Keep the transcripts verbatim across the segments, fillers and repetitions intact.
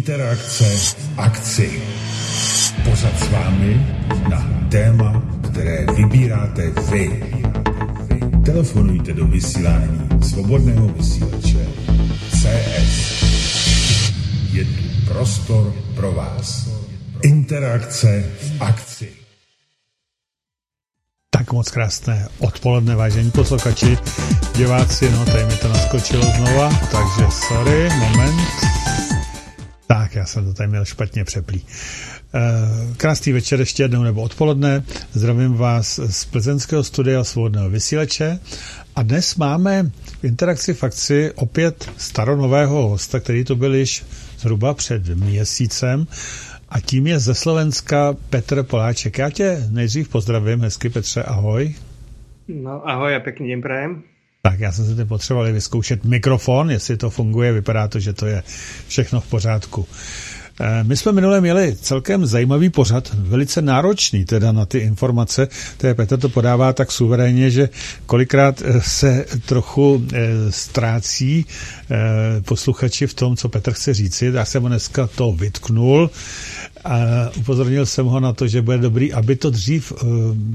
Interakce v akci. Pořad s vámi na téma, které vybíráte vy. Telefonujte do vysílání Svobodného vysílače C S. Je tu prostor pro vás. Interakce v akci. Tak moc krásné odpoledne, vážení posluchači, diváci, no tady mi to naskočilo znova, takže sorry, moment. Tak, já jsem to tady měl špatně přeplý. Krásný večer ještě jednou nebo odpoledne, zdravím vás z plzeňského studia Svobodného vysílače a dnes máme v interakci v akci opět staronového hosta, který tu byl již zhruba před měsícem. A tím je ze Slovenska Petr Poláček. Já tě nejdřív pozdravím, hezky Petře, ahoj. No ahoj a pěkný den prajem. Tak já jsem se teď potřeboval vyzkoušet mikrofon, jestli to funguje, vypadá to, že to je všechno v pořádku. My jsme minule měli celkem zajímavý pořad, velice náročný teda na ty informace, které Petr to podává tak suverénně, že kolikrát se trochu ztrácí posluchači v tom, co Petr chce říci. Já jsem ho dneska to vytknul a upozornil jsem ho na to, že bude dobrý, aby to dřív uh,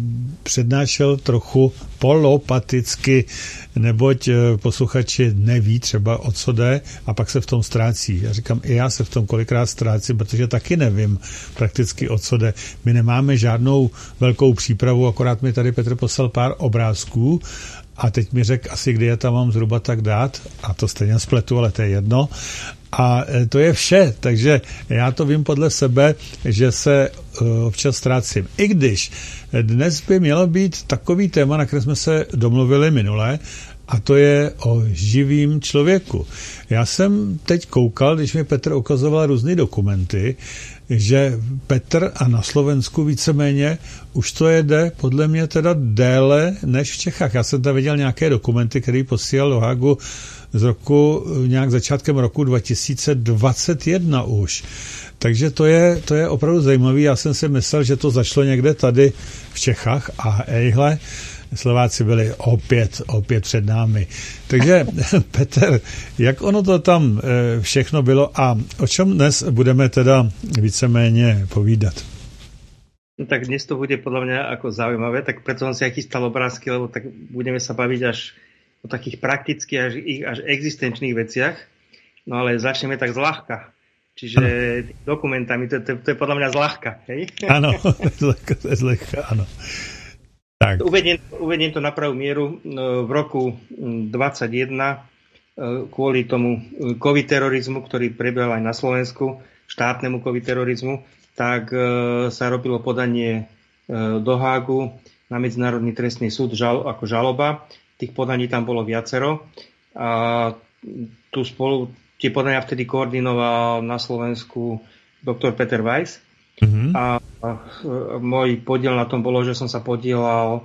přednášel trochu polopaticky, neboť uh, posluchači neví třeba o co jde a pak se v tom ztrácí. Já říkám, i já se v tom kolikrát ztrácím, protože taky nevím prakticky o co jde. My nemáme žádnou velkou přípravu, akorát mi tady Petr poslal pár obrázků a teď mi řekl asi, kdy je tam mám zhruba tak dát a to stejně spletu, ale to je jedno. A to je vše, takže já to vím podle sebe, že se občas ztrácím. I když dnes by mělo být takový téma, na které jsme se domluvili minule, a to je o živým člověku. Já jsem teď koukal, když mi Petr ukazoval různé dokumenty, že Petr a na Slovensku víceméně už to jede podle mě teda déle než v Čechách. Já jsem tam viděl nějaké dokumenty, které posílal do Hagu z roku, nějak začátkem roku dva tisíce dvacet jedna už. Takže to je, to je opravdu zajímavé. Já jsem si myslel, že to začalo někde tady v Čechách a ejhle, Slováci byli opět, opět před námi. Takže Petr, jak ono to tam všechno bylo a o čem dnes budeme teda víceméně povídat? No tak dnes to bude podľa mňa ako zaujímavé, tak preto som si aj chystal obrázky, lebo tak budeme sa baviť až o takých praktických až, až existenčných veciach. No ale začneme tak zľahka. Čiže dokumentami, to, to, to je podľa mňa zľahka, hej? Áno, to je zľahka, áno. Tak. Uvediem, uvediem to na pravú mieru. V roku dvadsaťjeden kvôli tomu covid terorizmu, ktorý prebiehal aj na Slovensku, štátnemu covid terorizmu, tak sa robilo podanie do Hágu na Medzinárodný trestný súd žal, ako žaloba. Tých podaní tam bolo viacero. A tu spolu, tie podania vtedy koordinoval na Slovensku doktor Peter Weiss. Mm-hmm. A, a môj podiel na tom bolo, že som sa podielal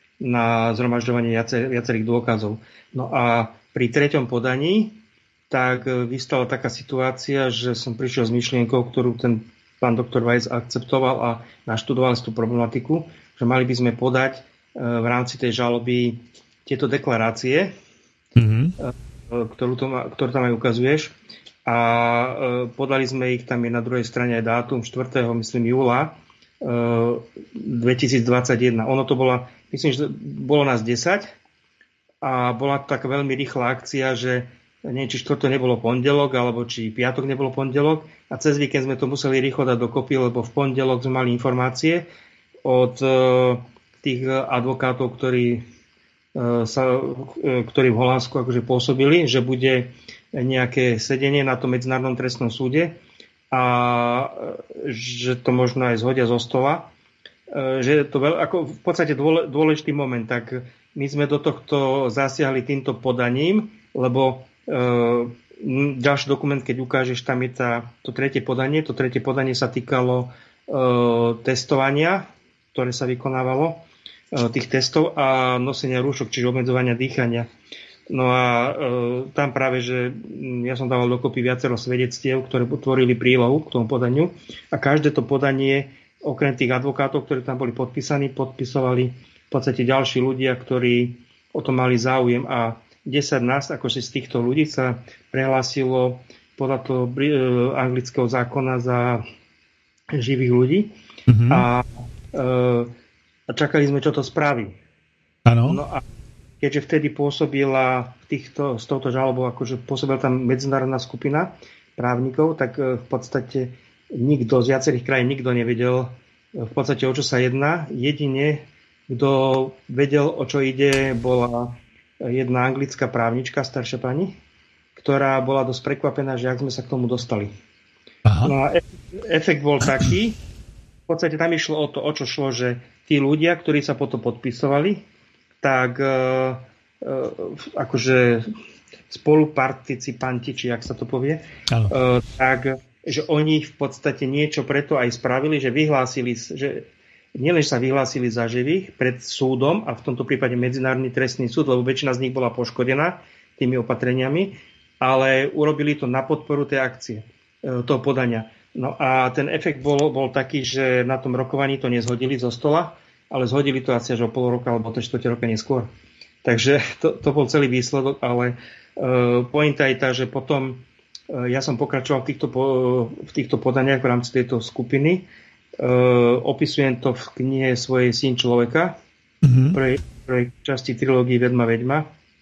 na zhromažďovanie viacer, viacerých dôkazov. No a pri treťom podaní tak vystala taká situácia, že som prišiel s myšlienkou, ktorú ten pán doktor Weiss akceptoval a naštudoval si tú problematiku, že mali by sme podať v rámci tej žaloby tieto deklarácie, mm-hmm. ktorú, to ma, ktorú tam aj ukazuješ. A podali sme ich, tam je na druhej strane aj dátum štvrtého myslím júla dvetisícdvadsaťjeden. Ono to bola, myslím, že bolo nás desať a bola to taká veľmi rýchla akcia, že neviem, či štvrto nebolo pondelok, alebo či piatok nebolo pondelok a cez víkend sme to museli rýchlo dať dokopy, lebo v pondelok sme mali informácie od tých advokátov, ktorí, sa, ktorí v Holandsku akože pôsobili, že bude nejaké sedenie na tom Medzinárodnom trestnom súde a že to možno aj zhodia zo stola. Že to veľ, ako v podstate dôležitý moment, tak my sme do tohto zasiahli týmto podaním, lebo e, ďalší dokument, keď ukážeš, tam je tá, to tretie podanie. To tretie podanie sa týkalo e, testovania, ktoré sa vykonávalo, e, tých testov a nosenia rúšok, čiže obmedzovania dýchania. No a e, tam práve, že ja som dával dokopy viacero svedectiev, ktoré tvorili prílohu k tomu podaniu a každé to podanie, okrem tých advokátov, ktorí tam boli podpísaní, podpisovali v podstate ďalší ľudia, ktorí o to mali záujem a desať nás, akože z týchto ľudí sa prehlásilo podľa toho anglického zákona za živých ľudí. Mm-hmm. A, a čakali sme, čo to spraví. Áno. No a keďže vtedy pôsobila v týchto, s touto žalobou, akože pôsobila tam medzinárodná skupina právnikov, tak v podstate nikto z viacerých krajín nikto nevedel v podstate, o čo sa jedná. Jedine, kto vedel, o čo ide, bola jedna anglická právnička, staršia pani, ktorá bola dosť prekvapená, že ak sme sa k tomu dostali. Aha. No a efekt bol taký, v podstate tam išlo o to, o čo šlo, že tí ľudia, ktorí sa potom podpisovali, tak e, e, akože spoluparticipanti, či jak sa to povie, e, tak, že oni v podstate niečo preto aj spravili, že vyhlásili, že nielen sa vyhlásili za živých pred súdom, a v tomto prípade Medzinárodný trestný súd, lebo väčšina z nich bola poškodená tými opatreniami, ale urobili to na podporu tej akcie, e, toho podania. No a ten efekt bol, bol taký, že na tom rokovaní to nezhodili zo stola, ale zhodili to asi až o pol roka alebo to štvrť roka neskôr. Takže to, to bol celý výsledok, ale uh, pointa je tá, že potom uh, ja som pokračoval v týchto, po, v týchto podaniach v rámci tejto skupiny. Uh, opisujem to v knihe svojej Syn človeka, mm-hmm. prvej, prvej časti trilógii Vedma Veďma.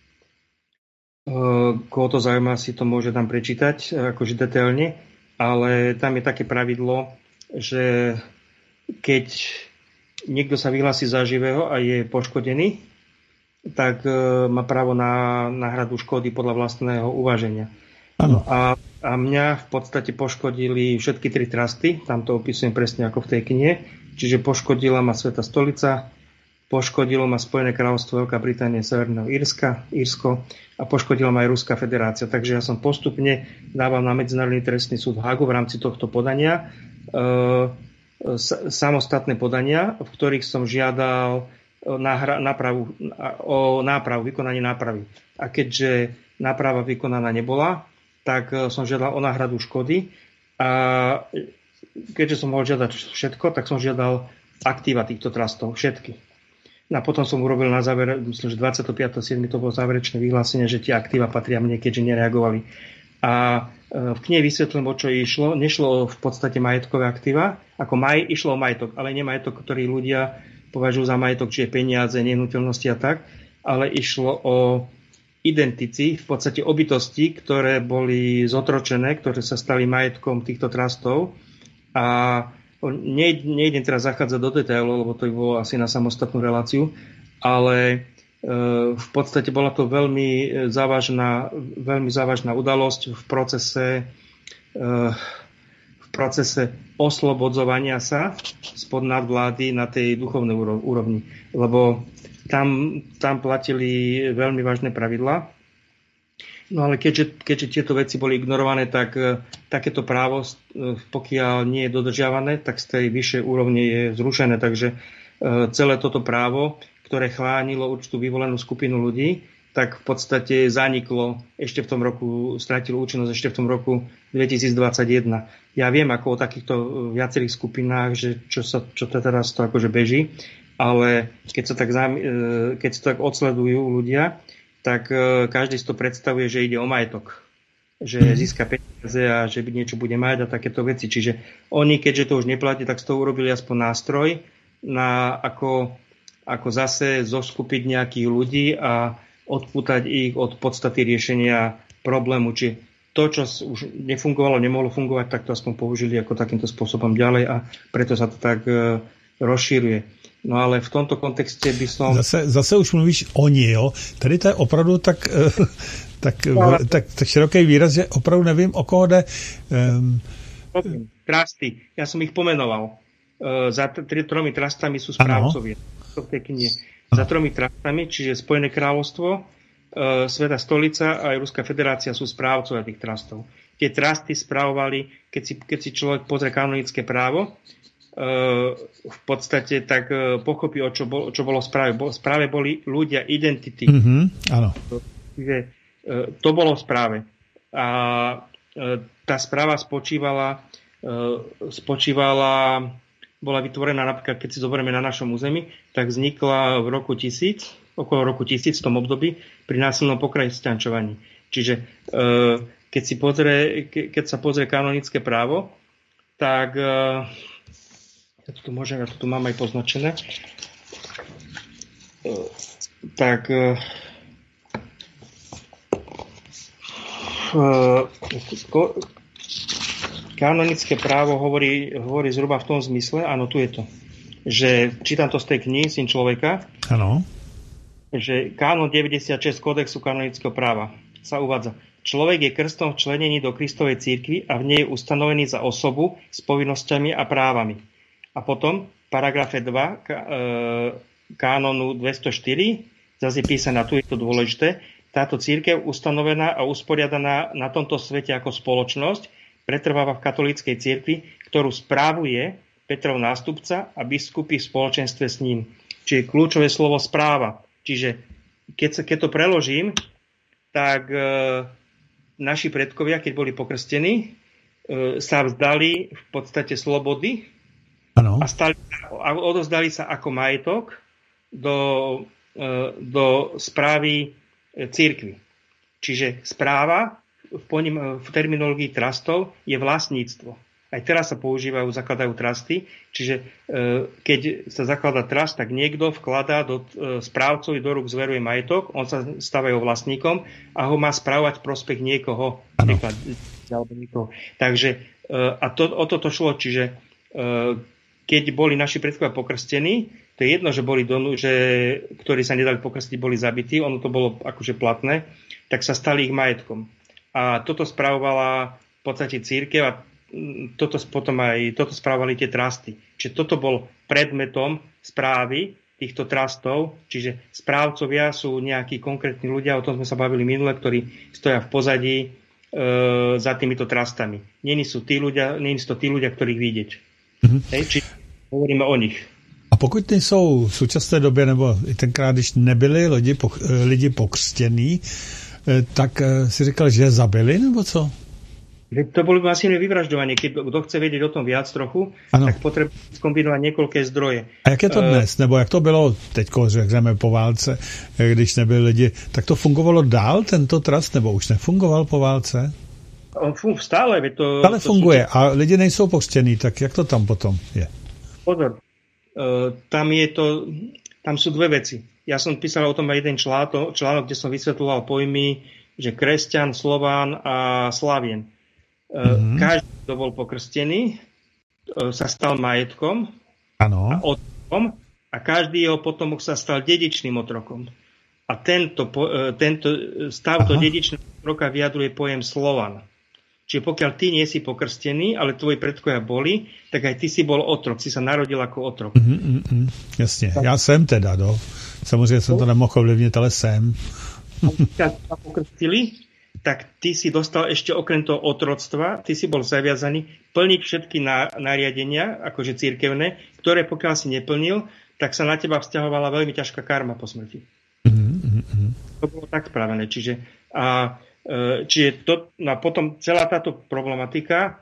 Uh, koho to zaujíma, si to môže tam prečítať, uh, akože detailne, ale tam je také pravidlo, že keď niekto sa vyhlási za živého a je poškodený, tak e, má právo na náhradu škody podľa vlastného uváženia. No a, a mňa v podstate poškodili všetky tri trusty, tam to opisujem presne ako v tej knihe, čiže poškodila ma Svätá stolica, poškodilo ma Spojené kráľovstvo, Veľká Británia, Severného Írska, Írsko a poškodila ma aj Ruská federácia. Takže ja som postupne dával na Medzinárodný trestný súd v Hagu v rámci tohto podania e, samostatné podania, v ktorých som žiadal náhra, nápravu, o nápravu, vykonanie nápravy. A keďže náprava vykonaná nebola, tak som žiadal o náhradu škody a keďže som mohol žiadať všetko, tak som žiadal aktíva týchto trustov, všetky. A potom som urobil na záver, myslím, že dvadsiateho piateho siedmeho to bolo záverečné vyhlásenie, že tie aktíva patria mne, keďže nereagovali. A v knihe vysvetlím, o čo išlo. Nešlo v podstate majetkové aktíva, ako maj, išlo o majetok, ale nie majetok, ktorý ľudia považujú za majetok, čiže peniaze, nehnuteľnosti a tak, ale išlo o identici, v podstate o bytosti, ktoré boli zotročené, ktoré sa stali majetkom týchto trustov. A nejdem teraz zachádzať do detailov, lebo to by bolo asi na samostatnú reláciu, ale v podstate bola to veľmi závažná, veľmi závažná udalosť v procese, v procese oslobodzovania sa spod nadvlády na tej duchovnej úrovni. Lebo tam, tam platili veľmi vážne pravidlá. No ale keďže, keďže tieto veci boli ignorované, tak takéto právo, pokiaľ nie je dodržiavané, tak z tej vyššej úrovne je zrušené. Takže celé toto právo, ktoré chránilo určitú vyvolenú skupinu ľudí, tak v podstate zaniklo ešte v tom roku, stratilo účinnosť ešte v tom roku dvetisícdvadsaťjeden. Ja viem ako o takýchto viacerých skupinách, že čo, sa, čo to teraz to akože beží, ale keď sa tak, keď sa tak odsledujú ľudia, tak každý si to predstavuje, že ide o majetok. Že získa peniaze a že niečo bude mať a takéto veci. Čiže oni, keďže to už neplatí, tak z toho urobili aspoň nástroj na ako ako zase zoskupiť nejakých ľudí a odpútať ich od podstaty riešenia problému. Čiže to, čo už nefungovalo, nemohlo fungovať, tak to aspoň použili ako takýmto spôsobom ďalej a preto sa to tak e, rozšíruje. No ale v tomto kontexte by som... Zase, zase už mluvíš oni, jo? Tady to je opravdu tak, tak, no, ale... tak, tak široký výraz, že opravdu nevím, o koho jde. Um... Trusty. Ja som ich pomenoval. Uh, za t- tromi trustami sú správcovia. V tej knihe. Za tromi trustami, čiže Spojené kráľovstvo, uh, Svätá stolica a aj Ruská federácia sú správcovia tých trustov. Tie trusty správovali, keď si, keď si človek pozrie kanonické právo, uh, v podstate tak uh, pochopí, o čo, bol, čo bolo v správe. Bo, v správe boli ľudia, identity. Mm-hmm, áno. Čiže uh, to bolo v správe. A uh, tá správa spočívala, uh, spočívala bola vytvorená napríklad, keď si zoberieme na našom území, tak vznikla v roku tisíc, okolo roku tisíc v tom období, pri násilnom pokresťančovaní. Čiže e, keď, si pozrie, keď sa pozrie kanonické právo, tak uh, ja to tu môžem, ja to tu mám aj poznačené, uh, tak uh, uh, kanonické právo hovorí, hovorí zhruba v tom zmysle, áno, tu je to, že čítam to z tej knihy Syn človeka, áno, že kánon deväťdesiatšesť kódexu kanonického práva sa uvádza. Človek je krstom včlenený do Kristovej cirkvi a v nej je ustanovený za osobu s povinnosťami a právami. A potom v paragrafe dva kánonu dvestoštyri zase je písané, tu je to dôležité, táto cirkev ustanovená a usporiadaná na tomto svete ako spoločnosť pretrváva v katolíckej cirkvi, ktorú správuje Petrov nástupca a biskupy v spoločenstve s ním. Čiže kľúčové slovo správa. Čiže keď, sa, keď to preložím, tak e, naši predkovia, keď boli pokrstení, e, sa vzdali v podstate slobody ano. a, stali, a odozdali sa ako majetok do, e, do správy e, cirkvi. Čiže správa v, poním, v terminológii trustov je vlastníctvo. Aj teraz sa používajú, zakladajú trusty, čiže e, keď sa zakladá trust, tak niekto vkladá do e, správcov do rúk zveruje majetok, on sa stáva jeho vlastníkom a ho má správať v prospech niekoho. Príklad, alebo niekoho. Takže e, a to, o toto šlo, čiže e, keď boli naši predkovia pokrstení, to je jedno, že boli donu, že, ktorí sa nedali pokrstiť, boli zabití, ono to bolo akože platné, tak sa stali ich majetkom. A toto spravovala v podstate cirkev a toto potom aj toto správali tie trusty. Čiže toto bol predmetom správy týchto trustov, čiže správcovia sú nejakí konkrétni ľudia, o tom sme sa bavili minule, ktorí stoja v pozadí e, za týmito trustami. Nie sú tí ľudia, nie sú to tí ľudia, ktorých vidieť. Mm-hmm. Hej, čiže hovoríme o nich. A pokud nejsou v současné době, nebo i tenkrát, když nebyli lidi, lidi pokřtění, tak si říkal, že je zabili, nebo co? To bolo masívne vyvražďovanie. Keď kto chce vedieť o tom viac trochu, ano. tak potrebuje skombinovať niekoľké zdroje. A jak je to dnes? Nebo jak to bylo teďko, řekneme, po válce, když nebyli lidi? Tak to fungovalo dál, tento trust, nebo už nefungoval po válce? On fun- stále. To, stále to funguje. Sú... A lidi nejsou pokřtění, tak jak to tam potom je? Pozor. Uh, tam je to, tam sú dve veci. Ja som písal o tom aj jeden článok, článok, kde som vysvetľoval pojmy, že kresťan, Slován a Slavien. Mm-hmm. Každý, kto bol pokrstený, sa stal majetkom ano. a otrokom a každý jeho potomok sa stal dedičným otrokom. A tento, tento stav do dedičného otroka vyjadruje pojem Slovan. Čiže pokiaľ ty nie si pokrstený, ale tvoji predkovia boli, tak aj ty si bol otrok, si sa narodil ako otrok. Mm-hmm, jasne, ja jsem teda, no. Samozřejmě jsem to nemohl ovlivnit, ale jsem. Keď sa pokrstili, tak ty si dostal ešte okrem toho otroctva, ty si bol zaviazaný plniť všetky nariadenia, akože cirkevné, ktoré pokiaľ si neplnil, tak sa na teba vzťahovala veľmi ťažká karma po smrti. Mm-hmm. To bolo tak spravené. Čiže, a, čiže to, no potom celá táto problematika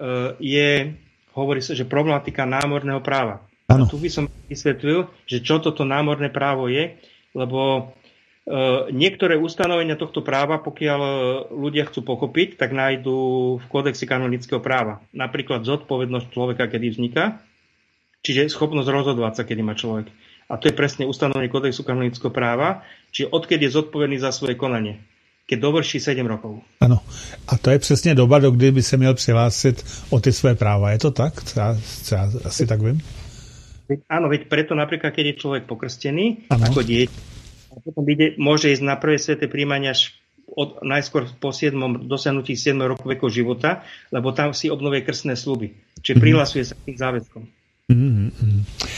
je, hovorí sa, že problematika námorného práva. A tu by som vysvetlil, že čo toto námorné právo je, lebo niektoré ustanovenia tohto práva, pokiaľ ľudia chcú pochopiť, tak nájdú v kódexe kanonického práva. Napríklad zodpovednosť človeka, kedy vzniká, čiže schopnosť rozhodovať sa, kedy má človek. A to je presne ustanovenie kódexu kanonického práva, čiže odkedy je zodpovedný za svoje konanie, keď dovrší sedem rokov. Ano. A to je přesně doba, do kdy by se měl přihlásit o ty své práva. Je to tak? Já, já asi tak vím. Áno, veď preto napríklad, keď je človek pokrstený, ano. ako dieťa, a potom ide, môže ísť na prvé sväté príjmanie až od, najskôr po siedmom dosiahnutí siedmeho roku veku života, lebo tam si obnovuje krstné sľuby. Čiže mm-hmm. prihlasuje sa k tým záväzkom. Mm-hmm.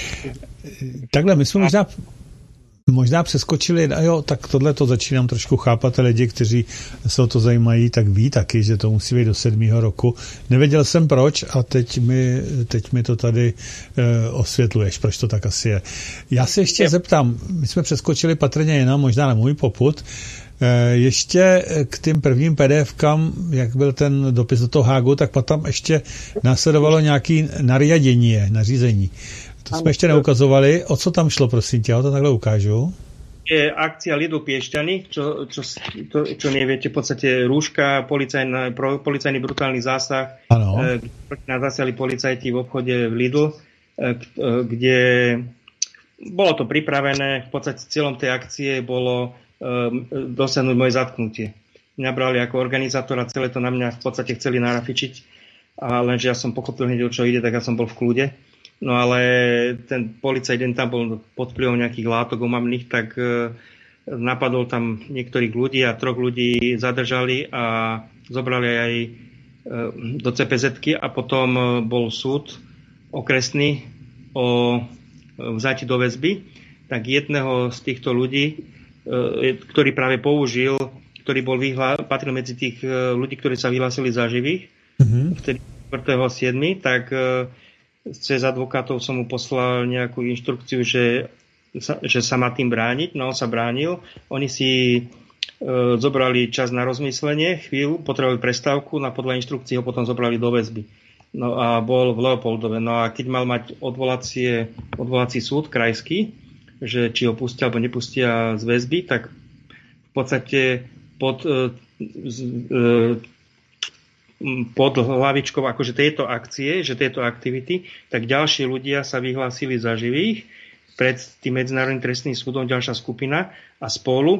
Takhle, my jsme možná, možná přeskočili, a jo, tak tohle to začínám trošku chápat, lidi, kteří se o to zajímají, tak ví taky, že to musí být do sedmého roku. Nevěděl jsem proč a teď mi, teď mi to tady e, osvětluješ, proč to tak asi je. Já se ještě zeptám, my jsme přeskočili patrně jenom, možná na můj popud, e, ještě k tým prvním PDFkám, jak byl ten dopis do toho Hágu, tak potom ještě následovalo nějaké nariadení, nařízení. To jsme ještě neukazovali. O co tam šlo, prosím tě? Já to takhle ukážu. je akcia Lidl Piešťany, čo, čo, to, čo neviete, v podstate rúška, policajný, policajný brutálny zásah, e, kde nás zasiali policajti v obchode v Lidl, e, kde bolo to pripravené, v podstate cieľom tej akcie bolo e, dosiahnuť moje zatknutie. Mňa brali ako organizátora, celé to na mňa v podstate chceli narafičiť, a lenže ja som pochopil hneď, o čo ide, tak ja som bol v kľude. No ale ten policajt den tam bol pod vplyvom nejakých látok omamných, tak e, napadol tam niektorých ľudí a troch ľudí zadržali a zobrali aj e, do cé pé zetky a potom e, bol súd okresný o vzáti do väzby. Tak jedného z týchto ľudí, e, ktorý práve použil, ktorý bol vyhlá, patril medzi tých e, ľudí, ktorí sa vyhlásili za živých, mm-hmm. vtedy štvrtého siedmeho tak e, cez advokátov som mu poslal nejakú inštrukciu, že sa, že sa má tým brániť. No on sa bránil. Oni si e, zobrali čas na rozmyslenie, chvíľu, potrebovali prestávku, no a podľa inštrukcií ho potom zobrali do väzby. No a bol v Leopoldove. No a keď mal mať odvolacie, odvolací súd krajský, že či ho pustia alebo nepustia z väzby, tak v podstate pod e, z, e, pod hlavičkou akože tejto akcie, že tejto aktivity, tak ďalší ľudia sa vyhlásili za živých pred tým Medzinárodným trestným súdom, ďalšia skupina a spolu e,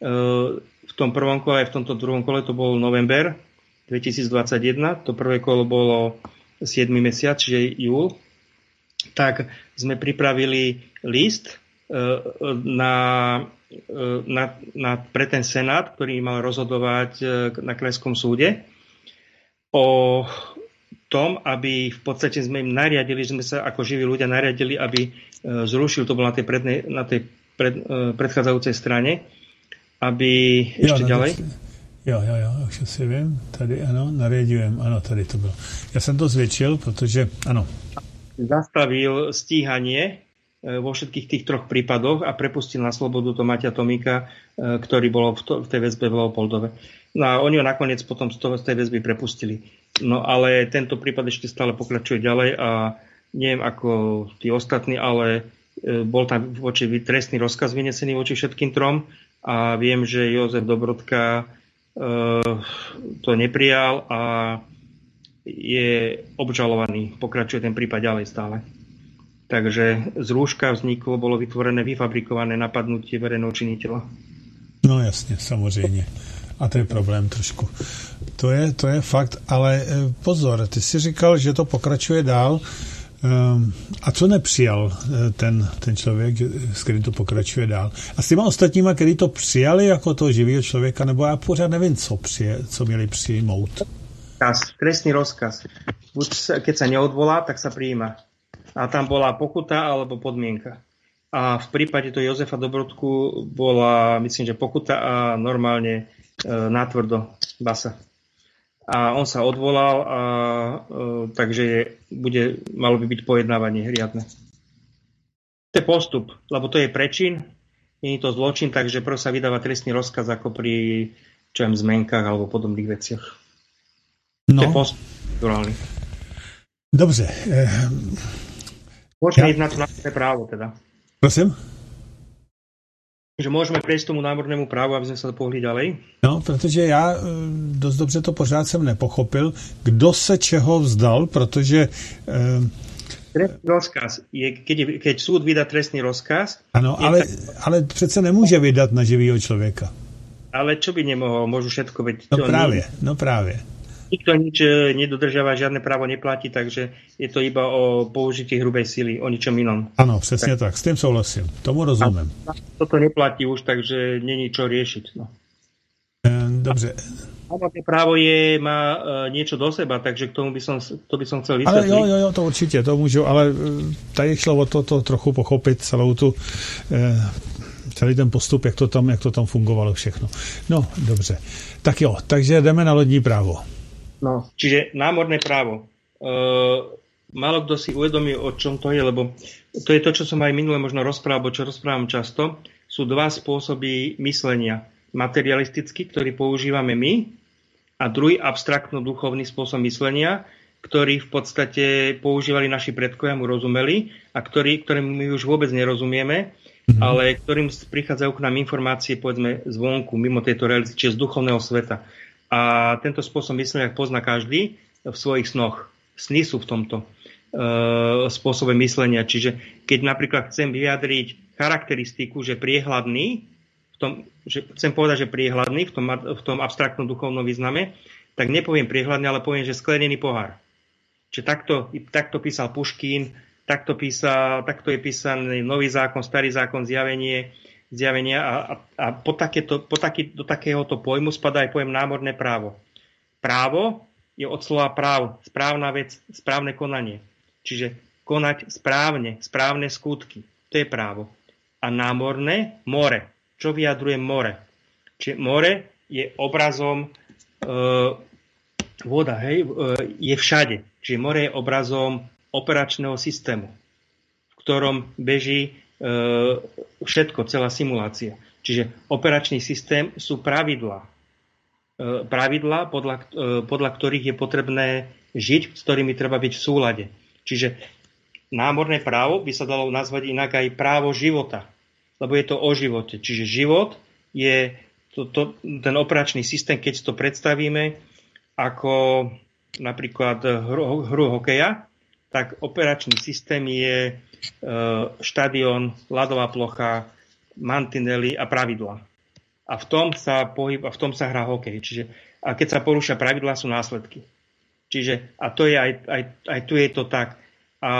v tom prvom kole aj v tomto druhom kole, to bol november dvetisícdvadsaťjeden, to prvé kolo bolo siedmy mesiac, čiže júl, tak sme pripravili list e, na, e, na, na, pre ten senát, ktorý mal rozhodovať e, na krajskom súde o tom, aby v podstate sme im nariadili, že sme sa ako živí ľudia nariadili, aby zrušil, to bolo na tej, prednej, na tej pred, predchádzajúcej strane, aby jo, ešte ďalej. Jo, jo, jo, už si vím, tady ano, nariadujem, ano, tady to bylo. Já jsem to zvětšil, protože, ano. Zastavil stíhanie vo všetkých tých troch prípadoch a prepustil na slobodu Tomáťa Tomíka, ktorý bol v, to, v tej väzbe v Leopoldove. No a oni ho nakoniec potom z, toho, z tej väzby prepustili. No ale tento prípad ešte stále pokračuje ďalej a neviem ako tí ostatní, ale bol tam voči trestný rozkaz vynesený voči všetkým trom a viem, že Jozef Dobrodka e, to neprijal a je obžalovaný. Pokračuje ten prípad ďalej stále. Takže z rúška vzniklo, bolo vytvorené, vyfabrikované napadnutie verejného činiteľa. No jasně, samozřejmě. A to je problém trošku. To je, to je fakt, ale pozor, ty jsi říkal, že to pokračuje dál. A co nepřijal ten, ten člověk, s kterým to pokračuje dál? A s těma ostatníma, který to přijali jako toho živého člověka, nebo já pořád nevím, co, přije, co měli přijmout. Trestný rozkaz. Buď keď sa neodvolá, tak sa prijíma. A tam bola pokuta alebo podmienka. A v prípade to Jozefa Dobrodku bola, myslím, že pokuta a normálne e, natvrdo basa. A on sa odvolal, a, e, takže bude, malo by byť pojednávanie riadne. To je postup, lebo to je prečin, nie je to zločin, takže prv sa vydáva trestný rozkaz ako pri čo viem, zmenkách alebo podobných veciach. No. To je postup naturálny. Dobře. Eh... Môžeme ja... ísť na to námorné právo, teda. Prosím? Že môžeme prejsť tomu námornému právu, aby sme sa pohli ďalej? No, protože já dost dobře to pořád jsem nepochopil, kdo se čeho vzdal, protože... Eh... Trestný rozkaz. Je, keď, keď súd vydá trestný rozkaz... Ano, ale, tak... ale přece nemůže vydat na živýho člověka. Ale čo by nemohol? Môžu všetko, veď... No právě, nie... no právě. Nikto nič nedodržiava, žiadne právo neplatí, takže je to iba o použití hrubej sily, o ničom inom. Ano, přesně tak. tak, s tým souhlasím. Tomu rozumím. A toto neplatí už, takže není čo riešiť. No. Dobře. Námorné právo je, má niečo do seba, takže k tomu by som, to by som chcel vysvetliť. Ale jo, jo, jo, to určitě, to můžu, ale tady šlo o to, to trochu pochopit celou tu... Eh, celý ten postup, jak to tam, jak to tam fungovalo všechno. No, dobře. Tak jo, takže jdeme na lodní právo. No, čiže námorné právo. E, málo kto si uvedomí, o čom to je, lebo to je to, čo som aj minule možno rozprával, čo rozprávam často. Sú dva spôsoby myslenia. Materialistický, ktorý používame my, a druhý abstraktno-duchovný spôsob myslenia, ktorý v podstate používali naši predkovia, mu rozumeli, a ktorý, ktorým my už vôbec nerozumieme. mm-hmm. ale ktorým prichádzajú k nám informácie, povedzme, zvonku, mimo tejto reality, čiže z duchovného sveta. A tento spôsob myslenia pozná každý v svojich snoch. Sny sú v tomto e, spôsobe myslenia. Čiže keď napríklad chcem vyjadriť charakteristiku, že priehľadný, v tom, že chcem povedať, že priehľadný v tom, v tom abstraktnom duchovnom význame, tak nepoviem priehľadný, ale poviem, že sklenený pohár. Čiže takto, takto písal Puškín, takto, písal, takto je písaný Nový zákon, Starý zákon, zjavenie, zjavenia a, a, a po takéto, po taký, do takéhoto pojmu spadá aj pojem námorné právo. Právo je od slova práv, správna vec, správne konanie. Čiže konať správne, správne skutky. To je právo. A námorné, more. Čo vyjadruje more? Čiže more je obrazom e, voda, hej, e, je všade. Čiže more je obrazom operačného systému, v ktorom beží e, všetko, celá simulácia. Čiže operačný systém sú pravidlá. E, pravidlá, podľa, e, podľa ktorých je potrebné žiť, s ktorými treba byť v súlade. Čiže námorné právo by sa dalo nazvať inak aj právo života, lebo je to o živote. Čiže život je to, to, ten operačný systém, keď to predstavíme ako napríklad hru, hru hokeja, tak operačný systém je e, štadión, ľadová plocha, mantinely a pravidlá. A v tom sa pohyb, a v tom sa hrá hokej. Čiže, a keď sa porúšia pravidlá, sú následky. Čiže, a to je aj, aj, aj tu je to tak. A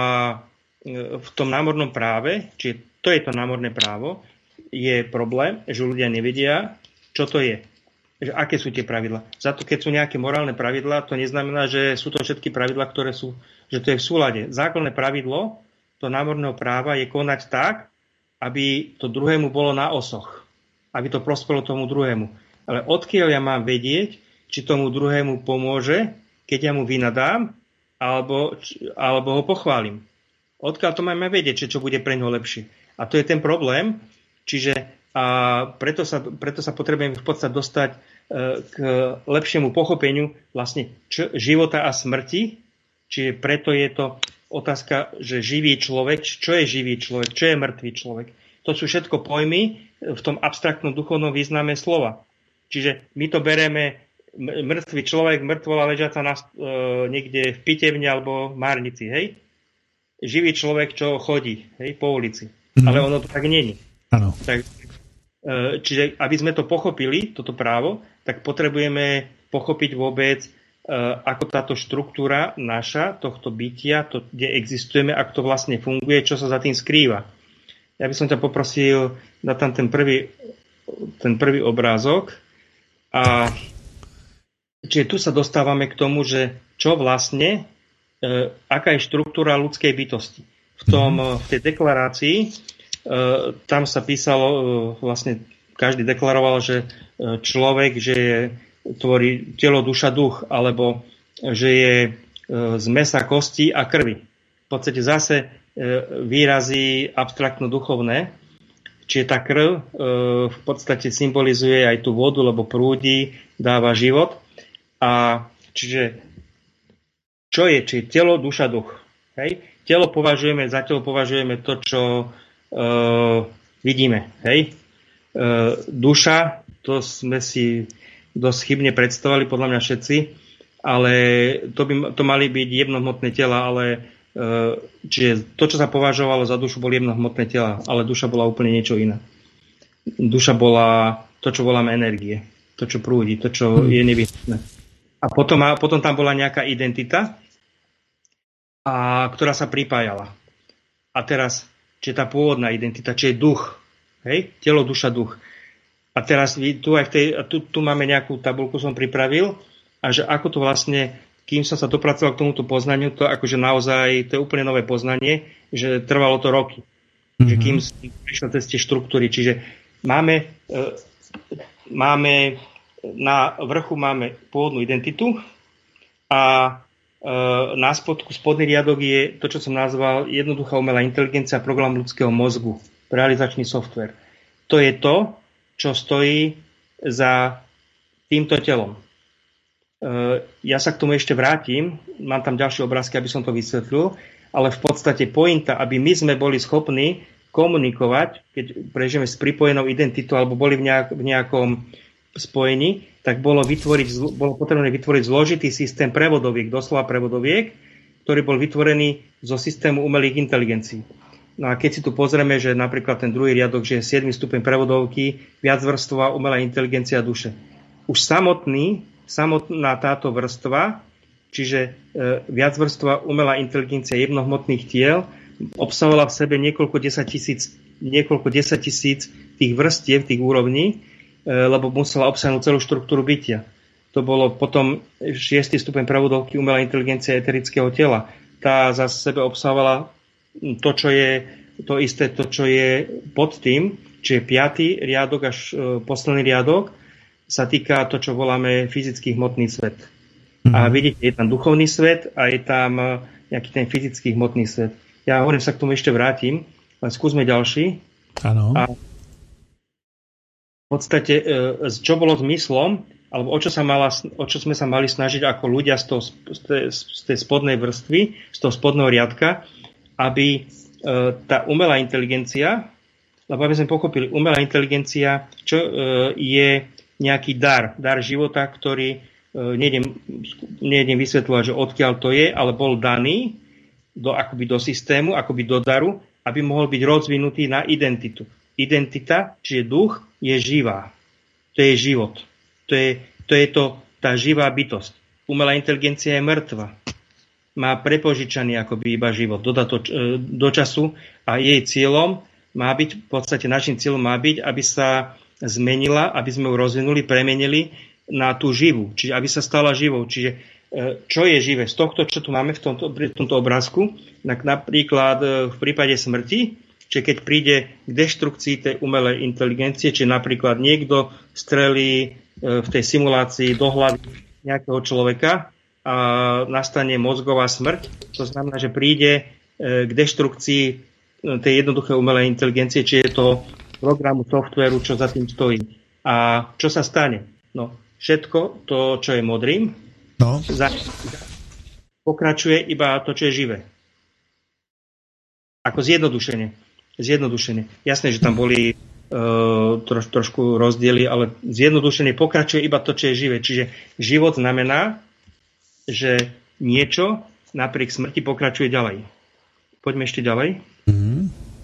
v tom námornom práve, čiže to je to námorné právo, je problém, že ľudia nevedia, čo to je. Že aké sú tie pravidlá. Zato keď sú nejaké morálne pravidlá, to neznamená, že sú to všetky pravidlá, ktoré sú, že to je v súlade. Základné pravidlo to námorného práva je konať tak, aby to druhému bolo na osoch. Aby to prospelo tomu druhému. Ale odkiaľ ja mám vedieť, či tomu druhému pomôže, keď ja mu vynadám, alebo, alebo ho pochválim. Odkiaľ to máme vedieť, čo bude pre ňoho lepšie. A to je ten problém. Čiže a preto sa, preto sa potrebujeme v podstate dostať e, k lepšiemu pochopeniu vlastne č- života a smrti. Čiže preto je to otázka, že živý človek, čo je živý človek, čo je mŕtvý človek. To sú všetko pojmy v tom abstraktnom duchovnom význame slova. Čiže my to bereme mŕtvý človek, mŕtvola ležiaca na, e, niekde v pitevni alebo v márnici, hej? Živý človek, čo chodí, hej, po ulici. Mm-hmm. Ale ono to tak nie je. Áno. Tak, e, čiže, aby sme to pochopili, toto právo, tak potrebujeme pochopiť vôbec, e, ako táto štruktúra naša, tohto bytia, to, kde existujeme, ako to vlastne funguje, čo sa za tým skrýva. Ja by som ťa poprosil dať tam ten prvý, ten prvý obrázok. A čiže tu sa dostávame k tomu, že čo vlastne, e, aká je štruktúra ľudskej bytosti. V, tom, v tej deklarácii e, tam sa písalo, e, vlastne každý deklaroval, že človek, že je, tvorí telo, duša, duch, alebo že je e, z mesa, kosti a krvi. V podstate zase e, výrazy abstraktno-duchovné. Čiže tá krv e, v podstate symbolizuje aj tú vodu, lebo prúdi, dáva život. A čiže čo je? Čiže telo, duša, duch. Hej? Telo považujeme, za telo považujeme to, čo e, vidíme. Hej? E, duša, to sme si dosť chybne predstavovali, podľa mňa všetci, ale to by to mali byť jemnohmotné tela, ale e, čiže to, čo sa považovalo za dušu, boli jemnohmotné tela, ale duša bola úplne niečo iné. Duša bola to, čo voláme energie, to, čo prúdi, to, čo je nevyhnutné. A potom, a potom tam bola nejaká identita, a, ktorá sa pripájala. A teraz, či je tá pôvodná identita, či je duch, hej? Telo, duša, duch. A teraz tu, aj v tej, tu, tu máme nejakú tabuľku, som pripravil, a že ako to vlastne, kým som sa dopracoval k tomuto poznaniu, to akože naozaj, to je úplne nové poznanie, že trvalo to roky. Mm-hmm. Že kým som prišiel cez tie štruktúry. Čiže máme, e, máme na vrchu máme pôvodnú identitu a e, na spodku, spodný riadok je to, čo som nazval jednoduchá umelá inteligencia, program ľudského mozgu, realizačný software. To je to, čo stojí za týmto telom. E, ja sa k tomu ešte vrátim, mám tam ďalšie obrázky, aby som to vysvetlil, ale v podstate pointa, aby my sme boli schopní komunikovať, keď prežijeme s pripojenou identitou alebo boli v, nejak, v nejakom spojení, tak bolo, vytvoriť, bolo potrebné vytvoriť zložitý systém prevodoviek, doslova prevodoviek, ktorý bol vytvorený zo systému umelých inteligencií. No a keď si tu pozrieme, že napríklad ten druhý riadok, že je siedmy stupeň prevodovky, viacvrstvová umelá inteligencia duše. Už samotný, samotná táto vrstva, čiže e, viacvrstvová umelá inteligencia jemnohmotných tiel, obsahovala v sebe niekoľko desaťtisíc, niekoľko desaťtisíc tých vrstiev, tých úrovní, lebo musela obsiahnuť celú štruktúru bytia. To bolo potom šiesty stupeň prevodovky umelá inteligencia eterického tela. Tá za sebe obsahovala to, čo je to isté, to, čo je pod tým, čiže piaty riadok až posledný riadok sa týka to, čo voláme fyzický hmotný svet. Mm-hmm. A vidíte, je tam duchovný svet a je tam nejaký ten fyzický hmotný svet. Ja hovorím, sa k tomu ešte vrátim, ale skúsme ďalší. Áno. A v podstate, čo bolo zmyslom, alebo o čo, sa mala, o čo sme sa mali snažiť ako ľudia z, toho, z, tej, z tej spodnej vrstvy, z toho spodného riadka, aby tá umelá inteligencia, lebo aby sme pochopili, umelá inteligencia, čo je nejaký dar, dar života, ktorý nejdem, nejdem vysvetľovať, že odkiaľ to je, ale bol daný do, akoby do systému, akoby do daru, aby mohol byť rozvinutý na identitu. Identita, čiže duch, je živá. To je život. To je, to je to, tá živá bytosť. Umelá inteligencia je mŕtva. Má prepožičaný akoby iba život. Dodá to do času a jej cieľom má byť, v podstate našim cieľom má byť, aby sa zmenila, aby sme ju rozvinuli, premenili na tú živú. Čiže aby sa stala živou. Čiže čo je živé? Z tohto, čo tu máme v tomto, v tomto obrázku, napríklad v prípade smrti, čiže keď príde k deštrukcii tej umelej inteligencie, či napríklad niekto strelí v tej simulácii do hlavy nejakého človeka a nastane mozgová smrť, to znamená, že príde k deštrukcii tej jednoduchej umelej inteligencie, či je to programu, softvéru, čo za tým stojí. A čo sa stane? No, všetko to, čo je modrým, no. za, pokračuje iba to, čo je živé. Ako zjednodušenie. Zjednodušenie. Jasné, že tam boli uh, troš, trošku rozdiely, ale zjednodušenie pokračuje iba to, čo je živé. Čiže život znamená, že niečo napriek smrti pokračuje ďalej. Poďme ešte ďalej. Mm-hmm.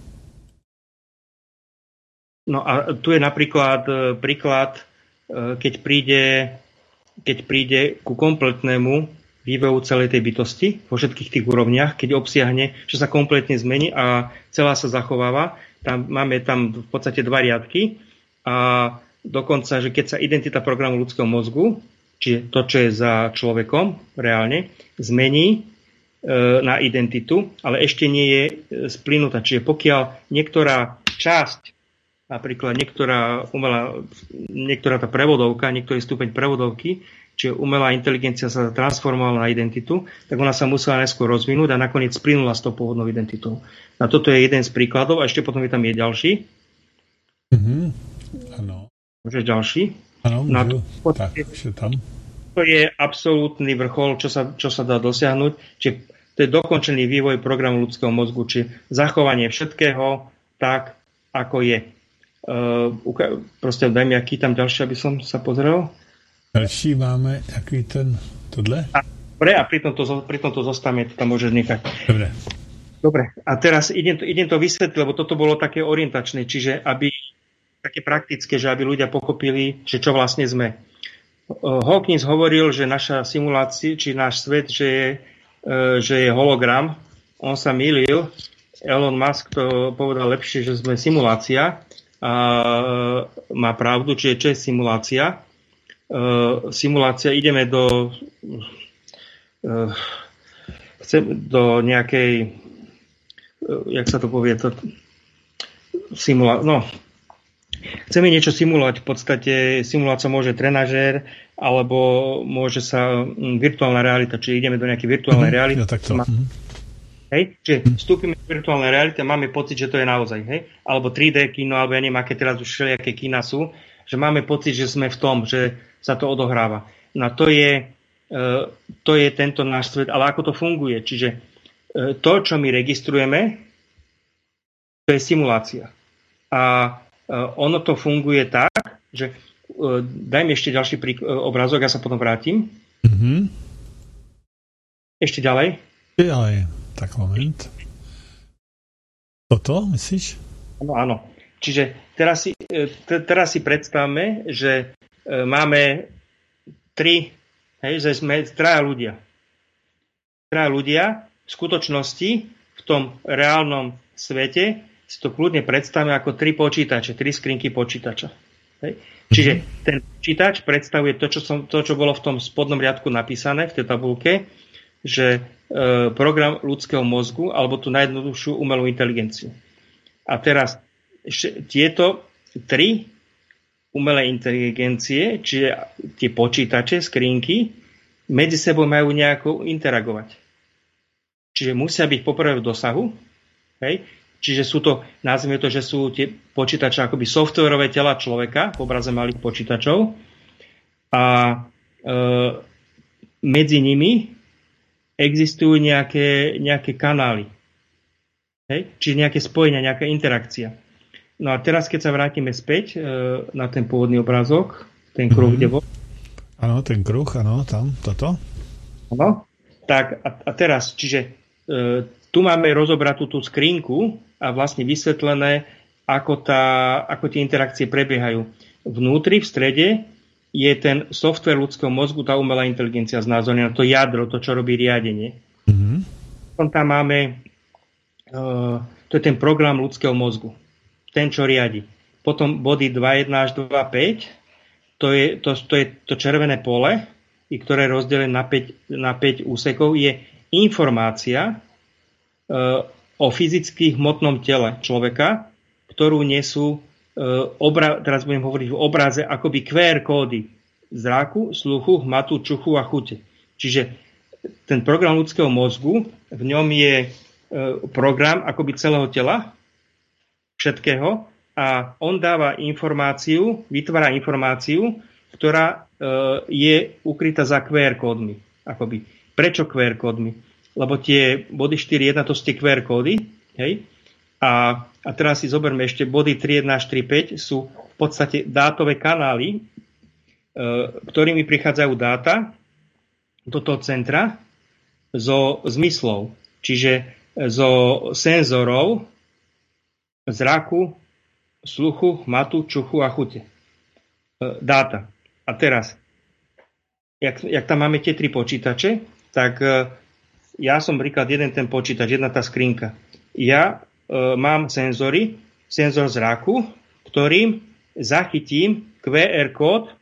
No a tu je napríklad uh, príklad, uh, keď príde, keď príde ku kompletnému vývoju celej tej bytosti vo všetkých tých úrovniach, keď obsiahne, že sa kompletne zmení a celá sa zachováva. Tam máme tam v podstate dva riadky a dokonca, že keď sa identita programu ľudského mozgu, čiže to, čo je za človekom reálne, zmení e, na identitu, ale ešte nie je splynutá. Čiže pokiaľ niektorá časť, napríklad niektorá umelá, niektorá tá prevodovka, niektorý stupeň prevodovky, čiže umelá inteligencia sa transformovala na identitu, tak ona sa musela najskôr rozvinúť a nakoniec splynula s tou pôvodnou identitou. A toto je jeden z príkladov a ešte potom je tam je ďalší. Mm-hmm. Áno. Môžeš ďalší? Áno, môžu. Tak, ešte tam. To je absolútny vrchol, čo sa, čo sa dá dosiahnuť. Čiže to je dokončený vývoj programu ľudského mozgu, či zachovanie všetkého tak, ako je. Uh, proste daj mi, aký tam ďalší, aby som sa pozrel. Další máme takový ten, tohle? A, dobre, a pri tomto, pri tomto zostavme to tam môžeš nechať. Dobre. Dobre, a teraz idem to, idem to vysvetliť, lebo toto bolo také orientačné, čiže aby, také praktické, že aby ľudia pochopili, že čo vlastne sme. Hawkins hovoril, že naša simulácia, či náš svet, že je, že je hologram. On sa mýlil. Elon Musk to povedal lepšie, že sme simulácia. A má pravdu, čiže čo je simulácia? Uh, simulácia, ideme do uh, chcem, do nejakej uh, jak sa to povie to, simula- no chceme niečo simulovať, v podstate simulovať sa môže trenažér alebo môže sa um, virtuálna realita, čiže ideme do nejakej virtuálnej mm-hmm, reality. Ja, takto. Má, hej, čiže mm-hmm. vstúpime do virtuálnej reality a máme pocit, že to je naozaj, hej, alebo tri dé kino, alebo ja neviem, aké teraz už všelijaké kina sú, že máme pocit, že sme v tom, že sa to odohráva. No a to je, to je tento náš svet, ale ako to funguje? Čiže to, čo my registrujeme, To je simulácia. A ono to funguje tak, že daj mi ešte ďalší prík- obrázok, ja sa potom vrátim. Mm-hmm. Ešte ďalej. Ďalej, tak moment. Toto, myslíš? Áno, áno. Čiže teraz si, t- teraz si predstavme, že máme tri, hej, že sme traja ľudia. Traja ľudia v skutočnosti v tom reálnom svete si to kľudne predstavíme ako tri počítače, tri skrinky počítača. Hej. Čiže ten počítač predstavuje to čo, som, to, čo bolo v tom spodnom riadku napísané v tej tabulke, že e, program ľudského mozgu, alebo tú najjednoduchšiu umelú inteligenciu. A teraz š, tieto tri umelé inteligencie, čiže tie počítače, skrinky, medzi sebou majú nejako interagovať. Čiže musia byť poprvé v dosahu, hej. Čiže sú to, nazvime to, že sú tie počítače akoby softverové tela človeka v obraze malých počítačov a e, medzi nimi existujú nejaké, nejaké kanály. Hej? Čiže nejaké spojenia, nejaká interakcia. No a teraz, keď sa vrátime späť e, na ten pôvodný obrázok, ten kruh, mm-hmm. kde bol. Áno, ten kruh, áno, tam, toto. Áno. Tak a, a teraz, čiže e, tu máme rozobratú tú skrinku a vlastne vysvetlené, ako, tá, ako tie interakcie prebiehajú. Vnútri, v strede, je ten software ľudského mozgu, tá umelá inteligencia znázornená, to jadro, to, čo robí riadenie. Mm-hmm. Potom tam máme, uh, to je ten program ľudského mozgu, ten, čo riadi. Potom body dva jedna až dva päť, to je to, to, je to červené pole, i ktoré je rozdelené na päť, na päť úsekov, je informácia uh, o fyzicky hmotnom tele človeka, ktorú nesú, e, obra- teraz budem hovoriť v obraze, akoby kú er kódy zraku, sluchu, hmatu, čuchu a chute. Čiže ten program ľudského mozgu, v ňom je e, program akoby celého tela, všetkého, a on dáva informáciu, vytvára informáciu, ktorá e, je ukrytá za kú er kódmi. Akoby. Prečo kú er kódmi? Lebo tie body štyri jedna to sú tie kú er kódy, hej? A, a teraz si zoberme ešte body tri jedna až tri päť sú v podstate dátové kanály, e, ktorými prichádzajú dáta do toho centra zo zmyslov, čiže zo senzorov zraku, sluchu, hmatu, čuchu a chute. E, dáta. A teraz, jak, jak tam máme tie tri počítače, tak e, ja som príklad jeden ten počítač, jedna tá skrinka. Ja e, mám senzory, senzor zraku, ktorým zachytím kú er kód e,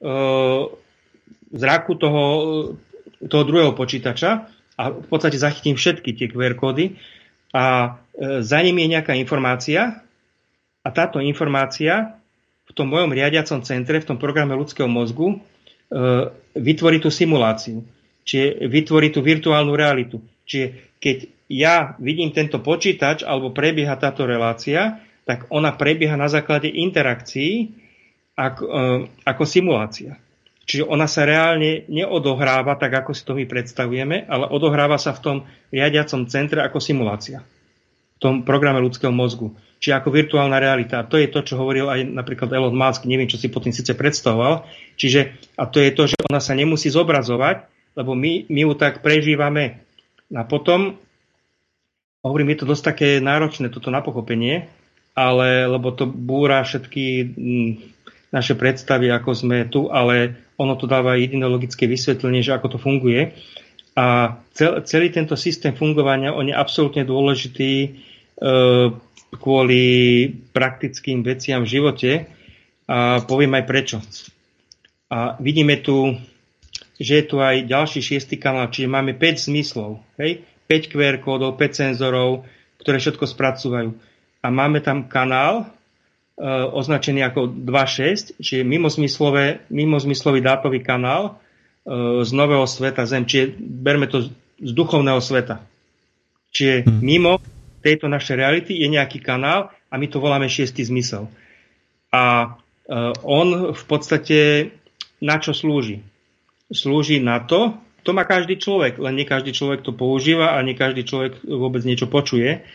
zraku toho, toho druhého počítača a v podstate zachytím všetky tie kú er kódy a e, za ním je nejaká informácia a táto informácia v tom mojom riadiacom centre, v tom programe ľudského mozgu e, vytvorí tú simuláciu. Čiže vytvorí tú virtuálnu realitu. Čiže keď ja vidím tento počítač alebo prebieha táto relácia, tak ona prebieha na základe interakcií ako, ako simulácia. Čiže ona sa reálne neodohráva tak, ako si to my predstavujeme, ale odohráva sa v tom riadiacom centre ako simulácia. V tom programe ľudského mozgu. Čiže ako virtuálna realita. A to je to, čo hovoril aj napríklad Elon Musk. Neviem, čo si po tým síce predstavoval. Čiže, a to je to, že ona sa nemusí zobrazovať, lebo my, my ju tak prežívame. A potom, hovorím, je to dosť také náročné, toto na pochopenie, ale, lebo to búra všetky m, naše predstavy, ako sme tu, ale ono to dáva jediné logické vysvetlenie, že ako to funguje. A cel, celý tento systém fungovania, on je absolútne dôležitý e, kvôli praktickým veciam v živote. A poviem aj prečo. A vidíme tu, že je tu aj ďalší šiestý kanál, čiže máme päť zmyslov, hej? päť kú er kódov, päť senzorov, ktoré všetko spracúvajú. A máme tam kanál e, označený ako dva šesť, čiže mimozmyslové, mimozmyslový dátový kanál e, z nového sveta Zem, čiže berme to z duchovného sveta. Čiže hmm. mimo tejto našej reality je nejaký kanál a my to voláme šiestý zmysel. A e, on v podstate na čo slúži? Slúži na to, to má každý človek, len nie každý človek to používa a nie každý človek vôbec niečo počuje.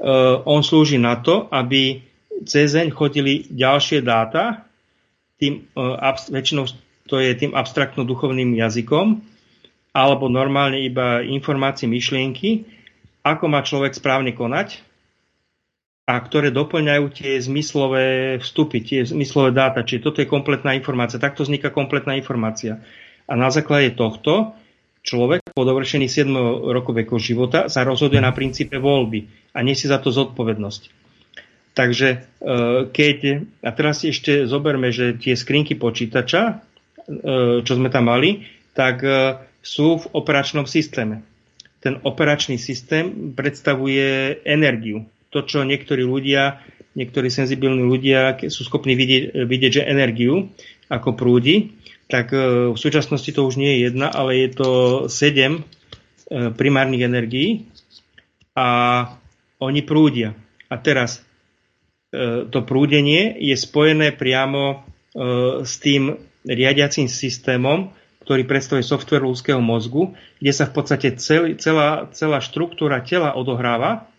on slúži na to, aby cezeň chodili ďalšie dáta, tým, väčšinou to je tým abstraktno-duchovným jazykom, alebo normálne iba informácie, myšlienky, ako má človek správne konať, a ktoré doplňajú tie zmyslové vstupy, tie zmyslové dáta. Čiže toto je kompletná informácia. Takto vzniká kompletná informácia. A na základe tohto človek po dovršení siedmeho roku veku života sa rozhoduje na princípe voľby a nesie za to zodpovednosť. Takže keď, a teraz si ešte zoberme, že tie skrinky počítača, čo sme tam mali, tak sú v operačnom systéme. Ten operačný systém predstavuje energiu. To, čo niektorí ľudia, niektorí senzibilní ľudia sú schopní vidieť, vidieť, že energiu ako prúdi, tak v súčasnosti to už nie je jedna, ale je to sedem primárnych energií a oni prúdia. A teraz to prúdenie je spojené priamo s tým riadiacím systémom, ktorý predstavuje software ľudského mozgu, kde sa v podstate celý, celá, celá štruktúra tela odohráva,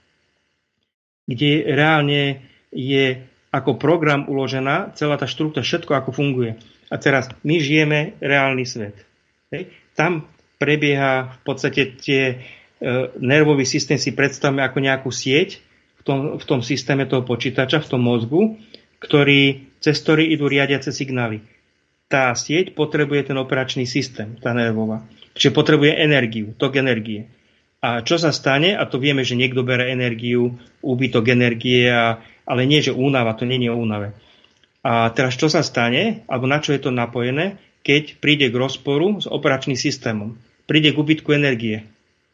kde reálne je ako program uložená celá tá štruktúra, všetko ako funguje. A teraz my žijeme reálny svet. Hej. Tam prebieha v podstate tie e, nervový systém si predstavme ako nejakú sieť v tom, v tom systéme toho počítača, v tom mozgu, ktorý, cez ktorý idú riadiace signály. Tá sieť potrebuje ten operačný systém, tá nervová. Čiže potrebuje energiu, tok energie. A čo sa stane, a to vieme, že niekto bere energiu, úbytok energie, a, ale nie, že únava, to nie je o únave. A teraz čo sa stane, alebo na čo je to napojené, keď príde k rozporu s operačným systémom. Príde k úbytku energie.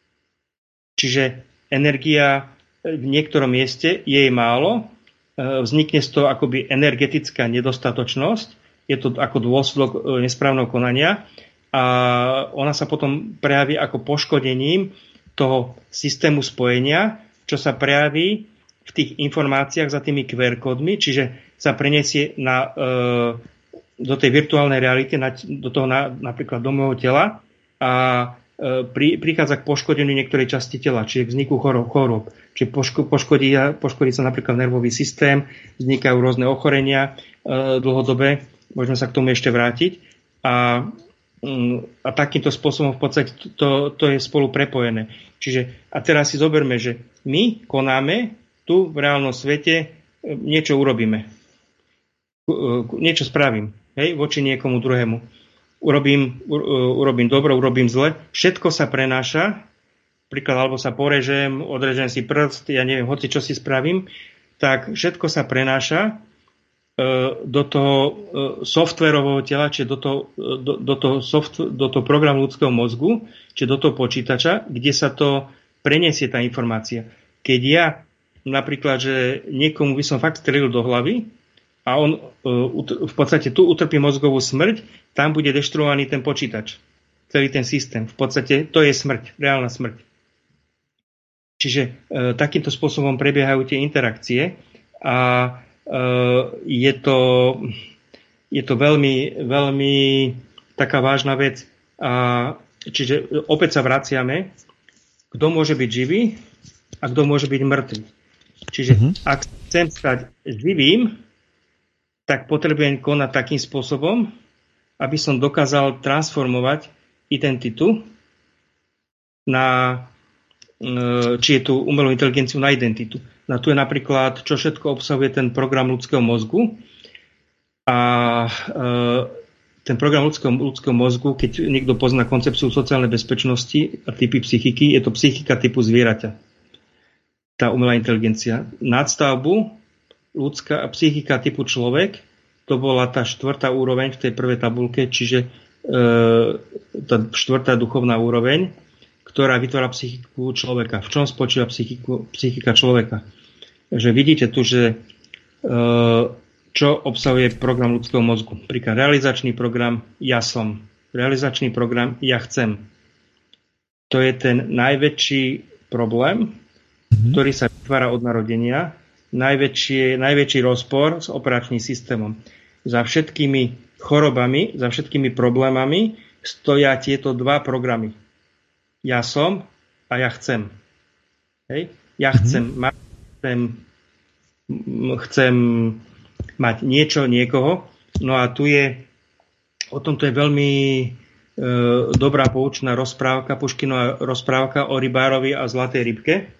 Čiže energia v niektorom mieste je jej málo, vznikne z toho akoby energetická nedostatočnosť, je to ako dôsledok nesprávneho konania a ona sa potom prejaví ako poškodením toho systému spojenia, čo sa prejaví v tých informáciách za tými kú er kódmi, čiže sa preniesie na, e, do tej virtuálnej reality, na, do toho na, napríklad do môjho tela a e, pri, prichádza k poškodeniu niektorej časti tela, čiže k vzniku chorób. chorób. Čiže poško, poškodí, poškodí sa napríklad nervový systém, vznikajú rôzne ochorenia e, dlhodobé, môžeme sa k tomu ešte vrátiť a, a takýmto spôsobom v podstate to, to je spolu prepojené. Čiže a teraz si zoberme, že my konáme tu v reálnom svete, niečo urobíme. Niečo spravím, hej, voči niekomu druhému. Urobím, urobím dobro, urobím zle. Všetko sa prenáša, príklad, alebo sa porežem, odrežem si prst, ja neviem, hoci čo si spravím, tak všetko sa prenáša do toho softverového tela, čiže do toho, do, do, toho soft, do toho programu ľudského mozgu, čiže do toho počítača, kde sa to preniesie tá informácia. Keď ja napríklad, že niekomu by som fakt strelil do hlavy a on v podstate tu utrpí mozgovú smrť, tam bude deštruovaný ten počítač, celý ten systém. V podstate to je smrť, reálna smrť. Čiže e, takýmto spôsobom prebiehajú tie interakcie a je to, je to veľmi, veľmi taká vážna vec. A čiže opäť sa vraciame, kto môže byť živý a kto môže byť mŕtvý. Čiže mm-hmm. ak chcem stať živým, tak potrebujem konať takým spôsobom, aby som dokázal transformovať identitu na, či je tu umelú inteligenciu na identitu. No tu je napríklad, čo všetko obsahuje ten program ľudského mozgu. A e, ten program ľudského, ľudského mozgu, keď niekto pozná koncepciu sociálnej bezpečnosti a typy psychiky, je to psychika typu zvieraťa. Tá umelá inteligencia. Nadstavbu ľudská psychika typu človek, to bola tá štvrtá úroveň v tej prvej tabulke, čiže e, tá štvrtá duchovná úroveň, ktorá vytvára psychiku človeka. V čom spočíva psychiku, psychika človeka? Že vidíte tu, že e, čo obsahuje program ľudského mozgu. Príklad realizačný program ja som. Realizačný program ja chcem. To je ten najväčší problém, mm-hmm. ktorý sa vytvára od narodenia. Najväčší, najväčší rozpor s operačným systémom. Za všetkými chorobami, za všetkými problémami stoja tieto dva programy. Ja som a ja chcem. Hej? Ja chcem mať chcem, chcem mať niečo, niekoho. No a tu je, o tomto je veľmi e, dobrá poučná rozprávka, Puškinová rozprávka o rybárovi a zlatej rybke. E,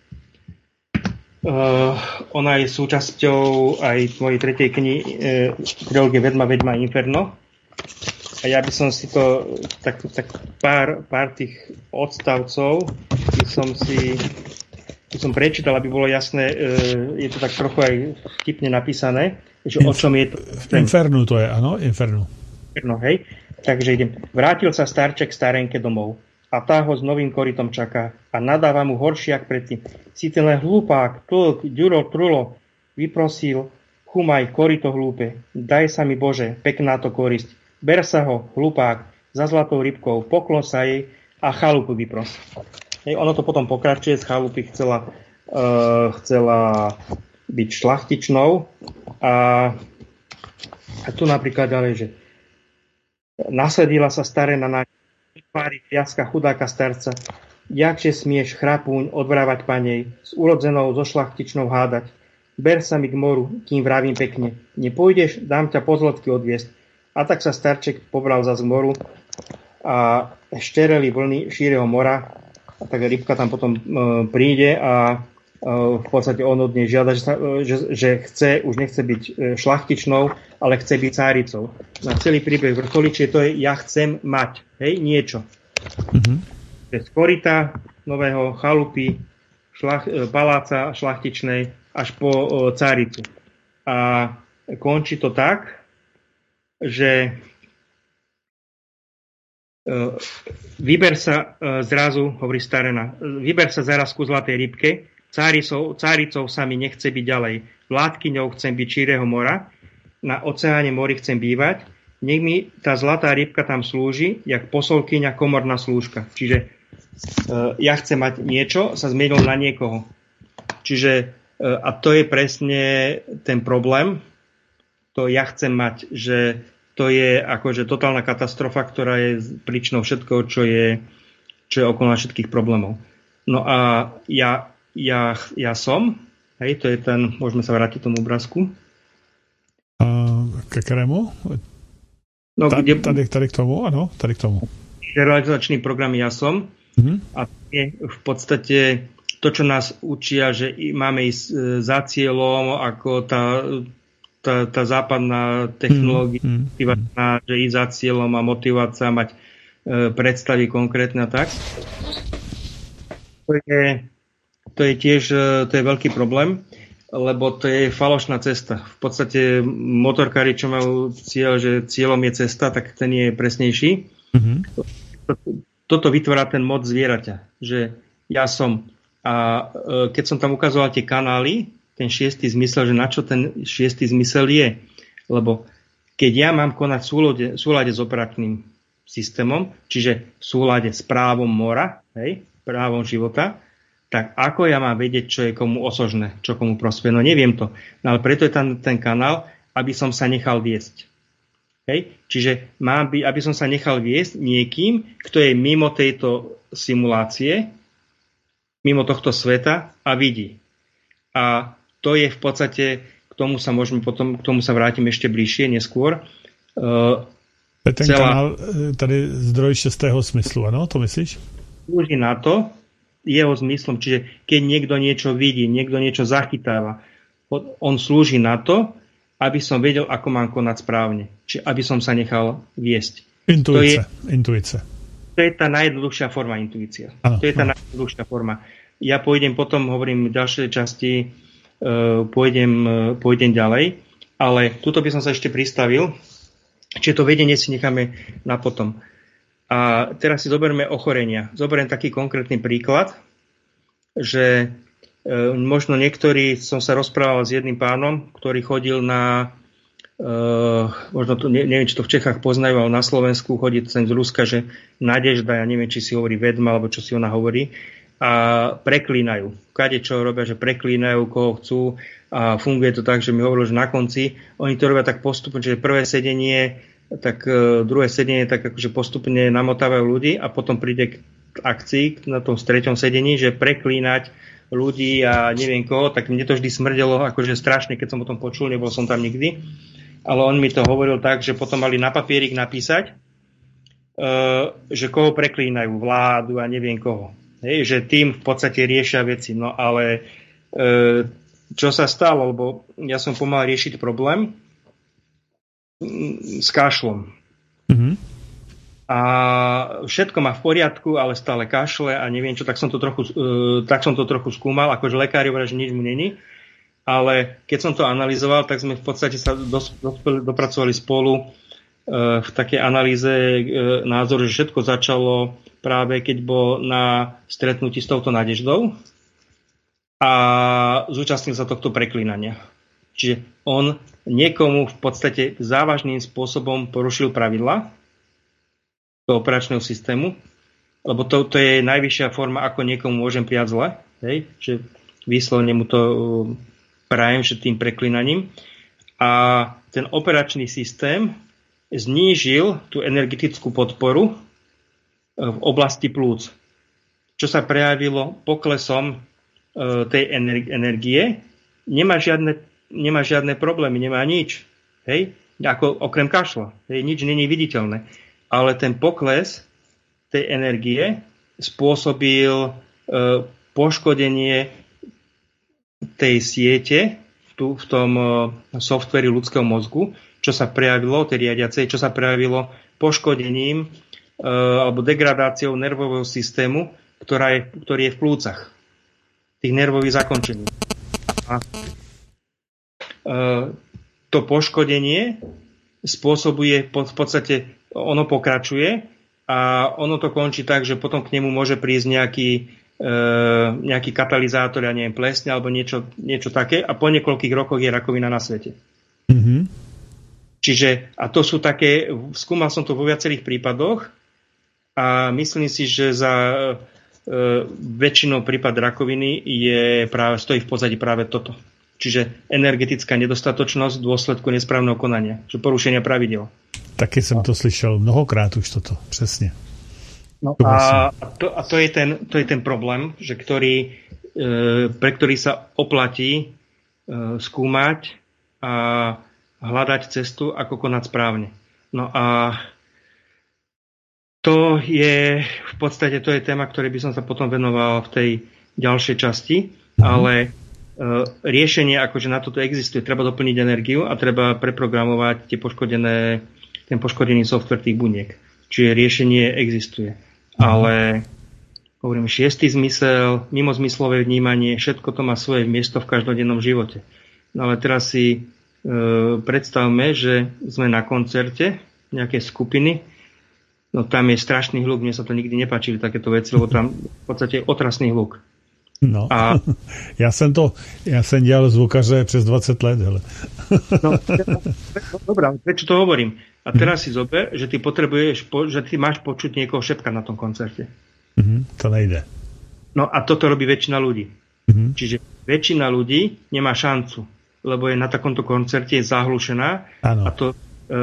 ona je súčasťou aj mojej tretej knihy e, trilógie Vedma, Vedma, Inferno. A ja by som si to, tak, tak pár, pár tých odstavcov by som si by som prečítal, aby bolo jasné, e, je to tak trochu aj vtipne napísané, že Inf- o čom je to. Infernu to je, áno, Infernu. Inferno, hej. Takže idem. Vrátil sa starček starenke domov a tá ho s novým korytom čaká a nadáva mu horšie jak predtým. Si ten len hlupák, tlk, ďuro, trulo, vyprosil, chumaj, koryto hlúpe, daj sa mi Bože, pekná to korisť. Ber sa ho, hlupák, za zlatou rybkou, poklon sa jej a chalupu vypros. Hej, ono to potom pokračuje, z chalupy chcela, uh, chcela byť šlachtičnou a, a tu napríklad ďalej, že nasledila sa staré na tvári viaska chudáka starca, jakže smieš chrapúň odvrávať panej, s urodzenou so šlachtičnou hádať. Ber sa mi k moru, kým vravím pekne. Nepôjdeš, dám ťa po zlotky odviesť. A tak sa starček pobral zas k moru a štereli vlny šíreho mora. A tak rybka tam potom e, príde a e, v podstate on od nej žiada, že, sa, e, že, že chce, už nechce byť e, šlachtičnou, ale chce byť cáricou. Na celý príbeh vrcholí, čiže to je ja chcem mať, hej, niečo. Mm-hmm. Z koryta nového chalupy, šlach, e, paláca šlachtičnej až po e, cáricu. A končí to tak, že uh, vyber sa uh, zrazu, hovorí starena, vyber sa zaraz ku zlatej rybke, cáricou, cáricou sa mi nechce byť ďalej, vládkyňou chcem byť šíreho mora, na oceáne mori chcem bývať, nech mi tá zlatá rybka tam slúži, jak posolkyňa komorná slúžka. Čiže uh, ja chcem mať niečo, sa zmenil na niekoho. Čiže uh, a to je presne ten problém, to ja chcem mať, že to je akože totálna katastrofa, ktorá je príčinou všetkoho, čo je, čo je okolo všetkých problémov. No a ja, ja, ja som, hej, to je ten, môžeme sa vrátiť tomu obrázku. Uh, ke ktorému? No, tady, kde, tady, tady k tomu, áno, tady k tomu. Realizačný program Ja som. Uh-huh. A je v podstate to, čo nás učia, že máme ísť za cieľom, ako tá Tá, tá západná technológia, mm, mm. že ísť za cieľom a motivovať sa, mať e, predstavy konkrétne a tak. To je, to je tiež to je veľký problém, lebo to je falošná cesta. V podstate motorkári, čo majú cieľ, že cieľom je cesta, tak ten je presnejší. Mm-hmm. Toto vytvára ten mod zvieraťa, že ja som. A e, keď som tam ukazoval tie kanály, ten šiestý zmysel, že na čo ten šiestý zmysel je. Lebo keď ja mám konať v súlade, v súlade s operačným systémom, čiže v súlade s právom mora, hej, právom života, tak ako ja mám vedieť, čo je komu osožné, čo komu prospie? No neviem to. No ale preto je tam ten kanál, aby som sa nechal viesť. Hej? Čiže mám by, aby som sa nechal viesť niekým, kto je mimo tejto simulácie, mimo tohto sveta a vidí. A to je v podstate, k tomu sa môžeme potom, k tomu sa vrátim ešte bližšie, neskôr. Uh, ten celá, kanál, tady zdroj šestého smyslu, ano, to myslíš? Slúži na to, jeho zmyslom, čiže keď niekto niečo vidí, niekto niečo zachytáva, on slúži na to, aby som vedel, ako mám konať správne. Čiže aby som sa nechal viesť. Intuice. To je, intuice. To je tá najjednoduchšia forma intuícia. Ano, to je tá ano. najjednoduchšia forma. Ja pôjdem potom, hovorím v ďalšej časti, Pôjdem, pôjdem ďalej, ale tuto by som sa ešte pristavil, čiže to vedenie si necháme na potom. A teraz si zoberme ochorenia. Zoberiem taký konkrétny príklad, že e, možno niektorí, som sa rozprával s jedným pánom, ktorý chodil na, e, možno to, ne, neviem, či to v Čechách poznajú, ale na Slovensku chodí sem z Ruska, že Nadežda, ja neviem, či si hovorí vedma, alebo čo si ona hovorí, a preklínajú. Kade čo robia, že preklínajú, koho chcú a funguje to tak, že mi hovorili, že na konci oni to robia tak postupne, že prvé sedenie, tak uh, druhé sedenie tak akože postupne namotávajú ľudí a potom príde k akcii na tom treťom sedení, že preklínať ľudí a neviem koho, tak mne to vždy smrdelo akože strašne, keď som o tom počul, nebol som tam nikdy. Ale on mi to hovoril tak, že potom mali na papierik napísať, uh, že koho preklínajú, vládu a neviem koho. Hej, že tým v podstate riešia veci. No ale uh, čo sa stalo, lebo ja som pomal riešiť problém s kašlom. Mm-hmm. A všetko má v poriadku, ale stále kašle a neviem čo, tak som to trochu, uh, tak som to trochu skúmal, akože lekári hovoria, že nič mu není. Ale keď som to analyzoval, tak sme v podstate sa dos, dospeli, dopracovali spolu uh, v takej analýze uh, názoru, že všetko začalo práve keď bol na stretnutí s touto Nadeždou a zúčastnil sa tohto preklínania. Čiže on niekomu v podstate závažným spôsobom porušil pravidla toho operačného systému, lebo to, to je najvyššia forma, ako niekomu môžem prijať zle, hej? Že výslovne mu to prajem, že tým preklinaním. A ten operačný systém znížil tú energetickú podporu v oblasti plúc, čo sa prejavilo poklesom tej energie. Nemá žiadne, nemá žiadne problémy, nemá nič. Hej? Ako okrem kašla. Hej? Nič není viditeľné. Ale ten pokles tej energie spôsobil e, poškodenie tej siete tu, v tom e, softveri ľudského mozgu, čo sa prejavilo, tej riadiacej, čo sa prejavilo poškodením e, alebo degradáciou nervového systému, ktorá je, ktorý je v plúcach. Tých nervových zakončení. A e, to poškodenie spôsobuje v podstate, ono pokračuje a ono to končí tak, že potom k nemu môže prísť nejaký, e, nejaký katalizátor, ja neviem, plesne alebo niečo, niečo také a po niekoľkých rokoch je rakovina na svete. Mm-hmm. Čiže, a to sú také, skúmal som to vo viacerých prípadoch a myslím si, že za e, väčšinou prípad rakoviny je práve, stojí v pozadí práve toto. Čiže energetická nedostatočnosť v dôsledku nesprávneho konania, že porušenia pravidel. Taky jsem to slyšel mnohokrát už toto, přesně. No a, to, a to, je ten, to je ten problém, že ktorý, e, pre ktorý sa oplatí e, skúmať a hľadať cestu, ako konať správne. No a to je v podstate to je téma, ktorej by som sa potom venoval v tej ďalšej časti, mm-hmm. ale riešenie, akože na toto existuje. Treba doplniť energiu a treba preprogramovať tie poškodené, ten poškodený software tých buniek. Čiže riešenie existuje. Ale hovorím, šiestý zmysel, mimozmyslové vnímanie, všetko to má svoje miesto v každodennom živote. No ale teraz si e, predstavme, že sme na koncerte nejakej skupiny, no tam je strašný hluk, mne sa to nikdy nepáčili takéto veci, lebo tam v podstate je otrasný hluk. No, a... já jsem to, já jsem dělal zvukaře přes dvacet let, hele. No, no dobrá, prečo to hovorím? A teraz si zober, že ty potrebuješ, že ty máš počuť niekoho šepkať na tom koncerte. Mm-hmm, to nejde. No a toto robí väčšina ľudí. Mm-hmm. Čiže väčšina ľudí nemá šancu, lebo je na takomto koncerte zahlušená. Ano. A to e,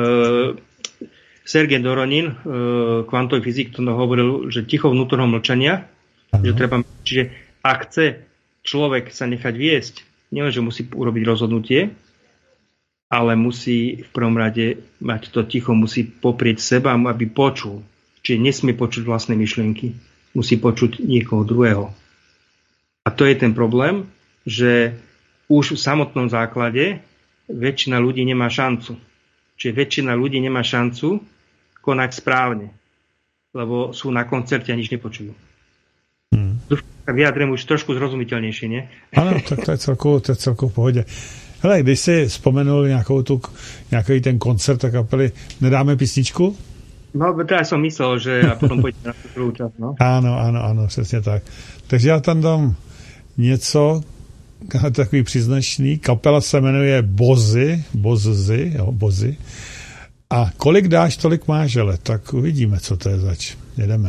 Sergej Doronin, e, kvantový fyzik, to hovoril, že ticho vnútorného mlčania, ano. Že treba, čiže ak chce človek sa nechať viesť, nielenže musí urobiť rozhodnutie, ale musí v prvom rade mať to ticho, musí poprieť seba, aby počul. Čiže nesmie počuť vlastné myšlienky, musí počuť niekoho druhého. A to je ten problém, že už v samotnom základe väčšina ľudí nemá šancu. Čiže väčšina ľudí nemá šancu konať správne, lebo sú na koncerte a nič nepočujú. Hmm. Tak vyjadrím už trošku zrozumitelnější, ne? Ano, tak to je celkovou, to je celkovou v pohodě. Hele, když jsi vzpomenul nějakou tu, nějaký ten koncert a kapely, nedáme písničku? No, teda jsem myslel, že a potom pojďme na tu druhou čas, no. Ano, ano, ano, přesně tak. Takže já tam dám něco, takový příznačný. Kapela se jmenuje Bozy, Bozy, jo, Bozy. A kolik dáš, tolik máš, ale tak uvidíme, co to je zač. Jedeme.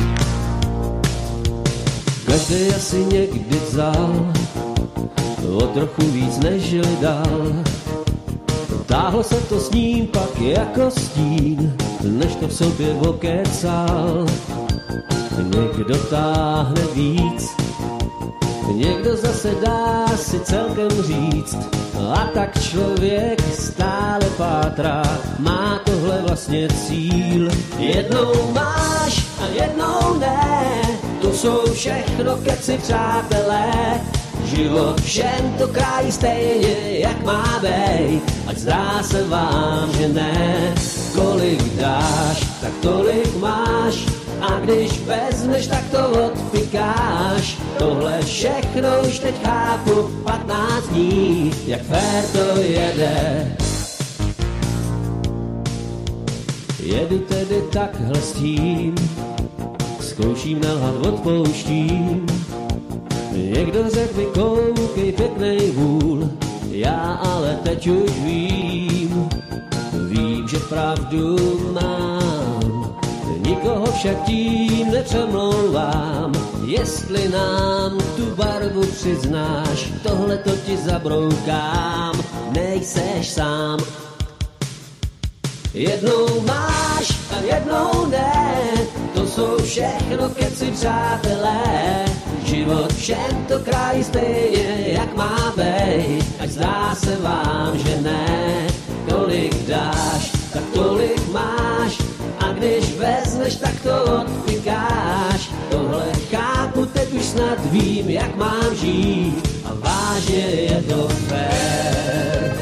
Každý asi někdy vzal od trochu víc než dal. Táhlo se to s ním pak jako stín, než to v sobě okecal. Někdo táhne víc, někdo zase dá si celkem říct. A tak člověk stále pátrá, má tohle vlastně cíl. Jednou máš a jednou ne, to jsou všechno keci, přátelé. Život všem to krájí stejně, jak má bejt, ať zdá se vám, že ne. Kolik dáš, tak tolik máš, a když vezmeš, tak to odpikáš. Tohle všechno už teď chápu, patnáct dní, jak fér to jede. Jedu tedy takhle s tím, zkouším nelhat, odpouštím. Někdo řekl mi, koukej, pěknej vůl, já ale teď už vím, vím, že pravdu mám. Nikoho však tím nepřemlouvám, jestli nám tu barvu přiznáš, tohle to ti zabroukám, nejseš sám. Jednou máš a jednou ne, to jsou všechno keci, přátelé. Život všem to krájí stejně, jak má bejt, ať zdá se vám, že ne. Kolik dáš, tak tolik máš, a když vezmeš, tak to odpikáš. Tohle chápu, teď už snad vím, jak mám žít, a vážně je to fér.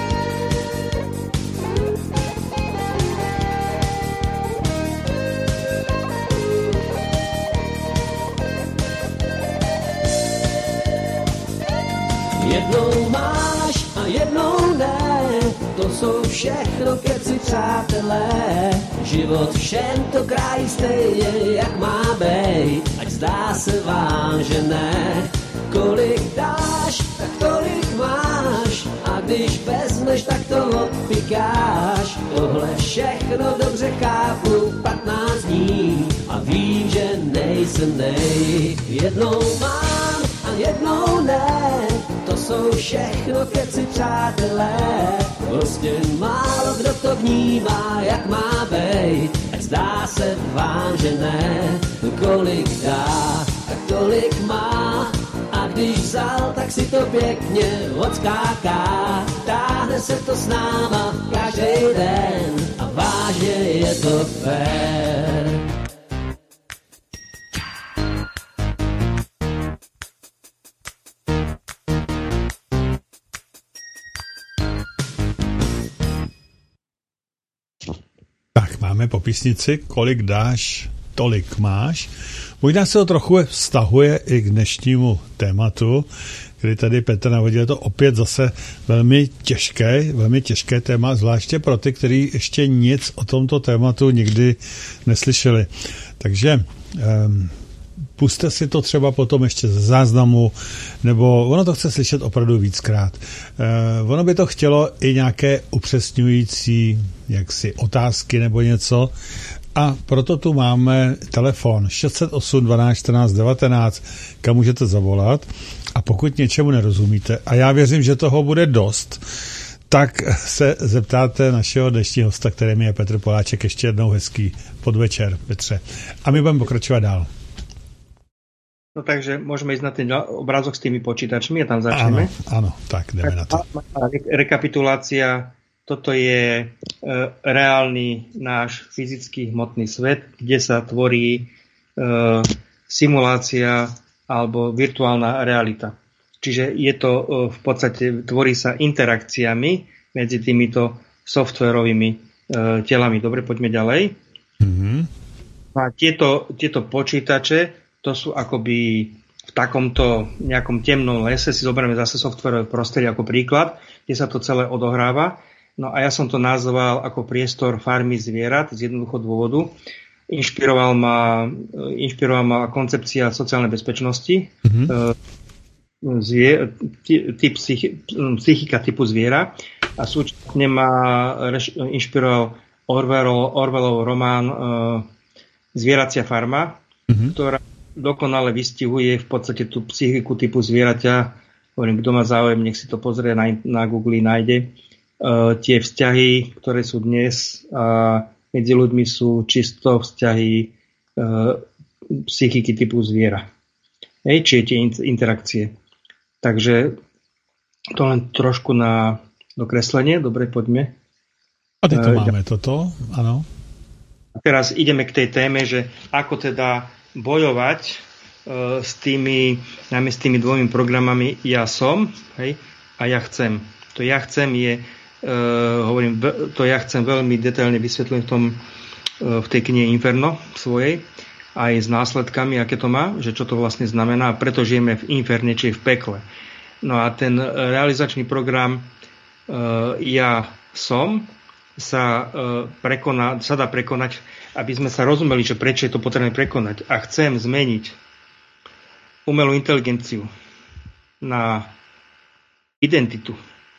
Jednou máš a jednou ne, to jsou všechno keci, přátelé. Život všem to krájí stejně, jak má bejt, ať zdá se vám, že ne. Kolik dáš, tak tolik máš, a když vezmeš, tak to odpikáš. Tohle všechno dobře chápu, patnáct dní, a vím, že nejsem nej. Jednou mám a jednou ne, to jsou všechno keci, přátelé. Prostě málo kdo to vnímá, jak má bejt, ať zdá se vám, že ne. Kolik dá, tak tolik má, a když vzal, tak si to pěkně odskáká. Táhne se to s náma každý den, a vážně je to fér. Máme po písnici Kolik dáš, tolik máš. Možná se to trochu vztahuje i k dnešnímu tématu, kdy tady Petr navodil to opět zase velmi těžké, velmi těžké téma, zvláště pro ty, kteří ještě nic o tomto tématu nikdy neslyšeli. Takže um, puste si to třeba potom ještě ze záznamu, nebo ono to chce slyšet opravdu víckrát. Uh, ono by to chtělo i nějaké upřesňující jaksi otázky nebo něco, a proto tu máme telefon šest set osm dvanáct čtrnáct devatenáct, kam můžete zavolat, a pokud něčemu nerozumíte, a já věřím, že toho bude dost, tak se zeptáte našeho dnešního hosta, kterým je Petr Poláček. Ještě jednou hezký podvečer, Petře. A my budeme pokračovat dál. No takže môžeme ísť na ten obrázok s tými počítačmi a tam začneme. Áno, áno, tak jdeme na to. Rekapitulácia. Toto je e, reálny náš fyzický hmotný svet, kde sa tvorí e, simulácia alebo virtuálna realita. Čiže je to e, v podstate, tvorí sa interakciami medzi týmito softwarovými e, telami. Dobre, poďme ďalej. Mm-hmm. A tieto, tieto počítače, to sú akoby v takomto nejakom temnom lese, si zoberieme zase softwarové prostredie ako príklad, kde sa to celé odohráva. No a ja som to nazval ako priestor farmy zvierat z jednoduchého dôvodu. Inšpiroval ma, inšpiroval ma koncepcia sociálnej bezpečnosti, mm-hmm. Zvier, typ, psychika typu zviera, a súčasne ma inšpiroval Orwellov, Orwellov román Zvieracia farma, mm-hmm. ktorá dokonale vystihuje v podstate tú psychiku typu zvieraťa hovorím, kto má záujem, nech si to pozrie na, na Google, nájde. Uh, tie vzťahy, ktoré sú dnes uh, medzi ľuďmi, sú čisto vzťahy uh, psychiky typu zviera. Hej, čiže tie interakcie. Takže to len trošku na dokreslenie. Dobre, poďme. A ty to uh, máme, toto, áno. A teraz ideme k tej téme, že ako teda bojovať uh, s tými, najmä s tými dvomi programami ja som, hej, a ja chcem. To ja chcem je Uh, hovorím, to ja chcem veľmi detailne vysvetliť v tom, uh, v tej knihe Inferno svojej, aj s následkami, aké to má, že čo to vlastne znamená, preto žijeme v inferne, či v pekle. No a ten realizačný program uh, ja som sa, uh, prekoná, sa dá prekonať, aby sme sa rozumeli, že prečo je to potrebné prekonať. A chcem zmeniť umelú inteligenciu na identitu,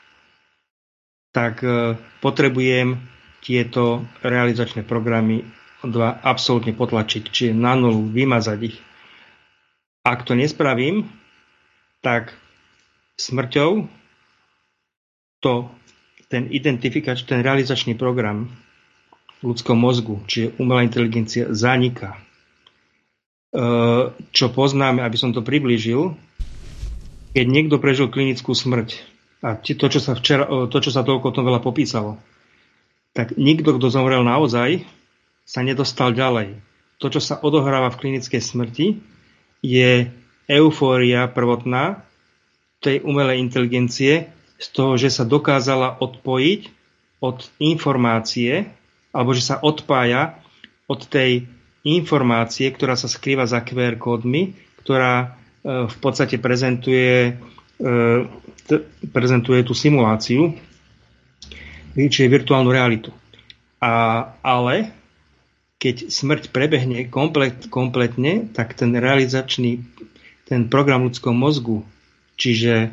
tak e, potrebujem tieto realizačné programy dva absolútne potlačiť, čiže na nulu, vymazať ich. Ak to nespravím, tak smrťou to, ten identifikač, ten realizačný program v ľudskom mozgu, čiže umelá inteligencia, zaniká. E, čo poznáme, aby som to priblížil, keď niekto prežil klinickú smrť, a to, čo sa včera, to, čo sa toľko o tom veľa popísalo, tak nikto, kto zomrel naozaj, sa nedostal ďalej. To, čo sa odohráva v klinickej smrti, je eufória prvotná tej umelej inteligencie z toho, že sa dokázala odpojiť od informácie, alebo že sa odpája od tej informácie, ktorá sa skrýva za kú er kódmi, ktorá v podstate prezentuje prezentuje tú simuláciu, čiže virtuálnu realitu. A, ale keď smrť prebehne komplet, kompletne, tak ten realizačný, ten program v ľudskom mozgu, čiže e,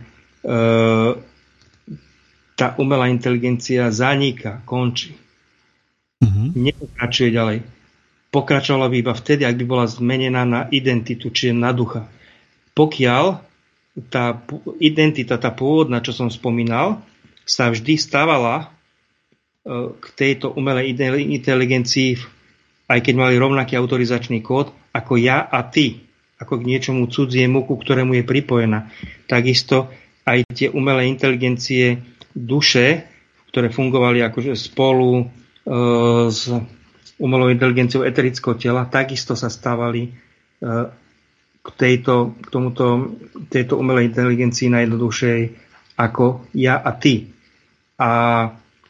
tá umelá inteligencia zaniká, končí. Mm-hmm. Nepokračuje ďalej. Pokračovala by iba vtedy, ak by bola zmenená na identitu, čiže na ducha. Pokiaľ tá identita, tá pôvodná, čo som spomínal, sa vždy stávala k tejto umelej inteligencii, aj keď mali rovnaký autorizačný kód, ako ja a ty, ako k niečomu cudziemu, ku ktorému je pripojená. Takisto aj tie umelé inteligencie duše, ktoré fungovali akože spolu e, s umelou inteligenciou eterického tela, takisto sa stávali e, k tejto, k tomuto, tejto umelej inteligencii najjednoduchšej ako ja a ty. A e,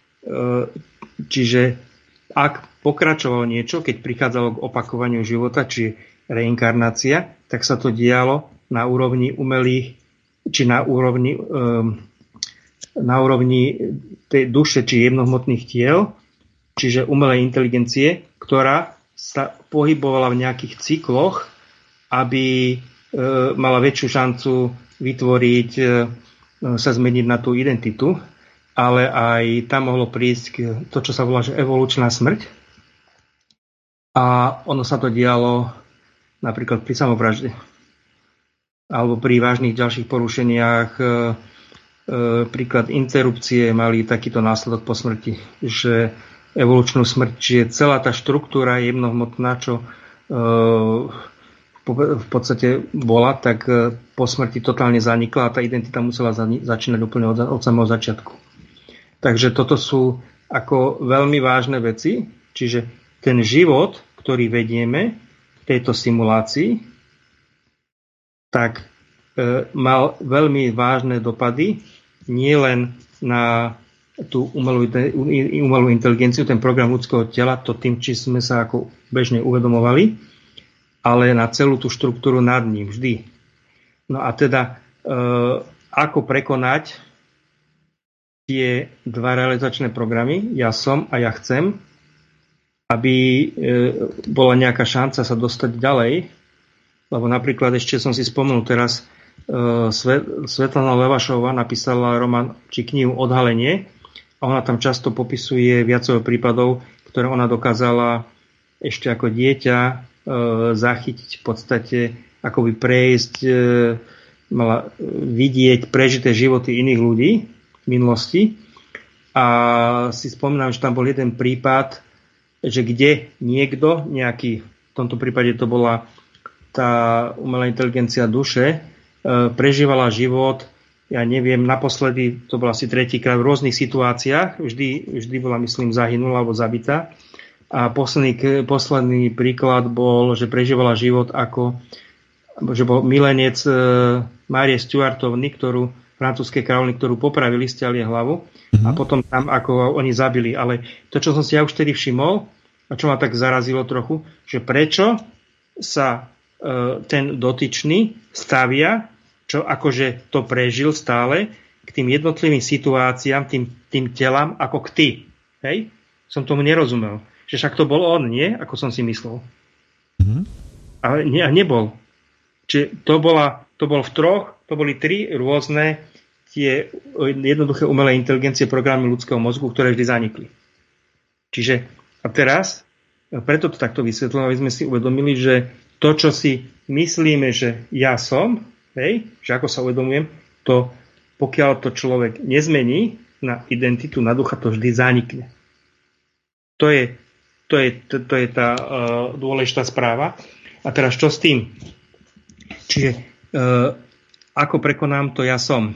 čiže ak pokračovalo niečo, keď prichádzalo k opakovaniu života, či reinkarnácia, tak sa to dialo na úrovni umelých, či na úrovni, e, na úrovni tej duše, či jemnohmotných tiel, čiže umelej inteligencie, ktorá sa pohybovala v nejakých cykloch, aby e, mala väčšiu šancu vytvoriť, e, sa zmeniť na tú identitu, ale aj tam mohlo prísť k to, čo sa volá, že evolučná smrť. A ono sa to dialo napríklad pri samovražde alebo pri vážnych ďalších porušeniach. E, e, príklad interrupcie mali takýto následok po smrti, že evolučnú smrť, čiže celá tá štruktúra jemnohmotná, čo e, v podstate bola, tak po smrti totálne zanikla a tá identita musela začínať úplne od, od samého začiatku. Takže toto sú ako veľmi vážne veci, čiže ten život, ktorý vedieme v tejto simulácii, tak e, mal veľmi vážne dopady nielen na tú umelú, umelú inteligenciu, ten program ľudského tela, to tým, či sme sa ako bežne uvedomovali, ale na celú tú štruktúru nad ním vždy. No a teda, e, ako prekonať tie dva realizačné programy, ja som a ja chcem, aby e, bola nejaká šanca sa dostať ďalej, lebo napríklad ešte som si spomenul teraz, e, Svetlana Levašová napísala román či knihu Odhalenie a ona tam často popisuje viacero prípadov, ktoré ona dokázala ešte ako dieťa zachytiť v podstate, akoby prejsť mala vidieť prežité životy iných ľudí v minulosti. A si spomínam, že tam bol jeden prípad, že kde niekto, nejaký, v tomto prípade to bola tá umelá inteligencia duše, prežívala život, ja neviem, naposledy, to bol asi tretíkrát v rôznych situáciách, vždy, vždy bola, myslím, zahynula alebo zabitá. A posledný, posledný príklad bol, že prežívala život ako, že bol milenec Márie Stuartovny, ktorú francúzskej kráľovny, ktorú popravili, stiahli hlavu mm-hmm. a potom tam, ako oni zabili. Ale to, čo som si ja už vtedy všimol, a čo ma tak zarazilo trochu, že prečo sa e, ten dotyčný stavia, čo akože to prežil stále, k tým jednotlivým situáciám, tým, tým telám, ako k ty. Hej? Som tomu nerozumel. Že však to bol on, nie? Ako som si myslel. Mm-hmm. Ale ne, nebol. Čiže to, bola, to bol v troch, to boli tri rôzne tie jednoduché umelé inteligencie, programy ľudského mozgu, ktoré vždy zanikli. Čiže a teraz, preto to takto vysvetlím, aby sme si uvedomili, že to, čo si myslíme, že ja som, hej, že ako sa uvedomujem, to pokiaľ to človek nezmení na identitu, na ducha, to vždy zanikne. To je, to je, to, to je tá uh, dôležitá správa. A teraz čo s tým? Čiže uh, ako prekonám to ja som.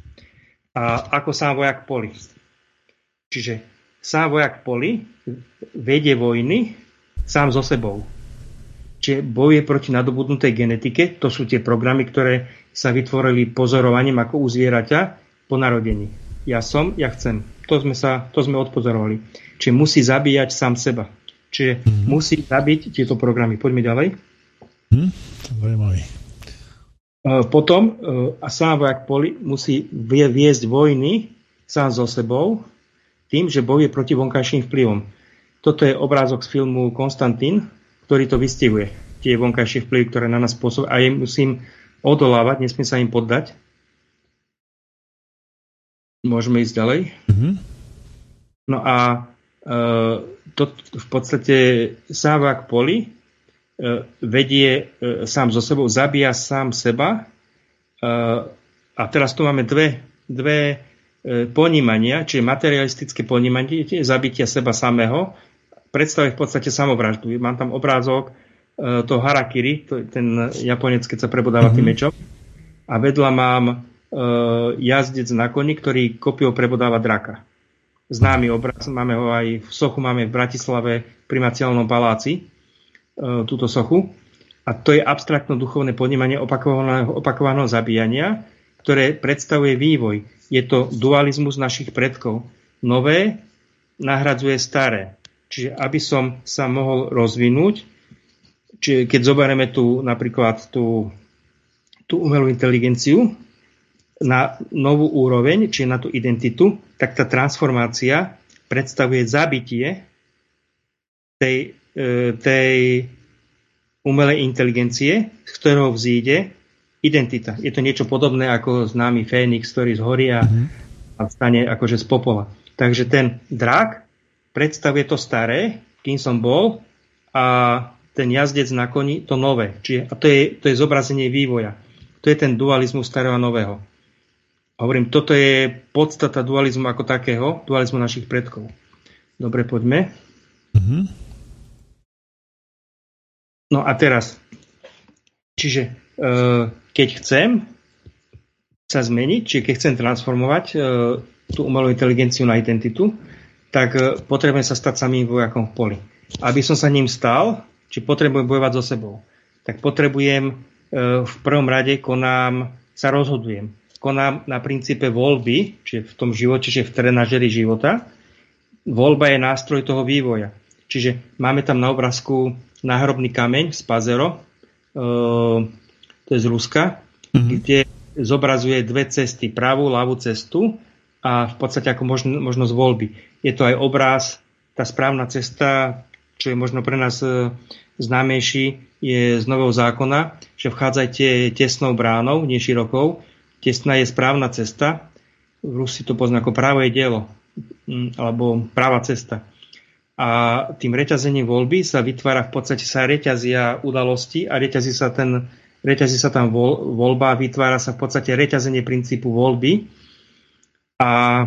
A ako sám vojak v poli. Čiže sám vojak v poli vedie vojny sám so sebou. Čiže bojuje proti nadobudnutej genetike. To sú tie programy, ktoré sa vytvorili pozorovaním ako u zvieraťa po narodení. Ja som, ja chcem. To sme, sa, to sme odpozorovali. Čiže musí zabíjať sám seba. Čiže mm-hmm. musí zabiť tieto programy. Poďme ďalej. Hm, to je zaujímavý. Potom a sám vojak poli musí viesť vojny sám so sebou tým, že bojuje proti vonkajším vplyvom. Toto je obrázok z filmu Konstantín, ktorý to vystihuje. Tie vonkajšie vplyvy, ktoré na nás pôsobia a ja musím odolávať, nesmiem sa im poddať. Môžeme ísť ďalej. Mm-hmm. No a e, to v podstate sám vojak poli vedie sám so sebou, zabíja sám seba. A teraz tu máme dve, dve ponímania, čiže materialistické ponímanie, zabitia seba samého, predstavuje v podstate samovraždu. Mám tam obrázok toho harakiri, to je ten Japonec, keď sa prebodáva mm-hmm. tým mečom. A vedľa mám jazdec na koni, ktorý kopiou prebodáva draka. Známy obraz, máme ho aj v sochu, máme v Bratislave pri Macielnom paláci, túto sochu. A to je abstraktno duchovné ponímanie opakovaného, opakovaného zabíjania, ktoré predstavuje vývoj. Je to dualizmus našich predkov. Nové nahradzuje staré. Čiže aby som sa mohol rozvinúť, čiže keď zoberieme tu napríklad tú, tú umelú inteligenciu na novú úroveň, čiže na tú identitu, tak tá transformácia predstavuje zabitie tej tej umelej inteligencie, z ktorého vzíde identita. Je to niečo podobné ako známy Fénix, ktorý zhorí a, mm-hmm. a vstane akože z popola. Takže ten drak predstavuje to staré, kým som bol, a ten jazdec na koni to nové. Čiže, a to je, to je zobrazenie vývoja. To je ten dualizmus starého a nového. Hovorím, toto je podstata dualizmu ako takého, dualizmu našich predkov. Dobre, poďme. Mhm. No a teraz, čiže e, keď chcem sa zmeniť, čiže keď chcem transformovať e, tú umelú inteligenciu na identitu, tak e, potrebujem sa stať samým vojakom v poli. Aby som sa ním stal, či potrebujem bojovať so sebou, tak potrebujem e, v prvom rade konám, sa rozhodujem. Konám na princípe voľby, čiže v tom živote, čiže v trenažeri života. Voľba je nástroj toho vývoja. Čiže máme tam na obrázku náhrobný kameň z Pazero, e, to je z Ruska, mm-hmm. kde zobrazuje dve cesty, pravú, ľavú cestu a v podstate ako možno, možnosť voľby. Je to aj obraz, tá správna cesta, čo je možno pre nás e, známejší, je z Nového zákona, že vchádzajte tesnou bránou, nie širokou. Tesná je správna cesta. V Rusi to pozná ako práve dielo, alebo práva cesta. A tým reťazením voľby sa vytvára, v podstate sa reťazia udalosti a reťazí sa ten reťazí sa tam voľ, voľba, vytvára sa v podstate reťazenie princípu voľby. A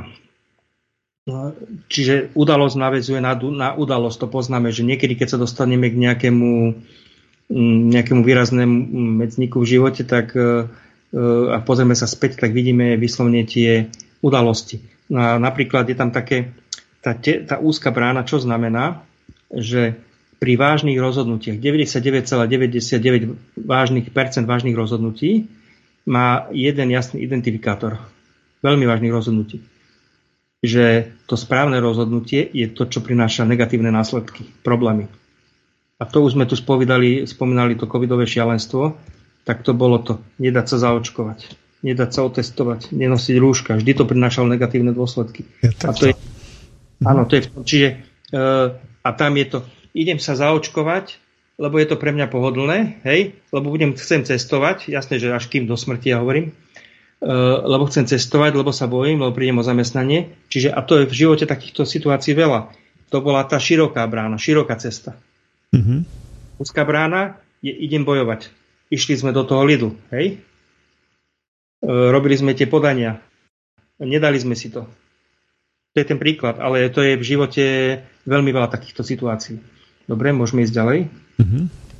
čiže udalosť naväzuje na, na udalosť. To poznáme, že niekedy, keď sa dostaneme k nejakému, nejakému výraznému medzníku v živote, tak a pozrieme sa späť, tak vidíme vyslovne tie udalosti. No a napríklad je tam také, tá, te, tá úzka brána, čo znamená, že pri vážnych rozhodnutiach, deväťdesiatdeväť celá deväťdesiatdeväť vážnych percent vážnych rozhodnutí má jeden jasný identifikátor. Veľmi vážnych rozhodnutí. Že to správne rozhodnutie je to, čo prináša negatívne následky, problémy. A to už sme tu spomínali, spomínali to covidové šialenstvo, tak to bolo to. Nedať sa zaočkovať, nedať sa otestovať, nenosiť rúška. Vždy to prinášalo negatívne dôsledky. Je a to je, áno, to je v tom. Čiže e, a tam je to, idem sa zaočkovať, lebo je to pre mňa pohodlné, hej, lebo budem, chcem cestovať, jasné, že až kým do smrti ja hovorím, lebo chcem cestovať, lebo sa bojím, lebo prídem o zamestnanie. Čiže, a to je v živote takýchto situácií veľa. To bola tá široká brána, široká cesta. Mm-hmm. Úzká brána je idem bojovať. Išli sme do toho Lidlu, hej? E, robili sme tie podania. Nedali sme si to. To je ten príklad, ale to je v živote veľmi veľa takýchto situácií. Dobre, môžeme ísť ďalej. Mm-hmm.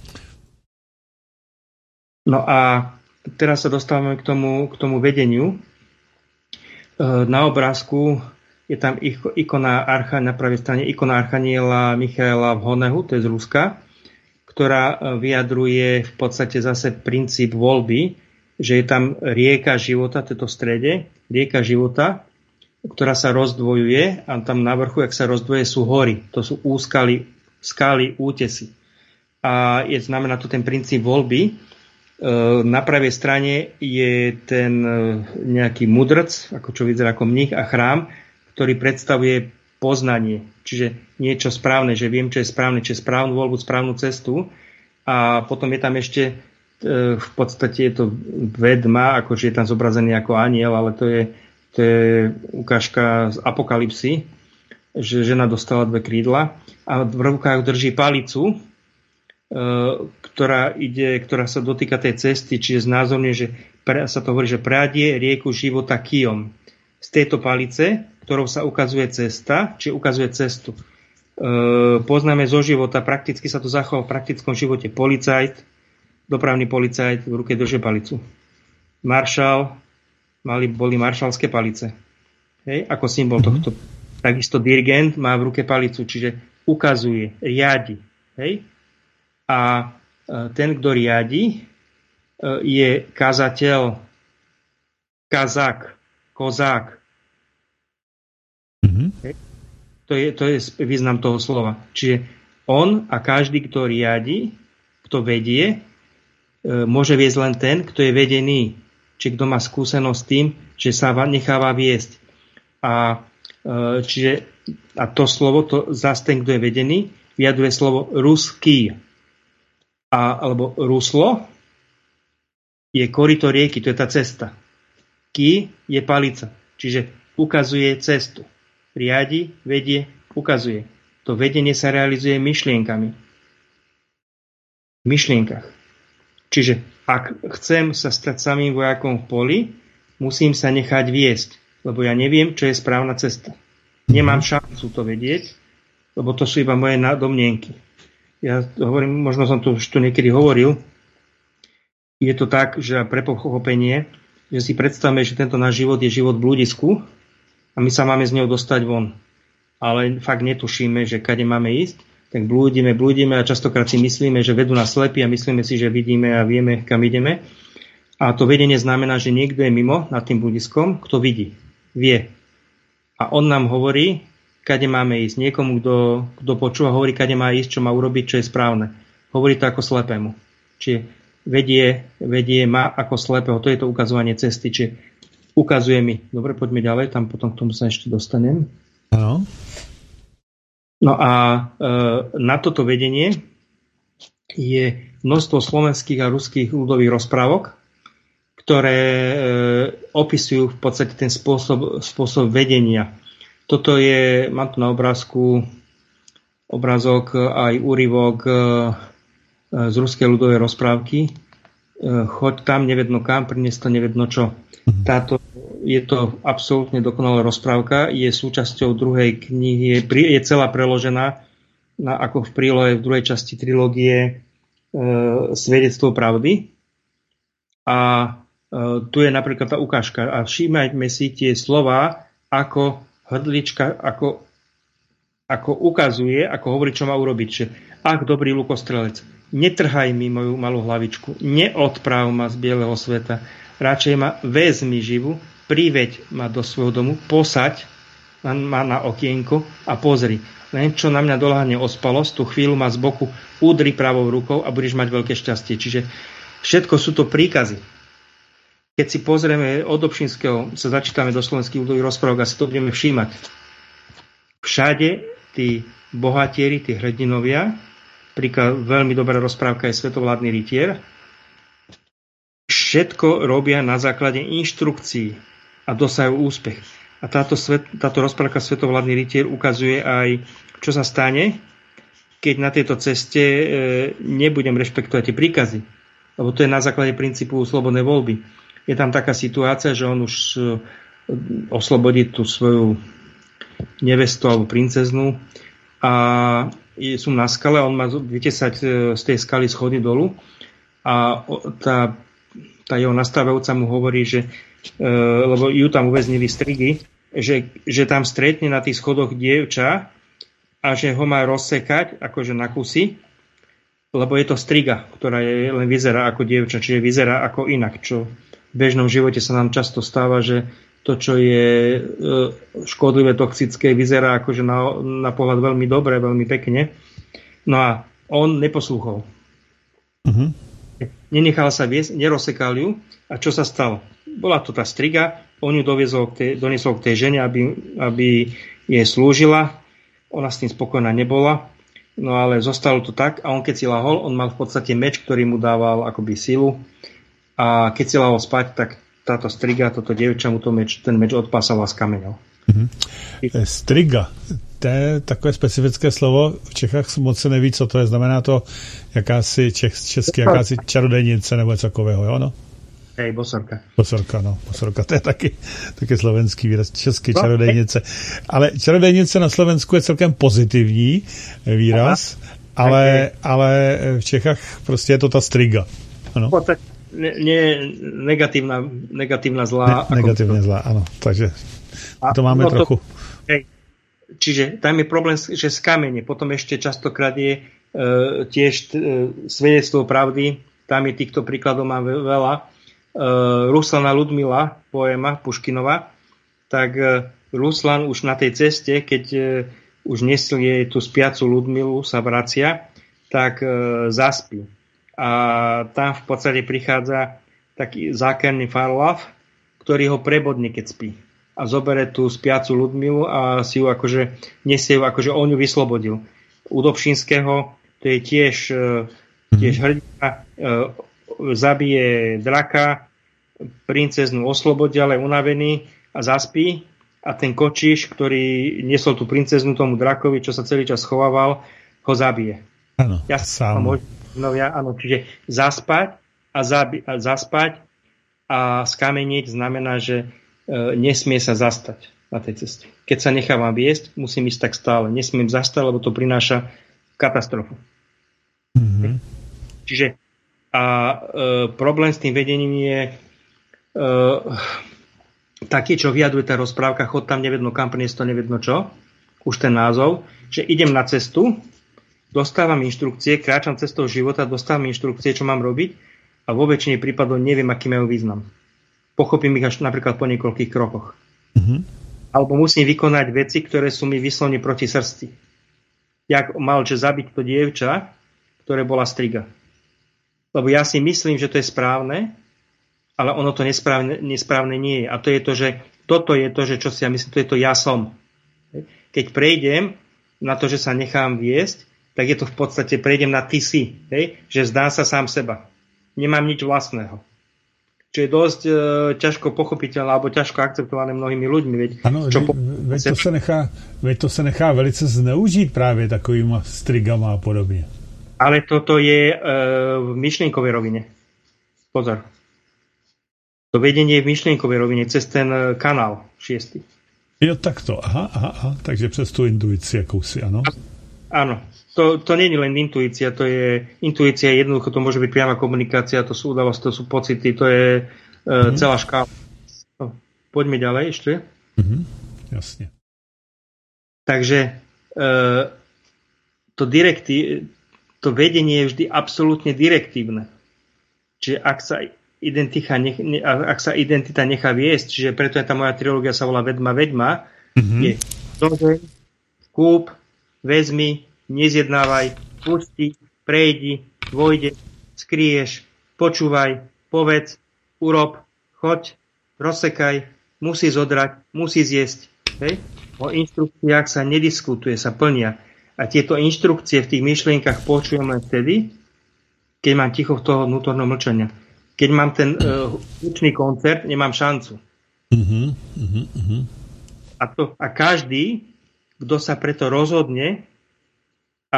No a teraz sa dostávame k tomu, k tomu vedeniu. Na obrázku je tam ikona archa, na pravej strane ikona archaniela Michaela v Honehu, to je z Ruska, ktorá vyjadruje v podstate zase princíp voľby, že je tam rieka života, to je to v strede, rieka života, ktorá sa rozdvojuje a tam na vrchu, jak sa rozdvoje, sú hory. To sú úskaly, skaly, útesy. A je, znamená to ten princíp voľby. Na pravej strane je ten nejaký mudrc, ako čo vyzerá ako mních a chrám, ktorý predstavuje poznanie. Čiže niečo správne, že viem, čo je správne, čo je správnu voľbu, správnu cestu. A potom je tam ešte v podstate je to vedma, akože je tam zobrazený ako aniel, ale to je, to je ukážka z Apokalypsy, že žena dostala dve krídla a v rukách drží palicu, ktorá ide, ktorá sa dotýka tej cesty, čiže znázorne, že pre, sa to hovorí, že prádie rieku života kijom. Z tejto palice, ktorou sa ukazuje cesta, či ukazuje cestu. E, poznáme zo života, prakticky sa to zachoval v praktickom živote. Policajt, dopravný policajt v ruke drží palicu. Maršal, mali, boli maršalské palice. Hej, ako symbol mm-hmm. tohto. Takisto dirigent má v ruke palicu, čiže ukazuje, riadi. Hej? A ten, kto riadi, je kazateľ, kazák, kozák. Mm-hmm. To je, to je význam toho slova. Čiže on a každý, kto riadi, kto vedie, môže viesť len ten, kto je vedený. Čiže kto má skúsenosť s tým, že sa necháva viesť. A, čiže, a to slovo, to zase ten, kto je vedený, vyjadruje slovo ruský. A, alebo ruslo je korito rieky, to je tá cesta. Ki je palica, čiže ukazuje cestu. Riadi, vedie, ukazuje. To vedenie sa realizuje myšlienkami. V myšlienkach. Čiže ak chcem sa stať samým vojakom v poli, musím sa nechať viesť, lebo ja neviem, čo je správna cesta. Nemám šancu to vedieť, lebo to sú iba moje domnienky. Ja hovorím, možno som to už tu niekedy hovoril, je to tak, že pre pochopenie, že si predstavme, že tento náš život je život v blúdisku a my sa máme z neho dostať von. Ale fakt netušíme, že kade máme ísť, tak blúdime, blúdime a častokrát si myslíme, že vedú nás slepí a myslíme si, že vidíme a vieme, kam ideme. A to vedenie znamená, že niekto je mimo nad tým blúdiskom, kto vidí, vie. A on nám hovorí, kade máme ísť. Niekomu, kto, kto počúva, hovorí, kade má ísť, čo má urobiť, čo je správne. Hovorí to ako slepému. Čiže vedie, vedie ma ako slepého. To je to ukazovanie cesty. Čiže ukazuje mi. Dobre, poďme ďalej, tam potom k tomu sa ešte dostanem. Áno. No a e, na toto vedenie je množstvo slovenských a ruských ľudových rozprávok, ktoré e, opisujú v podstate ten spôsob, spôsob vedenia. Toto je, mám tu na obrázku obrázok aj úryvok z ruskej ľudovej rozprávky, choď tam, nevedno kam, prinies to nevedno čo. Táto, je to absolútne dokonalá rozprávka, je súčasťou druhej knihy, je, je celá preložená na, ako v prílohe v druhej časti trilógie e, Svedectvo pravdy. A e, tu je napríklad tá ukážka. A všímajme si tie slová, ako hrdlička, ako, ako ukazuje, ako hovorí, čo má urobiť. Že, ach, dobrý lukostrelec, netrhaj mi moju malú hlavičku, neodpráv ma z bieleho sveta, radšej ma vezmi živu, priveď ma do svojho domu, posaď ma na okienko a pozri. Len čo na mňa doľahne ospalosť, tú chvíľu ma z boku udri pravou rukou a budeš mať veľké šťastie. Čiže všetko sú to príkazy. Keď si pozrieme od Dobšinského, sa začítame do slovenských ľudových rozprávok a si to budeme všímať. Všade tí bohatieri, tí hrdinovia, príklad, veľmi dobrá rozprávka je Svetovládny rytier, všetko robia na základe inštrukcií a dosahujú úspech. A táto, svet, táto rozprávka Svetovládny rytier ukazuje aj, čo sa stane, keď na tejto ceste e, nebudem rešpektovať tie príkazy. Lebo to je na základe princípu slobodnej voľby. Je tam taká situácia, že on už e, oslobodí tú svoju nevestu alebo princeznú a sú na skale a on má vytesať z tej skaly schody dolu a tá, tá jeho nastávajúca mu hovorí, že e, lebo ju tam uväznili strigy, že, že tam stretne na tých schodoch dievča a že ho má rozsekať akože na kusy, lebo je to striga, ktorá je, len vyzerá ako dievča, čiže vyzerá ako inak, čo v bežnom živote sa nám často stáva, že to, čo je škodlivé, toxické, vyzerá akože na, na pohľad veľmi dobre, veľmi pekne. No a on neposlúchol. Uh-huh. Nenechal sa viesť, nerozsekal ju. A čo sa stalo? Bola to tá striga, on ju doviezol k tej, doniesol k tej žene, aby, aby jej slúžila. Ona s tým spokojná nebola. No ale zostalo to tak a on keď si lahol, on mal v podstate meč, ktorý mu dával akoby silu. A keď si lahol spať, tak táto striga, toto dievča mu to meč, ten meč odpásal a skamenil. Mm-hmm. Striga, to je takové specifické slovo. V Čechách moc se neví, co to je. Znamená to jakási čech, česky, jakási čarodejnice nebo něco takového, jo? No? Hej, bosorka. Bosorka, no. Bosorka, to je taky, taky slovenský výraz. Český no, čarodejnice. Ale čarodejnice na Slovensku je celkem pozitivní výraz, ale, ale v Čechách prostě je to ta striga. Ano. Ne, ne, negatívna, negatívna zlá. Ne, negatívne zlá, áno. Takže to máme no trochu. To, hej, čiže tam je problém, že skamenie. Potom ešte častokrát je e, tiež e, Svedectvo pravdy. Tam je týchto príkladov mám veľa. E, Ruslana Ludmila, poéma Puškinova. Tak e, Ruslan už na tej ceste, keď e, už nesie tú spiacu Ludmilu, sa vracia, tak e, zaspí. A tam v podstate prichádza taký zákerný Farlav, ktorý ho prebodne, keď spí. A zobere tú spiacu Ludmilu a si ju akože nesie ju, akože on ju vyslobodil. U Dobšinského to je tiež, tiež hrdina, zabije draka, princeznu oslobodí, ale unavený a zaspí. A ten kočiš, ktorý niesol tú princeznu tomu drakovi, čo sa celý čas schovával, ho zabije. Áno, ja sám. Novia, áno, čiže zaspať a, zabi- a zaspať a skameniť znamená, že e, nesmie sa zastať na tej ceste. Keď sa nechávam viesť, musím ísť tak stále. Nesmiem zastať, lebo to prináša katastrofu. Mm-hmm. Čiže a e, problém s tým vedením je e, taký, čo vyjadruje tá rozprávka, chod tam nevedno kam, priniesť to nevedno čo, už ten názov, že idem na cestu, dostávam inštrukcie, kráčam cestou života, dostávam inštrukcie, čo mám robiť a vo väčšine prípadov neviem, aký majú význam. Pochopím ich až napríklad po niekoľkých krokoch. Mm-hmm. Alebo musím vykonať veci, ktoré sú mi vyslovne proti srsti. Jak mal, že zabiť to dievča, ktoré bola striga. Lebo ja si myslím, že to je správne, ale ono to nesprávne, nesprávne nie je. A to je to, že toto je to, že čo si ja myslím, to je to ja som. Keď prejdem na to, že sa nechám viesť, tak je to v podstate, prejdem na ty si, hej? Že zdám sa sám seba. Nemám nič vlastného. Čo je dosť e, ťažko pochopiteľné alebo ťažko akceptované mnohými ľuďmi. Veď, ano, čo po... veď, to se nechá, veď to se nechá velice zneužít právě takovýma strigama a podobně. Ale toto je e, v myšlienkovej rovine. Pozor. To vedenie v myšlienkovej rovine cez ten kanál šiestý. Jo, takto. Aha, aha, aha. Takže přes tu intuici jakousi, ano? Áno. To, to nie je len intuícia, to je intuícia, jednoducho to môže byť priama komunikácia, to sú udalosti, to sú pocity, to je uh, mm. celá škála. No, poďme ďalej ešte. Mm-hmm. Jasne. Takže uh, to, direkti- to vedenie je vždy absolútne direktívne. Čiže ak sa identita, nech, ne, ak sa identita nechá viesť, čiže preto je tá moja trilógia sa volá Vedma, Vedma, mm-hmm. je dozeň, kúp, vezmi, nezjednávaj, pusti, prejdi, vojde, skryješ, počúvaj, povedz, urob, choď, rozsekaj, musí zodrať, musí zjesť. Hej? O inštrukciách sa nediskutuje, sa plnia. A tieto inštrukcie v tých myšlienkach počujem len vtedy, keď mám ticho v toho vnútorného mlčania. Keď mám ten hudobný uh, koncert, nemám šancu. Uh-huh, uh-huh, uh-huh. A, to, a každý, kto sa preto rozhodne a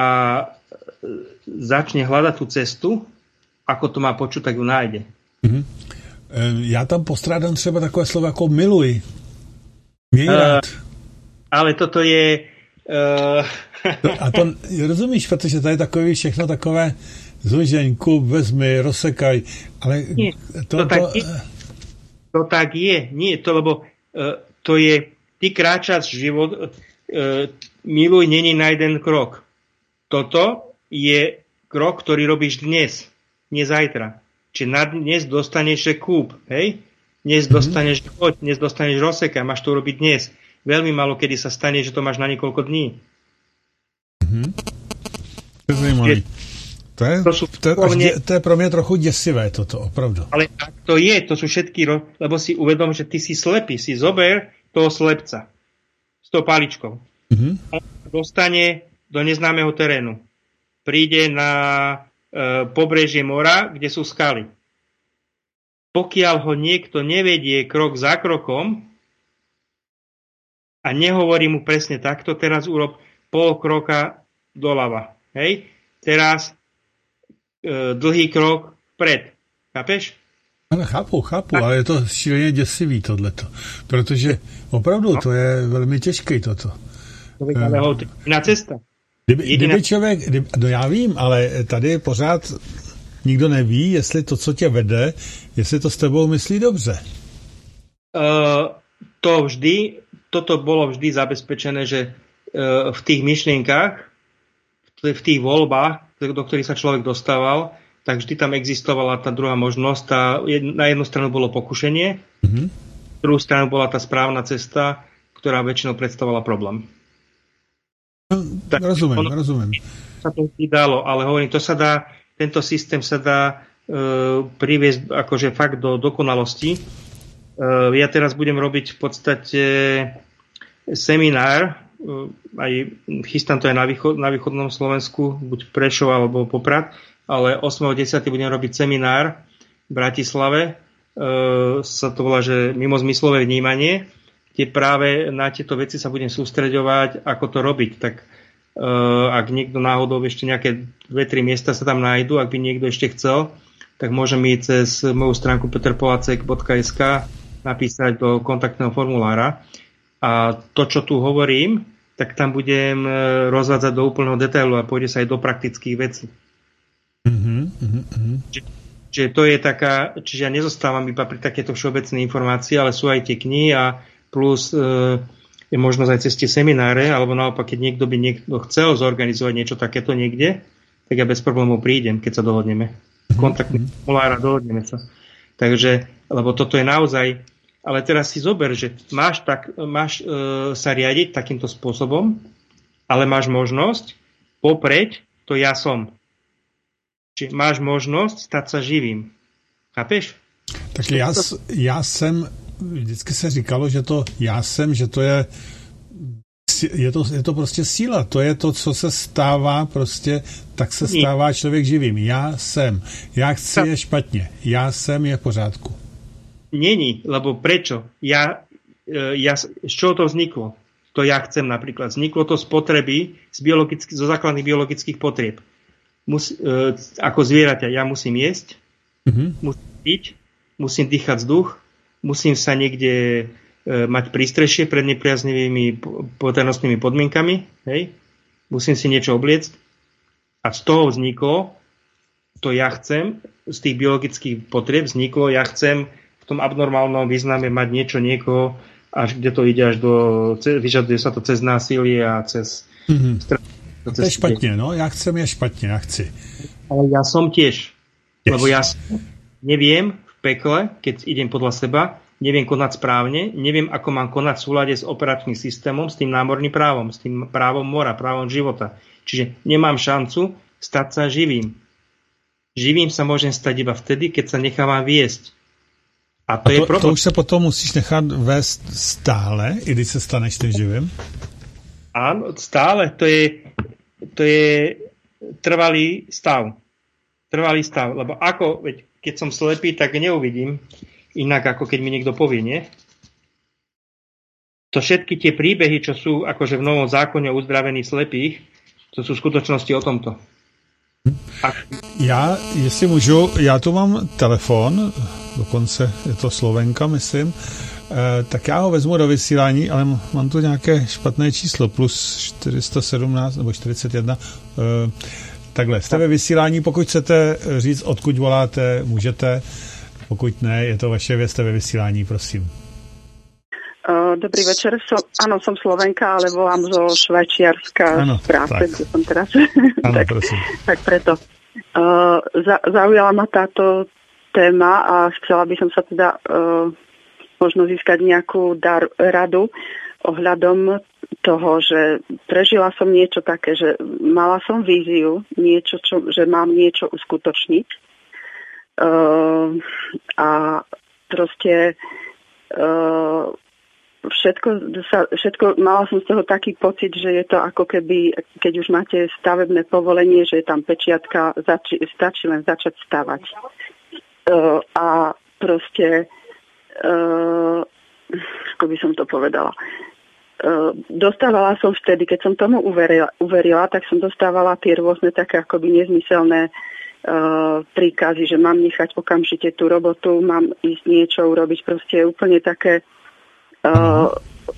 začne hľadať tú cestu, ako to má počuť, tak ju nájde. Uh-huh. Já tam postrádám třeba takové slovo jako miluj. Měj rád. Uh, ale toto je... Uh... A to rozumíš, protože tady je takový všechno takové zložení, kup, vezmi, rozsekaj, ale nie, to, to, tak to... Je, to tak je. Nie, to lebo uh, to je, ty kráčaš život, uh, miluj není na jeden krok. Toto je krok, ktorý robíš dnes, nie zajtra. Čiže na dnes dostaneš, že kúp, hej? Dnes mm-hmm. dostaneš choď, dnes dostaneš rozsekaj, máš to urobiť dnes. Veľmi málo kedy sa stane, že to máš na niekoľko dní. Mm-hmm. To je zajímavý. To je, to, sú to, je, to je pro mě trochu děsivé toto, opravdu. Ale tak to je, to sú všetky, lebo si uvedom, že ty si slepý, si zober toho slepca s tou paličkou. Mm-hmm. On dostane do neznámeho terénu. Príde na e, pobrežie mora, kde sú skaly. Pokiaľ ho niekto nevedie krok za krokom a nehovorí mu presne takto, teraz urob pol kroka doľava. Hej? Teraz dlhý krok vpred. Chápeš? Ale chápu, chápu, ale je to šíleně děsivý tohleto. Protože opravdu no. to je velmi těžké toto. Na cesta. Kdyby, kdyby člověk, kdyby, no já vím, ale tady pořád nikdo neví, jestli to, co tě vede, jestli to s tebou myslí dobře. Uh, to vždy, toto bolo vždy zabezpečené, že uh, v tých myšlienkách, v tých voľbách, do ktorých sa človek dostával, tak vždy tam existovala tá druhá možnosť. Tá, na jednu stranu bolo pokušenie, mm-hmm. na druhú stranu bola tá správna cesta, ktorá väčšinou predstavovala problém. No, tak, rozumiem, ono, rozumiem. Sa to vždy dalo, ale hovorím, to sa dá, tento systém sa dá e, priviesť akože fakt do dokonalosti. E, ja teraz budem robiť v podstate seminár, aj chystám to aj na, východ, na východnom Slovensku, buď Prešov alebo Poprad, ale ôsmeho desiateho budem robiť seminár v Bratislave, e, sa to volá, že mimozmyslové vnímanie, kde práve na tieto veci sa budem sústreďovať, ako to robiť. Tak e, ak niekto náhodou ešte nejaké dve tri miesta sa tam nájdu, ak by niekto ešte chcel, tak môže mi cez moju stránku peter polacek bodka es ká napísať do kontaktného formulára. A to, čo tu hovorím, tak tam budem rozvádzať do úplného detailu a pôjde sa aj do praktických vecí. Mm-hmm, mm-hmm. Čiže, čiže to je taká, čiže ja nezostávam iba pri takéto všeobecné informácie, ale sú aj tie knihy a plus e, je možnosť aj cez tie semináre, alebo naopak, keď niekto by niekto chcel zorganizovať niečo takéto niekde, tak ja bez problémov prídem, keď sa dohodneme. Kontaktný formulára, dohodneme sa. Takže, lebo toto je naozaj. Ale teraz si zober, že máš, tak, máš e, sa riadiť takýmto spôsobom, ale máš možnosť popreť to ja som. Čiže máš možnosť stať sa živým. Chápeš? Tak já, já jsem, vždycky se říkalo, že to já jsem, že to je, je to, je to prostě síla. To je to, co se stává prostě, tak se stává člověk živým. Já jsem. Já chci je špatně. Já jsem je v pořádku. Není, lebo prečo? Ja, ja, z čoho to vzniklo? To ja chcem napríklad. Vzniklo to z potreby, z zo základných biologických potrieb. Mus, e, ako zvieraťa, ja musím jesť, Mm-hmm. Musím piť, musím dýchať vzduch, musím sa niekde e, mať prístrešie pred nepriaznivými poveternostnými podmienkami, hej? Musím si niečo obliecť a z toho vzniklo to ja chcem, z tých biologických potrieb vzniklo ja chcem v tom abnormálnom význame mať niečo, niekoho, až kde to ide až do, vyžaduje sa to cez násilie a cez... Mm-hmm. To je špatně, no, já chcem je špatně, já chci. Ale ja som tiež, yes. Lebo ja neviem v pekle, keď idem podľa seba, neviem konať správne, neviem, ako mám konať v súlade s operačným systémom, s tým námorným právom, s tým právom mora, právom života. Čiže nemám šancu stať sa živým. Živým sa môžem stať iba vtedy, keď sa nechávam viesť. A to, A to je problém. To už sa potom musíš nechat vést stále, i když sa staneš tým živým? Áno, stále. To je, to je trvalý stav. Trvalý stav. Lebo ako, veď, keď som slepý, tak neuvidím inak, ako keď mi niekto povie, nie? To všetky tie príbehy, čo sú akože v Novom zákone o uzdravení slepých, to sú v skutočnosti o tomto. A... Já, jestli můžu, já tu mám telefon, dokonce je to Slovenka, myslím, eh, tak já ho vezmu do vysílání, ale mám tu nějaké špatné číslo, plus čtyři sta sedmnáct nebo čtyřicet jedna. Eh, takhle, jste ve vysílání, pokud chcete říct, odkud voláte, můžete, pokud ne, je to vaše věc, jste ve vysílání, prosím. Dobrý večer, som, áno, som Slovenka, ale volám zo Švajčiarska z práce, kde som teraz. Áno, tak, prosím. tak preto. Uh, za, zaujala ma táto téma a chcela by som sa teda uh, možno získať nejakú dar, radu ohľadom toho, že prežila som niečo také, že mala som víziu, niečo, čo, že mám niečo uskutočniť uh, a proste uh, Všetko, sa, všetko, mala som z toho taký pocit, že je to ako keby, keď už máte stavebné povolenie, že je tam pečiatka, zači, stačí len začať stavať. Uh, a proste, uh, ako by som to povedala, uh, dostávala som vtedy, keď som tomu uverila, uverila, tak som dostávala tie rôzne také akoby nezmyselné uh, príkazy, že mám nechať okamžite tú robotu, mám ísť niečo urobiť, proste úplne také Uh,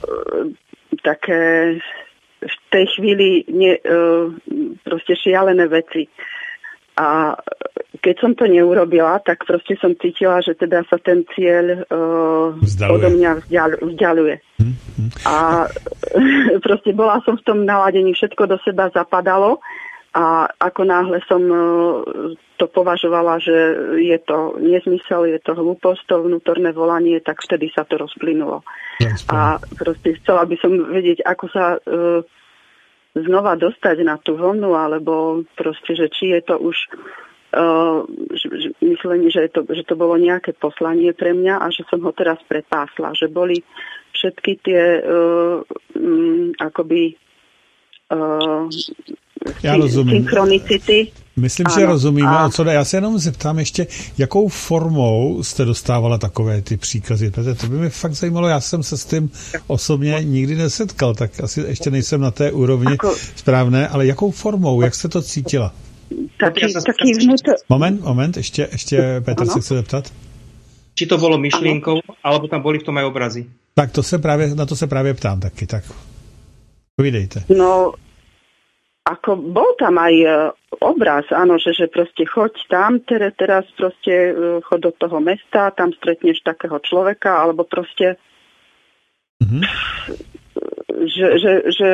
také v tej chvíli ne, uh, proste šialené veci. A keď som to neurobila, tak proste som cítila, že teda sa ten cieľ uh, odo mňa vzdial, vzdialuje. Mm-hmm. A proste bola som v tom naladení, všetko do seba zapadalo a ako náhle som uh, to považovala, že je to nezmysel, je to hlúposť, to vnútorné volanie, tak vtedy sa to rozplynulo. A proste chcela by som vedieť, ako sa uh, znova dostať na tú vlnu, alebo proste, že či je to už uh, myslenie, že, je to, že to bolo nejaké poslanie pre mňa a že som ho teraz prepásla. Že boli všetky tie uh, um, akoby uh, Já rozumím. synchronicity. Myslím, ano, že rozumíme. A... Co, já se jenom zeptám ještě, jakou formou jste dostávala takové ty příkazy? Protože to by mě fakt zajímalo, já jsem se s tím osobně nikdy nesetkal, tak asi ještě nejsem na té úrovni Ako... správné, ale jakou formou, jak jste to cítila? Taký, taký vnútor... Moment, moment, ještě, ještě Petr se chce zeptat. Či to bolo myšlienkou, alebo tam boli v tom aj obrazy? Tak to se právě, na to se právě ptám taky, tak povídejte. No, ako bol tam aj obraz, áno, že, že proste choď tam, teraz, teraz proste choď do toho mesta, tam stretneš takého človeka, alebo proste mm-hmm. že, že, že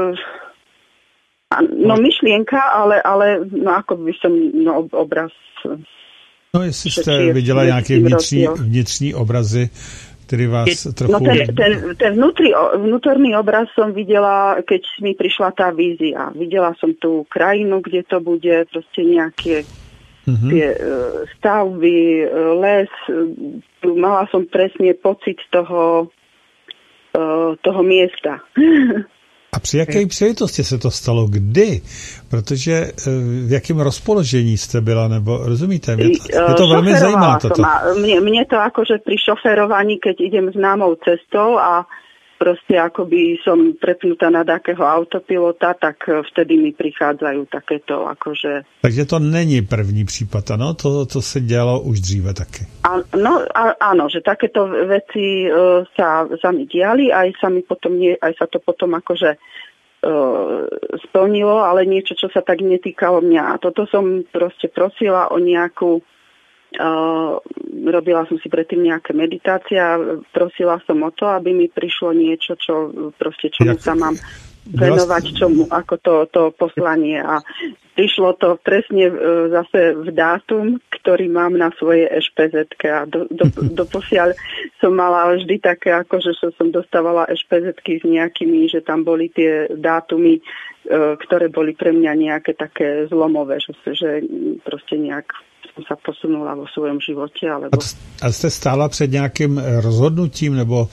no myšlienka, ale, ale no ako by som, no obraz. No jestli jste viděla nějaké vnitřní, vnitřní obrazy, ktorý vás trochu... No ten, ten, ten vnútri, vnútorný obraz som videla, keď mi prišla tá vízia. Videla som tú krajinu, kde to bude, proste nejaké mm-hmm. tie uh, stavby, uh, les. Uh, mala som presne pocit toho, uh, toho miesta. A při jaké příležitosti se to stalo? Kdy? Protože v jakém rozpoložení jste byla, nebo rozumíte? Mě to, mě to velmi zajímá toto. Mne, mne to akože pri šoferovaní, keď idem známou cestou a proste akoby som prepnutá na takého autopilota, tak vtedy mi prichádzajú takéto akože... Takže to není první případ, ano? To, to se dělalo už dříve taky. A, no, a, áno, že takéto veci uh, sa, sa mi diali, aj sa mi potom, nie, aj sa to potom akože uh, splnilo, ale niečo, čo sa tak netýkalo mňa. A toto som proste prosila o nejakú Uh, robila som si predtým nejaké meditácie a prosila som o to, aby mi prišlo niečo, čo proste čomu sa mám venovať, čomu, ako to, to poslanie. A prišlo to presne uh, zase v dátum, ktorý mám na svojej eš pé zetke a do, do, doposiaľ som mala vždy také, akože som dostávala eš pé zetky s nejakými, že tam boli tie dátumy, uh, ktoré boli pre mňa nejaké také zlomové, že, že proste nejak sa posunula vo svojom živote. Alebo... A jste stála před nějakým rozhodnutím, nebo...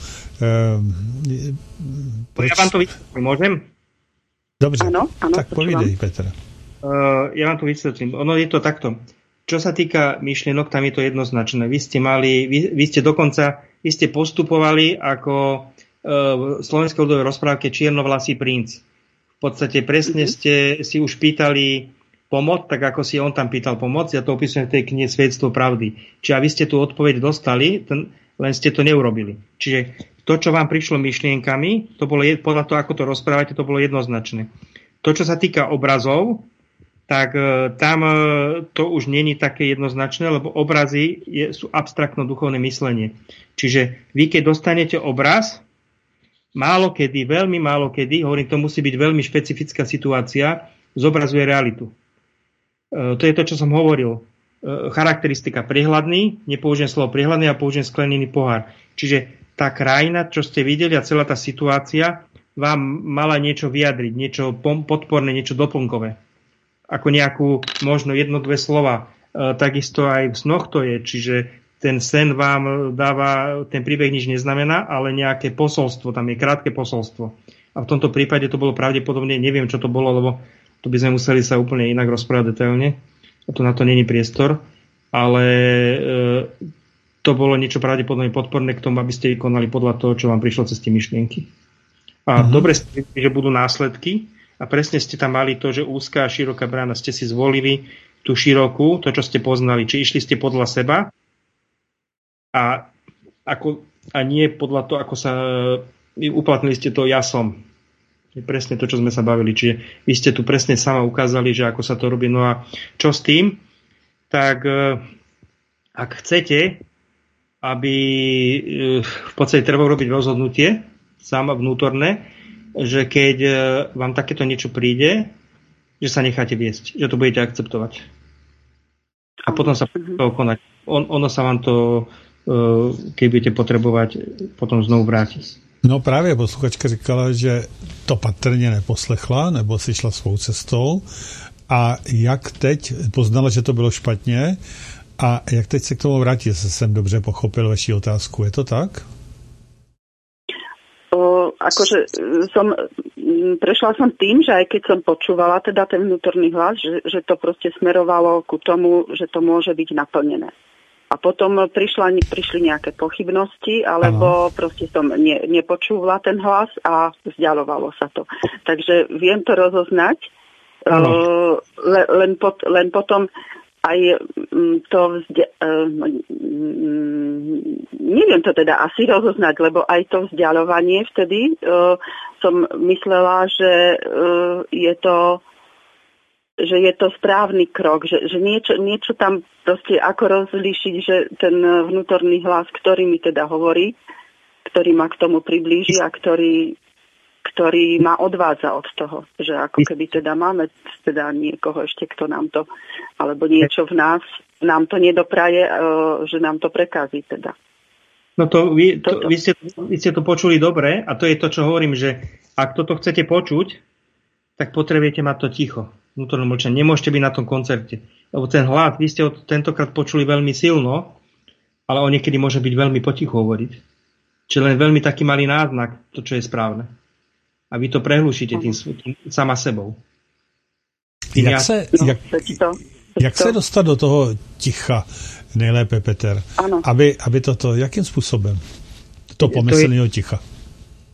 Eh, proč... Ja vám to vysvetlím, môžem? Dobře, ano, ano, tak povídej, Petr. Uh, ja vám to vysvetlím. Ono je to takto. Čo sa týka myšlienok, tam je to jednoznačné. Vy ste mali, vy, vy ste dokonca, vy ste postupovali ako uh, v slovenskej ľudovej rozprávke Čiernovlasý princ. V podstate presne mm-hmm. ste si už pýtali pomoc, tak ako si on tam pýtal pomoc. Ja to opisujem v tej knihe Svedectvo pravdy. Čiže vy ste tú odpoveď dostali, ten, len ste to neurobili. Čiže to, čo vám prišlo myšlienkami, to bolo, podľa toho, ako to rozprávate, to bolo jednoznačné. To, čo sa týka obrazov, tak e, tam e, to už není také jednoznačné, lebo obrazy je, sú abstraktno-duchovné myslenie. Čiže vy, keď dostanete obraz, málo kedy, veľmi málo kedy, hovorím, to musí byť veľmi špecifická situácia, zobrazuje realitu. To je to, čo som hovoril. Charakteristika prehľadný, nepoužijem slovo prehľadný, a použijem sklenený pohár. Čiže tá krajina, čo ste videli a celá tá situácia vám mala niečo vyjadriť, niečo podporné, niečo doplnkové. Ako nejakú, možno jedno, dve slova. Takisto aj v snoch to je, čiže ten sen vám dáva, ten príbeh nič neznamená, ale nejaké posolstvo, tam je krátke posolstvo. A v tomto prípade to bolo pravdepodobne, neviem, čo to bolo, lebo to by sme museli sa úplne inak rozprávať detailne. A to na to není priestor. Ale e, to bolo niečo pravdepodobne podporné k tomu, aby ste konali podľa toho, čo vám prišlo cez tie myšlienky. A uh-huh. dobre ste, že budú následky. A presne ste tam mali to, že úzká a široká brána, ste si zvolili tú širokú, to, čo ste poznali. Či išli ste podľa seba a, ako, a nie podľa toho, ako sa uplatnili ste to ja som. Je presne to, čo sme sa bavili. Čiže vy ste tu presne sama ukázali, že ako sa to robí. No a čo s tým? Tak ak chcete, aby v podstate treba robiť rozhodnutie, sama vnútorné, že keď vám takéto niečo príde, že sa necháte viesť, že to budete akceptovať. A potom sa toho konať. On, ono sa vám to, keď budete potrebovať, potom znovu vráti. No právě posluchačka říkala, že to patrně neposlechla, nebo si šla svou cestou. A jak teď poznala, že to bylo špatně, a jak teď se k tomu vrátí, jestli jsem dobře pochopil vaši otázku. Je to tak? O, akože som, prešla som tým, že aj keď som počúvala teda ten vnútorný hlas, že, že to proste smerovalo ku tomu, že to môže byť naplnené. A potom prišla, prišli nejaké pochybnosti, alebo ano. Proste som ne, nepočúvala ten hlas a vzdialovalo sa to. Takže viem to rozoznať, uh, le, len, pot, len potom aj to vzdia, uh, neviem to teda asi rozoznať, lebo aj to vzdialovanie vtedy uh, som myslela, že uh, je to že je to správny krok, že, že niečo, niečo tam proste ako rozlíšiť, že ten vnútorný hlas, ktorý mi teda hovorí, ktorý ma k tomu priblíži a ktorý, ktorý ma odvádza od toho, že ako keby teda máme teda niekoho ešte, kto nám to, alebo niečo v nás, nám to nedopraje, že nám to prekazí teda. No to vy, to, vy, ste, vy ste to počuli dobre a to je to, čo hovorím, že ak toto chcete počuť, tak potrebujete mať to ticho. Vnútorné mlčanie. Nemôžete byť na tom koncerte. Lebo ten hlas, vy ste ho tentokrát počuli veľmi silno, ale on niekedy môže byť veľmi potichu hovoriť. Čiže len veľmi taký malý náznak, to, čo je správne. A vy to prehlušíte tým, tým sama sebou. Tým jak, se, jak, jak se dostat do toho ticha nejlépe, Peter? Ano. Aby, aby toto, jakým způsobem? To pomyslného ticha.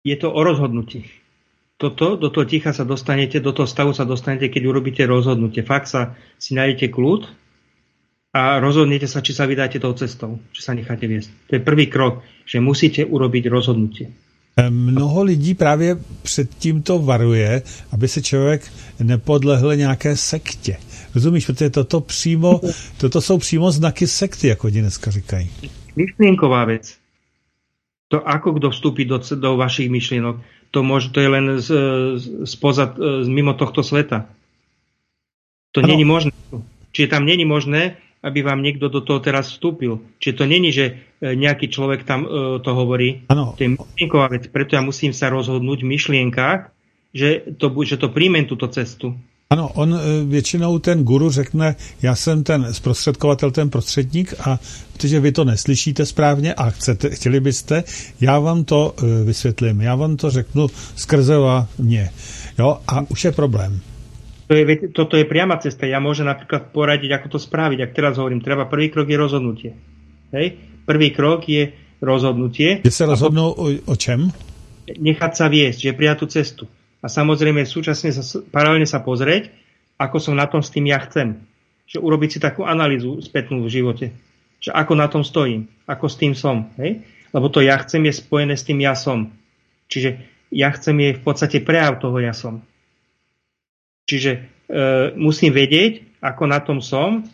Je to o rozhodnutí. Toto, do toho ticha sa dostanete, do toho stavu sa dostanete, keď urobíte rozhodnutie. Fakt sa si nájdete kľud a rozhodnete sa, či sa vydáte tou cestou, či sa necháte viesť. To je prvý krok, že musíte urobiť rozhodnutie. Mnoho lidí právě před tímto varuje, aby se člověk nepodlehl nějaké sektě. Rozumíš, protože toto přímo, toto jsou přímo znaky sekty, jako oni dneska říkají. Myšlienková vec. To, ako kto vstúpi do, do vašich myšlienok, to, môže, to je len z, spoza, z, mimo tohto sveta. To ano. Není možné. Čiže tam není možné, aby vám niekto do toho teraz vstúpil. Čiže to není, že nejaký človek tam uh, to hovorí. Ano. To je myšlienková vec. Preto ja musím sa rozhodnúť v myšlienkách, že to, že to príjmem túto cestu. Ano, on většinou ten guru řekne, já jsem ten zprostředkovatel, ten prostředník a protože vy to neslyšíte správně a chcete, chtěli byste, já vám to vysvětlím, já vám to řeknu skrze mě. Jo, a už je problém. To je, toto je priama cesta. Ja môžem napríklad poradiť, ako to spraviť. Ak teraz hovorím, treba prvý krok je rozhodnutie. Hej? Prvý krok je rozhodnutie. Kde sa rozhodnú o, o čem? Nechať sa viesť, že prijať tú cestu. A samozrejme súčasne sa, paralelne sa pozrieť, ako som na tom s tým ja chcem. Že urobiť si takú analýzu spätnú v živote. Že ako na tom stojím, ako s tým som. Hej? Lebo to ja chcem je spojené s tým ja som. Čiže ja chcem je v podstate prejav toho ja som. Čiže e, musím vedieť, ako na tom som.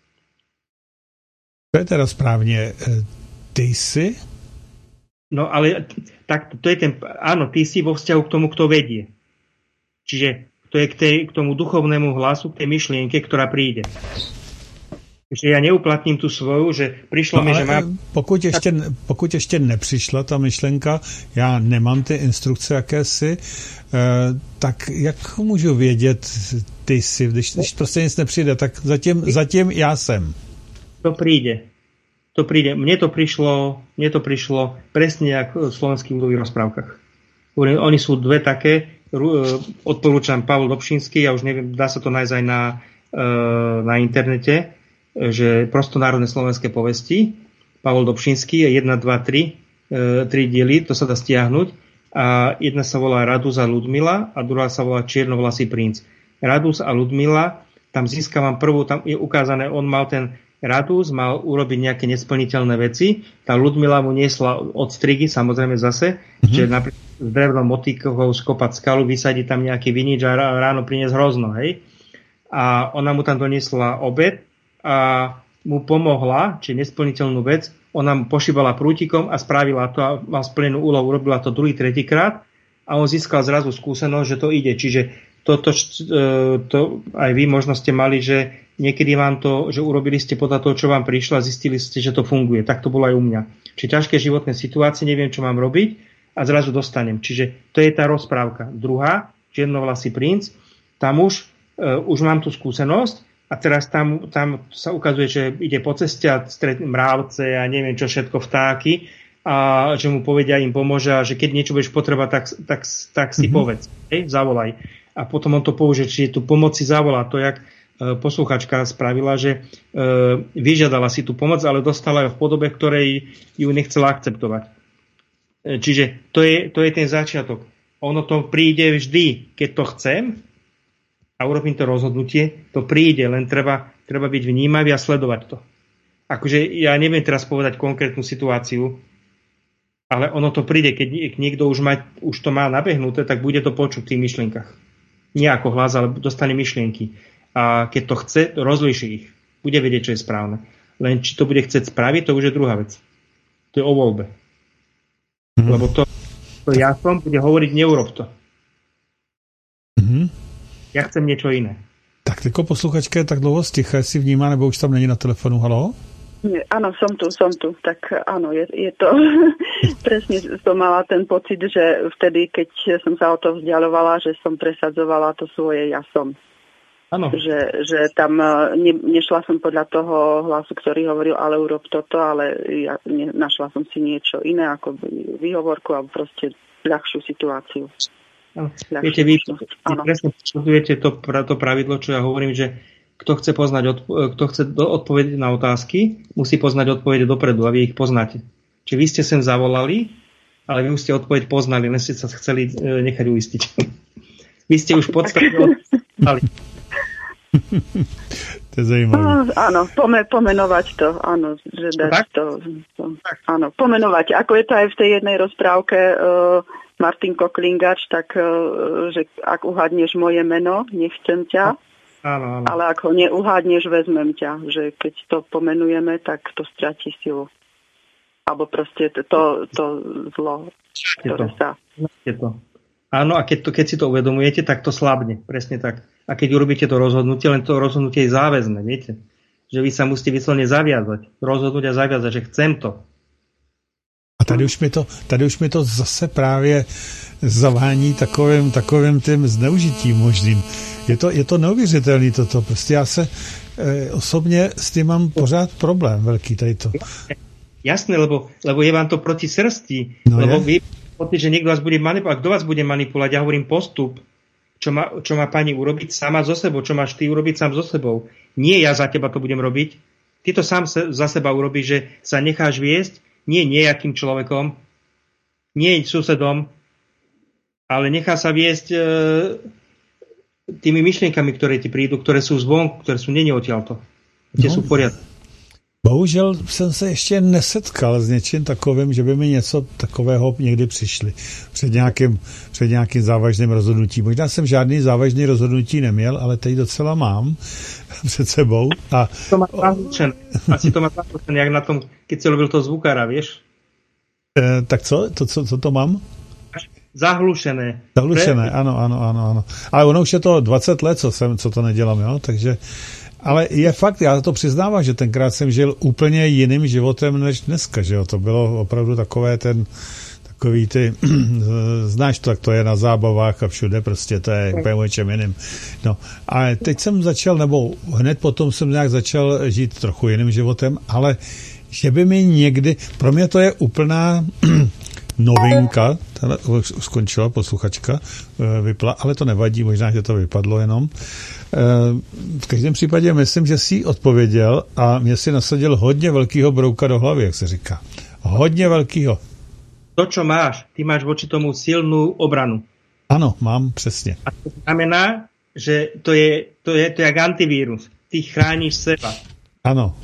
To je teda správne. Ty si? No ale tak, to je ten, áno, ty si vo vzťahu k tomu, kto vedie. Čiže to je k, tej, k tomu duchovnému hlasu, k tej myšlienke, ktorá príde. Že ja neuplatním tu svoju, že prišlo no, mi, že mám... Pokud ještě, pokud ještě nepřišla ta myšlenka, já nemám ty instrukce jakési, eh, tak jak můžu vědět ty si, když, když prostě nic nepřijde, tak zatím, zatím já jsem. To príde. To príde. Mne to prišlo, mne to prišlo presne ako v slovenských ľudových rozprávkach. Oni sú dve také, odporúčam Pavol Dobšinský, ja už neviem, dá sa to nájsť aj na, na internete, že prostonárodné slovenské povesti, Pavol Dobšinský, jedna, dva, tri, tri diely, to sa dá stiahnuť. A jedna sa volá Radus a Ludmila a druhá sa volá Čiernovlasý princ. Radus a Ludmila, tam získavam prvú, tam je ukázané, on mal ten Radus, mal urobiť nejaké nesplniteľné veci, tá Ludmila mu niesla odstrigy, samozrejme zase, mm-hmm. že napríklad s drevnou motíkou skopať skalu, vysadiť tam nejaký vinič a ráno priniesť hrozno, hej. A ona mu tam doniesla obed a mu pomohla, či nesplniteľnú vec, ona mu pošívala prútikom a spravila to a mal splnenú úlohu, urobila to druhý, tretíkrát a on získal zrazu skúsenosť, že to ide. Čiže toto, to aj vy možno ste mali, že niekedy vám to, že urobili ste podľa toho, čo vám prišlo a zistili ste, že to funguje. Tak to bolo aj u mňa. Či ťažké životné situácie, neviem, čo mám robiť a zrazu dostanem. Čiže to je tá rozprávka. Druhá, Čiernovlasý princ, tam už, uh, už mám tú skúsenosť a teraz tam, tam sa ukazuje, že ide po ceste a stretne mravce a neviem čo všetko, vtáky a že mu povedia, im pomôže a že keď niečo budeš potrebať, tak, tak, tak si mm-hmm. povedz. Hej, zavolaj. A potom on to použije, čiže tu pomoc si zavolá. To, jak posluchačka spravila, že e, vyžiadala si tú pomoc, ale dostala ju v podobe, ktorej ju nechcela akceptovať. E, čiže to je, to je ten začiatok. Ono to príde vždy, keď to chcem a urobím to rozhodnutie, to príde, len treba, treba byť vnímavý a sledovať to. Akože ja neviem teraz povedať konkrétnu situáciu, ale ono to príde, keď niekto už, má, už to má nabehnuté, tak bude to počuť v tých myšlienkach. Nie ako hlas, ale dostane myšlienky. A keď to chce, rozlíši ich. Bude vedieť, čo je správne. Len či to bude chcieť spraviť, to už je druhá vec. To je o voľbe. Mm-hmm. Lebo to, to ja som bude hovoriť, neurob to. Mm-hmm. Ja chcem niečo iné. Tak tyko posluchačka je tak dlouho sticha, jestli vnímá, nebo už tam není na telefonu. Haló? Nie, áno, som tu, som tu. Tak áno, je, je to... Presne som mala ten pocit, že vtedy, keď som sa o to vzdialovala, že som presadzovala to svoje ja som. Ano. Že, že tam ne, nešla som podľa toho hlasu, ktorý hovoril, ale urob toto, ale ja ne, našla som si niečo iné, ako výhovorku alebo proste ľahšiu situáciu. Ľahšiu. Viete, vy, vy presne podsledujete to, to pravidlo, čo ja hovorím, že kto chce, poznať, kto chce odpovedať na otázky, musí poznať odpovede dopredu a vy ich poznáte. Čiže vy ste sem zavolali ale vy už ste odpoveď poznali, len ste sa chceli nechať uistiť. Vy ste už v podstate odpovedali. To je zajímavé. No, áno, pome, pomenovať to, áno, že dať to, to, áno, pomenovať. Ako je to aj v tej jednej rozprávke uh, Martin Koklingač, tak uh, že ak uhádneš moje meno, nechcem ťa, áno, áno. Ale ak ho neuhádneš, vezmem ťa, že keď to pomenujeme, tak to stratí silu. Alebo proste to, to, to zlo, ktoré sa... To. Áno, a keď, to, keď si to uvedomujete, tak to slabne, presne tak. A keď urobíte to rozhodnutie, len to rozhodnutie je záväzné, viete? Že vy sa musíte vyslovene zaviazať. Rozhodnúť a zaviazať, že chcem to. A tady už mi to, tady už mi to zase právě zavání takovým, takovým tím zneužitím možným. Je to, je to neuvěřitelný toto. Prostě já se e, osobně s tím mám pořád problém velký tady to. Jasné, lebo, lebo je vám to proti srsti. No lebo je. vy poty, že niekto vás bude manipulovať. Kto vás bude manipulovať? Ja hovorím postup. Čo má, čo má pani urobiť sama so sebou. Čo máš ty urobiť sám so sebou. Nie ja za teba to budem robiť. Ty to sám se, za seba urobíš, že sa necháš viesť nie nejakým človekom, nie susedom, ale nechá sa viesť e, tými myšlienkami, ktoré ti prídu, ktoré sú zvonku, ktoré sú nie odtiaľto. Tie No. sú v poriadku. Bohužel jsem se ještě nesetkal s něčím takovým, že by mi něco takového někdy přišli před nějakým, před nějakým závažným rozhodnutím. Možná jsem žádný závažný rozhodnutí neměl, ale teď docela mám před sebou. A... To má zahlučené. Asi to má zahlučené, jak na tom, keď si robil to zvukára, vieš? E, tak co? To, co? Co to mám? Zahlušené. Zahlušené, ano, ano, ano, ano. Ale ono už je to dvacet let, co, jsem, co to nedělám, jo? Takže... Ale je fakt, já to přiznávám, že tenkrát jsem žil úplně jiným životem než dneska, že jo, to bylo opravdu takové ten, takový ty, znáš to, jak to je na zábavách a všude, prostě to je úplně o čem jiným. No, a teď jsem začal, nebo hned potom jsem nějak začal žít trochu jiným životem, ale že by mi někdy, pro mě to je úplná novinka, tady skončila posluchačka, vypla, ale to nevadí, možná, že to vypadlo jenom. V každém případě myslím, že jsi odpověděl a mě si nasadil hodně velkýho brouka do hlavy, jak se říká. Hodně velkýho. To, čo máš, ty máš voči tomu silnú obranu. Ano, mám, přesně. A to znamená, že to je, to je, to je jak antivírus. Ty chrániš seba. Ano.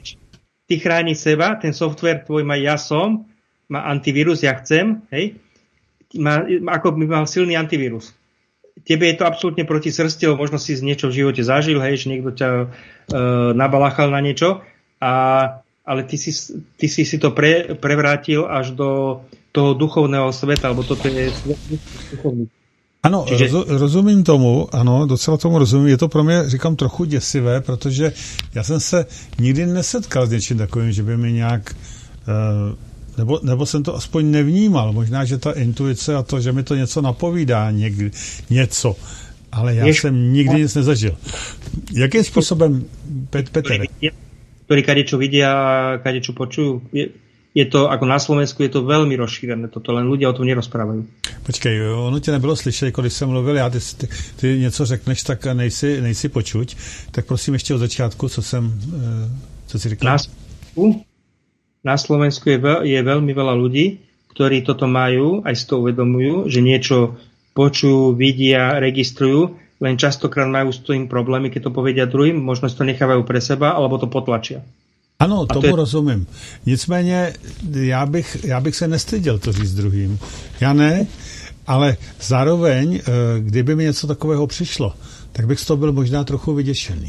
Ty chrániš seba, ten software tvoj má ja som, má antivírus, ja chcem, hej? Má, ako by mal silný antivírus. Tebe je to absolútne proti srsti, lebo možno si niečo v živote zažil, hej, že niekto ťa e, nabalachal na niečo, a, ale ty si, ty si si to pre, prevrátil až do toho duchovného sveta, alebo toto je duchovný. Ano, Čiže... roz, rozumím tomu, ano, docela tomu rozumím. Je to pro mě, říkám, trochu děsivé, protože já jsem se nikdy nesetkal s něčím takovým, že by mi nějak... E, Nebo, nebo jsem to aspoň nevnímal. Možná, že ta intuice a to, že mi to něco napovídá, někdy, něco. Ale já Jež... jsem nikdy nic nezažil. Jakým způsobem, Pet, Peter? Ktorí kadečo vidia, kadečo počujú. Je, je to, ako na Slovensku, je to veľmi rozšírené. Toto len ľudia o tom nerozprávajú. Počkej, ono tě nebylo slyšet, když jsem mluvil, já ty, ty, ty něco řekneš, tak nejsi, nejsi počuť. Tak prosím ještě od začátku, co jsem, co si říkal? Na Slovensku, na Slovensku je, veľ, je veľmi veľa ľudí, ktorí toto majú, aj si to uvedomujú, že niečo počujú, vidia, registrujú, len častokrát majú s tým problémy, keď to povedia druhým, možno si to nechávajú pre seba, alebo to potlačia. Ano, tomu to je... rozumím. Nicméně já bych, já bych se nestyděl to říct druhým. Já ne, ale zároveň, kdyby mi něco takového přišlo, tak bych z toho byl možná trochu vyděšený.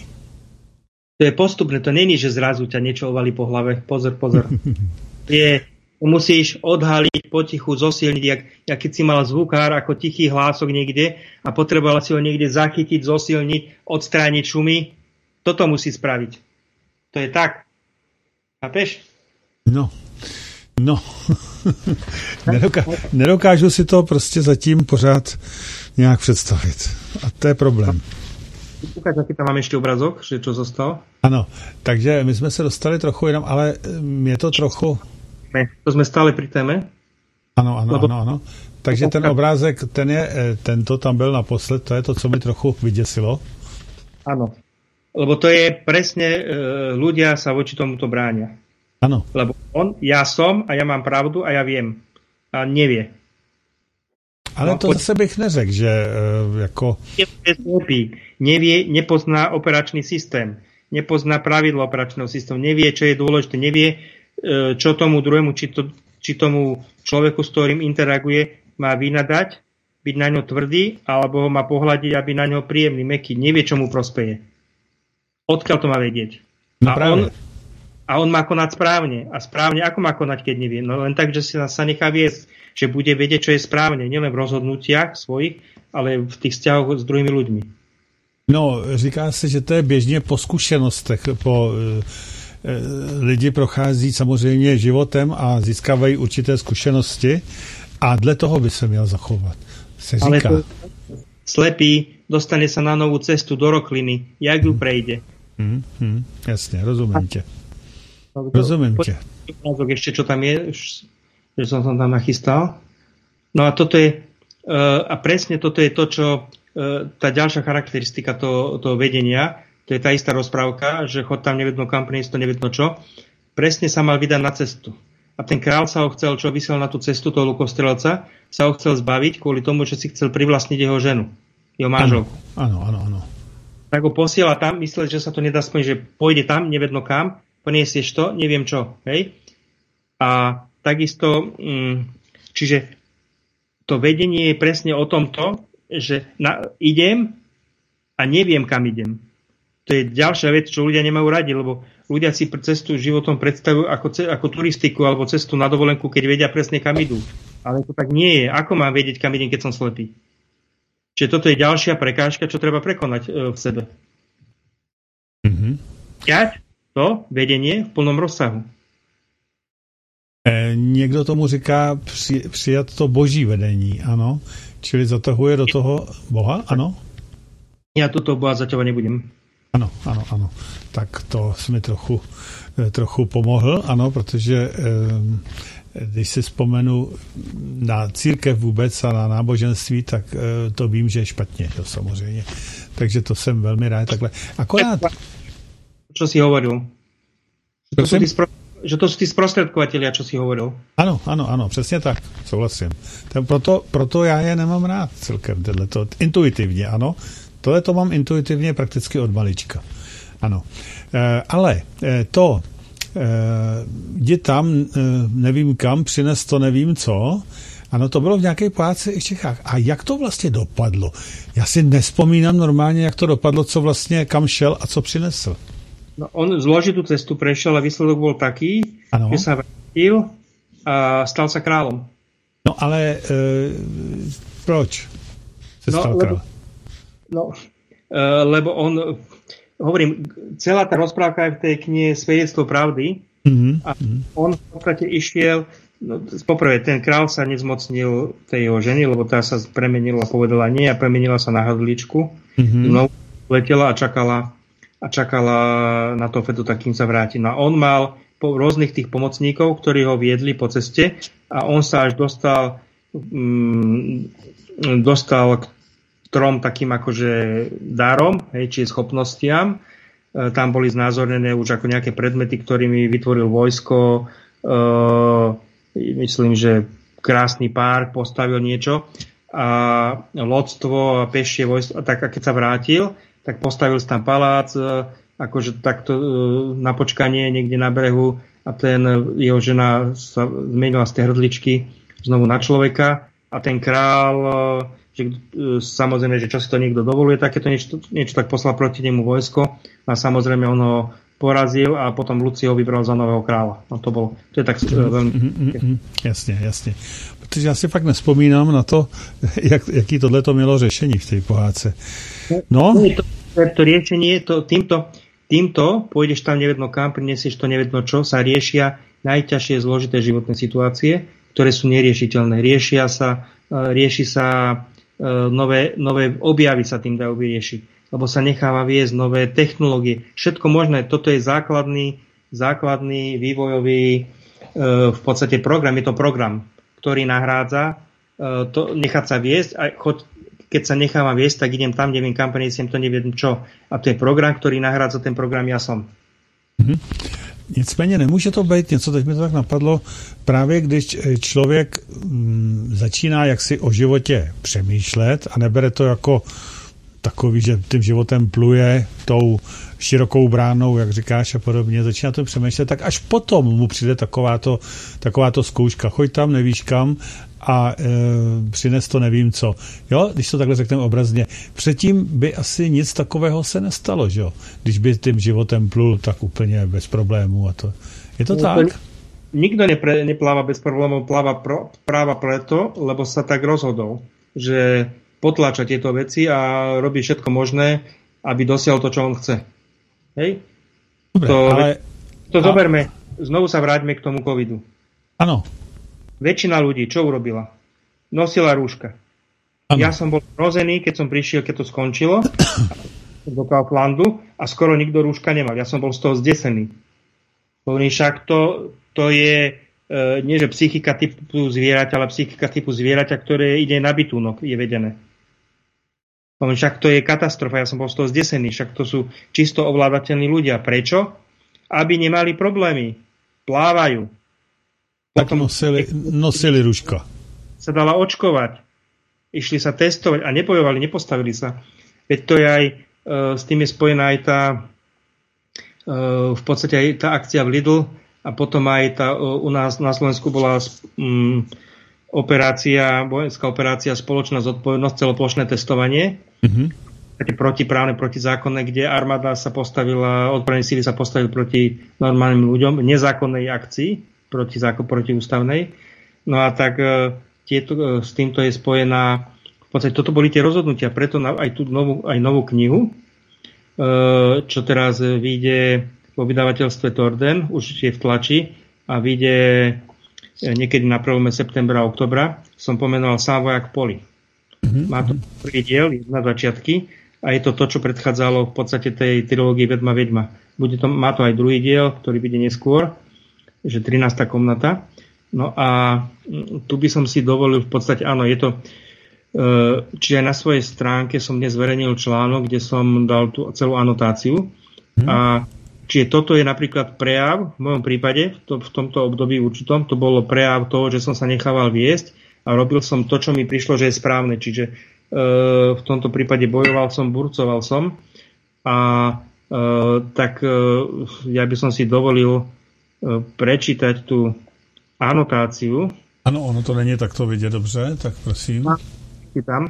To je postupné, to není, že zrazu ťa niečo ovalí po hlave. Pozor, pozor. Je, musíš odhaliť, potichu, zosilniť, jak, jak keď si mal zvukár ako tichý hlások niekde a potreboval si ho niekde zachytiť, zosilniť, odstrániť šumy. Toto musí spraviť. To je tak. Chápeš? No, no. Nedoká- nedokážu si to prostě zatím pořád nějak představit. A to je problém. Ukáž, aký tam mám ešte obrazok, že čo zostal. Ano, takže my jsme se dostali trochu jinam, ale je to trochu... Ne, to jsme stále pri téme. Ano, ano, ano, ano. Takže ten obrázek, ten je, tento tam byl naposled, to je to, co mi trochu vyděsilo. Ano, lebo to je presne, e, ľudia sa voči tomuto bránia. Ano. Lebo on, ja som a ja mám pravdu a ja viem. a nevie. Ale no, to zase bych neřekl, že uh, jako... Nevie, nepozná operačný systém, nepozná pravidlo operačného systému, nevie, čo je dôležité, nevie, čo tomu druhému, či, to, či tomu človeku, s ktorým interaguje, má vynadať, byť na ňo tvrdý, alebo ho má pohľadiť, aby na ňo príjemný, mäkký. Nevie, čo mu prospeje. Odkiaľ to má vedieť? No a, on, a on má konať správne. A správne, ako má konať, keď nevie? No len tak, že sa, sa nechá viesť, že bude vedieť, čo je správne. Nielen v rozhodnutiach svojich, ale v tých vzťahoch s druhými ľuďmi. No, říká se, že to je běžně po zkušenostech, po e, lidi prochází samozřejmě životem a získávají určité zkušenosti a dle toho by se měl zachovat, se říká. Ale to slepý dostane sa na novú cestu do rokliny, jak ju prejde. Hmm, hmm, jasně, rozumím tě. Rozumím tě. Ešte, čo tam je, že som tam nachystal. No a toto je, a presne toto je to, čo tá ďalšia charakteristika toho, toho vedenia, to je tá istá rozprávka, že chod tam nevedno kam, priniesť to nevedno čo, presne sa mal vydať na cestu. A ten král sa ho chcel, čo vysel na tú cestu toho lukostrelca, sa ho chcel zbaviť kvôli tomu, že si chcel privlastniť jeho ženu, jeho manželku. Áno, áno, áno. Tak ho posiela tam, myslel, že sa to nedá splniť, že pôjde tam, nevedno kam, poniesieš to, neviem čo. Hej? A takisto, čiže to vedenie je presne o tomto, že na, idem a neviem, kam idem. To je ďalšia vec, čo ľudia nemajú radi, lebo ľudia si cestu životom predstavujú ako, ako turistiku alebo cestu na dovolenku, keď vedia presne, kam idú. Ale to tak nie je. Ako mám vedieť, kam idem, keď som slepý? Čiže toto je ďalšia prekážka, čo treba prekonať e, v sebe. Mm-hmm. Ťať to vedenie v plnom rozsahu. E, někdo tomu říká při, přijat to boží vedení, ano. Čili zatahuje do toho Boha, ano? Ja toto Boha zaťahovať nebudem. Ano, ano, ano. Tak to jsi mi trochu, trochu pomohl, ano, protože když si vzpomenu na církev vůbec a na náboženství, tak to vím, že je špatně, to samozřejmě. Takže to jsem velmi rád takhle. Akorát... Čo si hovoril? Že to, sú tí, spro... že to sú tí sprostredkovatelia, čo si hovoril. Ano, ano, ano, přesně tak, souhlasím. Proto, proto já je nemám rád celkem, tohleto, intuitivně, ano. Tohle to mám intuitivně prakticky od malička. Ano. E, ale e, to e, jdi tam, e, nevím kam, přines to nevím co, ano, to bylo v nějaké pohádce i v Čechách. A jak to vlastně dopadlo? Já si nespomínám normálně, jak to dopadlo, co vlastně kam šel a co přinesl. No, on zložitú cestu prešiel a výsledok bol taký, ano. Že sa vrátil a stal sa kráľom. No ale e, proč se no, stal lebo, kráľom? No, e, lebo on, hovorím, celá tá rozprávka je v tej knihe Svedectvo pravdy mm-hmm. a on v podstate išiel, no, poprvé, ten král sa nezmocnil tej jeho ženy, lebo tá sa premenila a povedala nie a premenila sa na hrdličku. Mm-hmm. No, letela a čakala a čakala na to Fedu, tak kým sa vráti. No a on mal po rôznych tých pomocníkov, ktorí ho viedli po ceste a on sa až dostal mm, dostal k trom takým akože dárom, hej, či schopnostiam. E, tam boli znázornené už ako nejaké predmety, ktorými vytvoril vojsko, e, myslím, že krásny park, postavil niečo a lodstvo a pešie vojsko. A tak a keď sa vrátil, tak postavil si tam palác, akože takto na počkanie niekde na brehu a ten jeho žena sa zmenila z tej hrdličky znovu na človeka a ten král, že, samozrejme, že čo si to niekto dovoluje, takéto niečo, niečo tak poslal proti nemu vojsko a samozrejme on ho porazil a potom Luci ho vybral za nového kráľa. No to bolo, to je tak veľmi... Jasne, jasne. Protože já si fakt nespomínám na to, jak, jaký tohleto mělo řešení v tej pohádce. No. To, to riešenie, to, týmto, týmto pôjdeš tam nevedno kam, prinesieš to nevedno čo, sa riešia najťažšie zložité životné situácie, ktoré sú neriešiteľné. Riešia sa, rieši sa nové, nové objavy sa tým dajú vyriešiť, lebo sa necháva viesť nové technológie. Všetko možné. Toto je základný, základný vývojový v podstate program. Je to program, ktorý nahrádza to, nechať sa viesť a choď, keď sa nechávam viesť, tak idem tam, neviem kam, preniesiem to, neviem čo. A to je program, ktorý nahrádza ten program ja som. Mm-hmm. Nicméně nemůže to být něco, teď mi to tak napadlo, právě když člověk mm, začíná jaksi o životě přemýšlet a nebere to jako takový, že tím životem pluje tou širokou bránou, jak říkáš a podobně, začíná to přemýšlet, tak až potom mu přijde takováto, takováto zkouška. Choď tam, nevíš kam a e, přines to nevím co. Jo, když to takhle řekneme obrazně. Předtím by asi nic takového se nestalo, že jo? Když by tím životem plul tak úplně bez problémů a to. Je to no, tak? Nikto nepre, nepláva bez problémov, pláva pro, práva preto, lebo sa tak rozhodol, že potláča tieto veci a robí všetko možné, aby dosiahol to, čo on chce. Hej? Dobre, to, ale... To zoberme, znovu sa vráťme k tomu covidu. Áno. Väčšina ľudí, čo urobila? Nosila rúška. Ano. Ja som bol rozený, keď som prišiel, keď to skončilo do Kauflandu a skoro nikto rúška nemal. Ja som bol z toho zdesený. Hovorím, však to, to je e, nie že psychika typu zvieraťa, ale psychika typu zvieraťa, ktoré ide na bytúnok, je vedené. Hovorím, však to je katastrofa, ja som bol z toho zdesený, však to sú čisto ovládateľní ľudia. Prečo? Aby nemali problémy. Plávajú. Tak Potom nosili, nosili rúška. Sa dala očkovať. Išli sa testovať a nepojovali, nepostavili sa. Veď to je aj, e, s tým je spojená aj tá e, v podstate aj tá akcia v Lidl a potom aj tá, e, u nás na Slovensku bola mm, operácia, vojenská operácia Spoločná zodpovednosť, celoplošné testovanie. Mm-hmm. Také protiprávne, protizákonné, kde armáda sa postavila, odbrané síly sa postavili proti normálnym ľuďom, nezákonnej akcii, proti zákon, protiústavnej. No a tak e, tieto, s týmto je spojená, v podstate toto boli tie rozhodnutia, preto aj tú novú, aj novú knihu, čo teraz vyjde vo vydavateľstve Torden, už je v tlači a vyjde niekedy na prelome septembra a oktobra, som pomenoval Sám vojak v poli. Mm-hmm. Má to prvý diel, na začiatky a je to to, čo predchádzalo v podstate tej trilógii Vedma Vedma. Bude to, má to aj druhý diel, ktorý vyjde neskôr, že trinásta komnata. No a tu by som si dovolil v podstate, áno, je to, čiže aj na svojej stránke som dnes zverejnil článok, kde som dal tú celú anotáciu. Hmm. A čiže toto je napríklad prejav, v mojom prípade, v, to, v tomto období určitom, to bolo prejav toho, že som sa nechával viesť a robil som to, čo mi prišlo, že je správne. Čiže e, v tomto prípade bojoval som, burcoval som a e, tak e, ja by som si dovolil e, prečítať tú anotáciu. Ano, ono to není takto vidět dobře, tak prosím. Tam.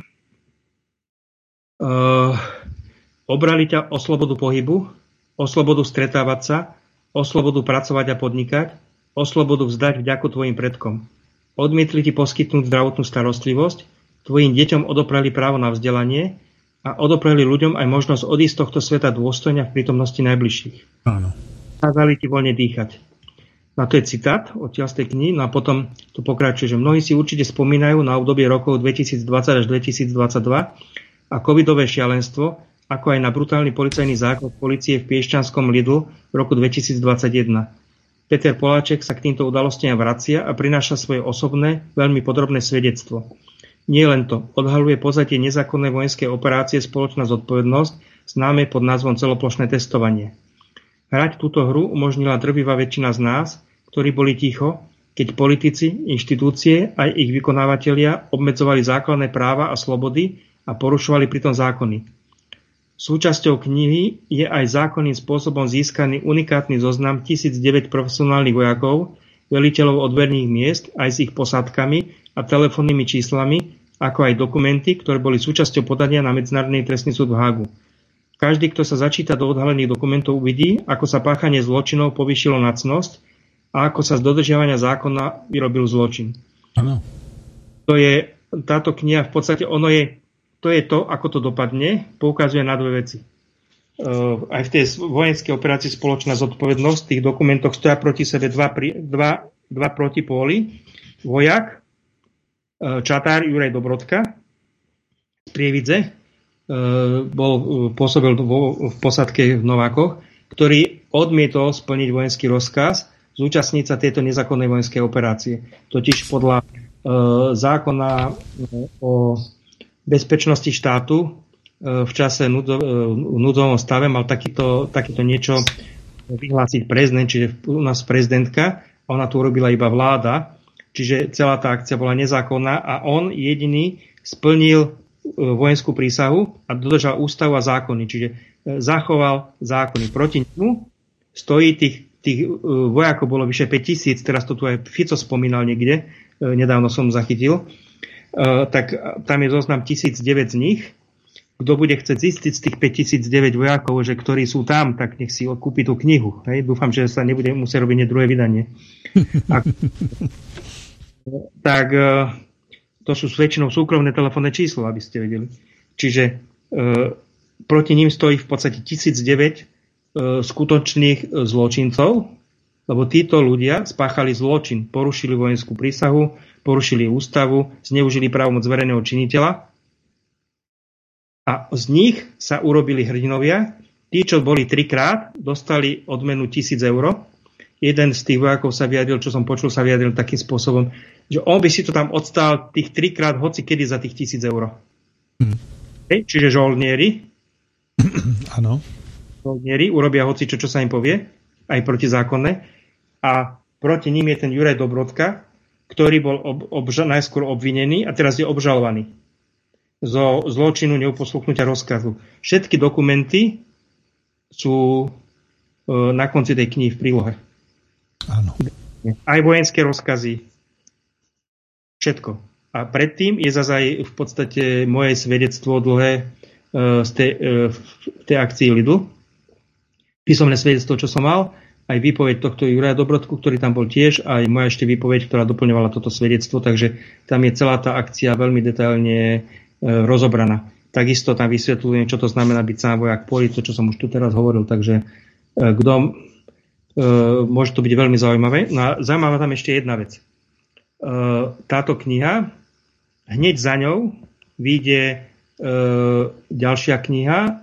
Uh, obrali ťa o slobodu pohybu, o slobodu stretávať sa, o slobodu pracovať a podnikať, o slobodu vzdať vďaku tvojim predkom. Odmietli ti poskytnúť zdravotnú starostlivosť, tvojim deťom odopreli právo na vzdelanie a odopreli ľuďom aj možnosť odísť z tohto sveta dôstojne v prítomnosti najbližších. Áno. Kázali ti voľne dýchať. No to je citát odtiaľ z tej knihy, no a potom to pokračuje, že mnohí si určite spomínajú na obdobie rokov dvetisícdvadsať až dvetisícdvadsaťdva a covidové šialenstvo, ako aj na brutálny policajný zákrok polície v Piešťanskom Lidl v roku dvetisícdvadsaťjeden. Peter Poláček sa k týmto udalostiam vracia a prináša svoje osobné, veľmi podrobné svedectvo. Nie len to, odhaľuje pozadie nezákonnej vojenskej operácie Spoločná zodpovednosť, známe pod názvom celoplošné testovanie. Hrať túto hru umožnila drvivá väčšina z nás, ktorí boli ticho, keď politici, inštitúcie aj ich vykonávateľia obmedzovali základné práva a slobody a porušovali pritom zákony. Súčasťou knihy je aj zákonným spôsobom získaný unikátny zoznam tisícdeväť profesionálnych vojakov, veliteľov odberných miest aj s ich posádkami a telefónnymi číslami, ako aj dokumenty, ktoré boli súčasťou podania na Medzinárodný trestný súd v Hágu. Každý, kto sa začíta do odhalených dokumentov, uvidí, ako sa páchanie zločinov povýšilo na cnosť a ako sa z dodržiavania zákona vyrobil zločin. Áno. To je, táto kniha v podstate, ono je, to je to, ako to dopadne, poukazuje na dve veci. Uh, aj v tej vojenskej operácii Spoločná zodpovednosť, v tých dokumentoch stoja proti sebe dva, dva, dva protipóly. Vojak, uh, čatár Juraj Dobrodka z Prievidze, bol, pôsobil vo, v posádke v Novákoch, ktorý odmietol splniť vojenský rozkaz zúčastniť sa tejto nezákonnej vojenskej operácie. Totiž podľa e, zákona o bezpečnosti štátu e, v čase nudzo, e, núdzovom stave mal takýto, takýto niečo vyhlásiť prezident, čiže u nás prezidentka, ona to urobila iba vláda, čiže celá tá akcia bola nezákonná a on jediný splnil vojenskú prísahu a dodržal ústavu a zákony, čiže zachoval zákony. Proti nemu stojí tých, tých vojakov bolo vyše päť tisíc, teraz to tu aj Fico spomínal niekde, nedávno som zachytil, tak tam je zoznam tisíc deväť z nich. Kto bude chcieť zistiť z tých päťtisícdeväť vojakov, že ktorí sú tam, tak nech si kúpi tú knihu. Hej? Dúfam, že sa nebude musieť robiť druhé vydanie. A, tak to sú väčšinou súkromné telefónne číslo, aby ste vedeli. Čiže e, proti ním stojí v podstate tisícdeväť e, skutočných zločincov, lebo títo ľudia spáchali zločin, porušili vojenskú prísahu, porušili ústavu, zneužili právomoc verejného činiteľa. A z nich sa urobili hrdinovia. Tí, čo boli trikrát, dostali odmenu tisíc eur. Jeden z tých vojakov sa vyjadril, čo som počul, sa vyjadril takým spôsobom, že on by si to tam odstál tých trikrát hoci kedy za tých tisíc eur. Hmm. Hej, čiže žoldnieri. Áno. Žoldnieri urobia hoci čo, čo sa im povie, aj protizákonné. A proti ním je ten Juraj Dobrodka, ktorý bol ob, obža, najskôr obvinený a teraz je obžalovaný zo zločinu neuposluchnutia rozkazu. Všetky dokumenty sú e, na konci tej knihy v prílohe. Áno. Aj vojenské rozkazy. Všetko. A predtým je zase aj v podstate moje svedectvo dlhé e, z tej, e, v tej akcii Lidl. Písomné svedectvo, čo som mal, aj výpoveď tohto Juraja Dobrodku, ktorý tam bol tiež, aj moja ešte výpoveď, ktorá doplňovala toto svedectvo, takže tam je celá tá akcia veľmi detailne rozobraná. Takisto tam vysvetľujem, čo to znamená byť sám vojak poli, to, čo som už tu teraz hovoril, takže kto, e, môže to byť veľmi zaujímavé. No a zaujímavá tam ešte jedna vec. E, táto kniha, hneď za ňou vyjde e, ďalšia kniha e,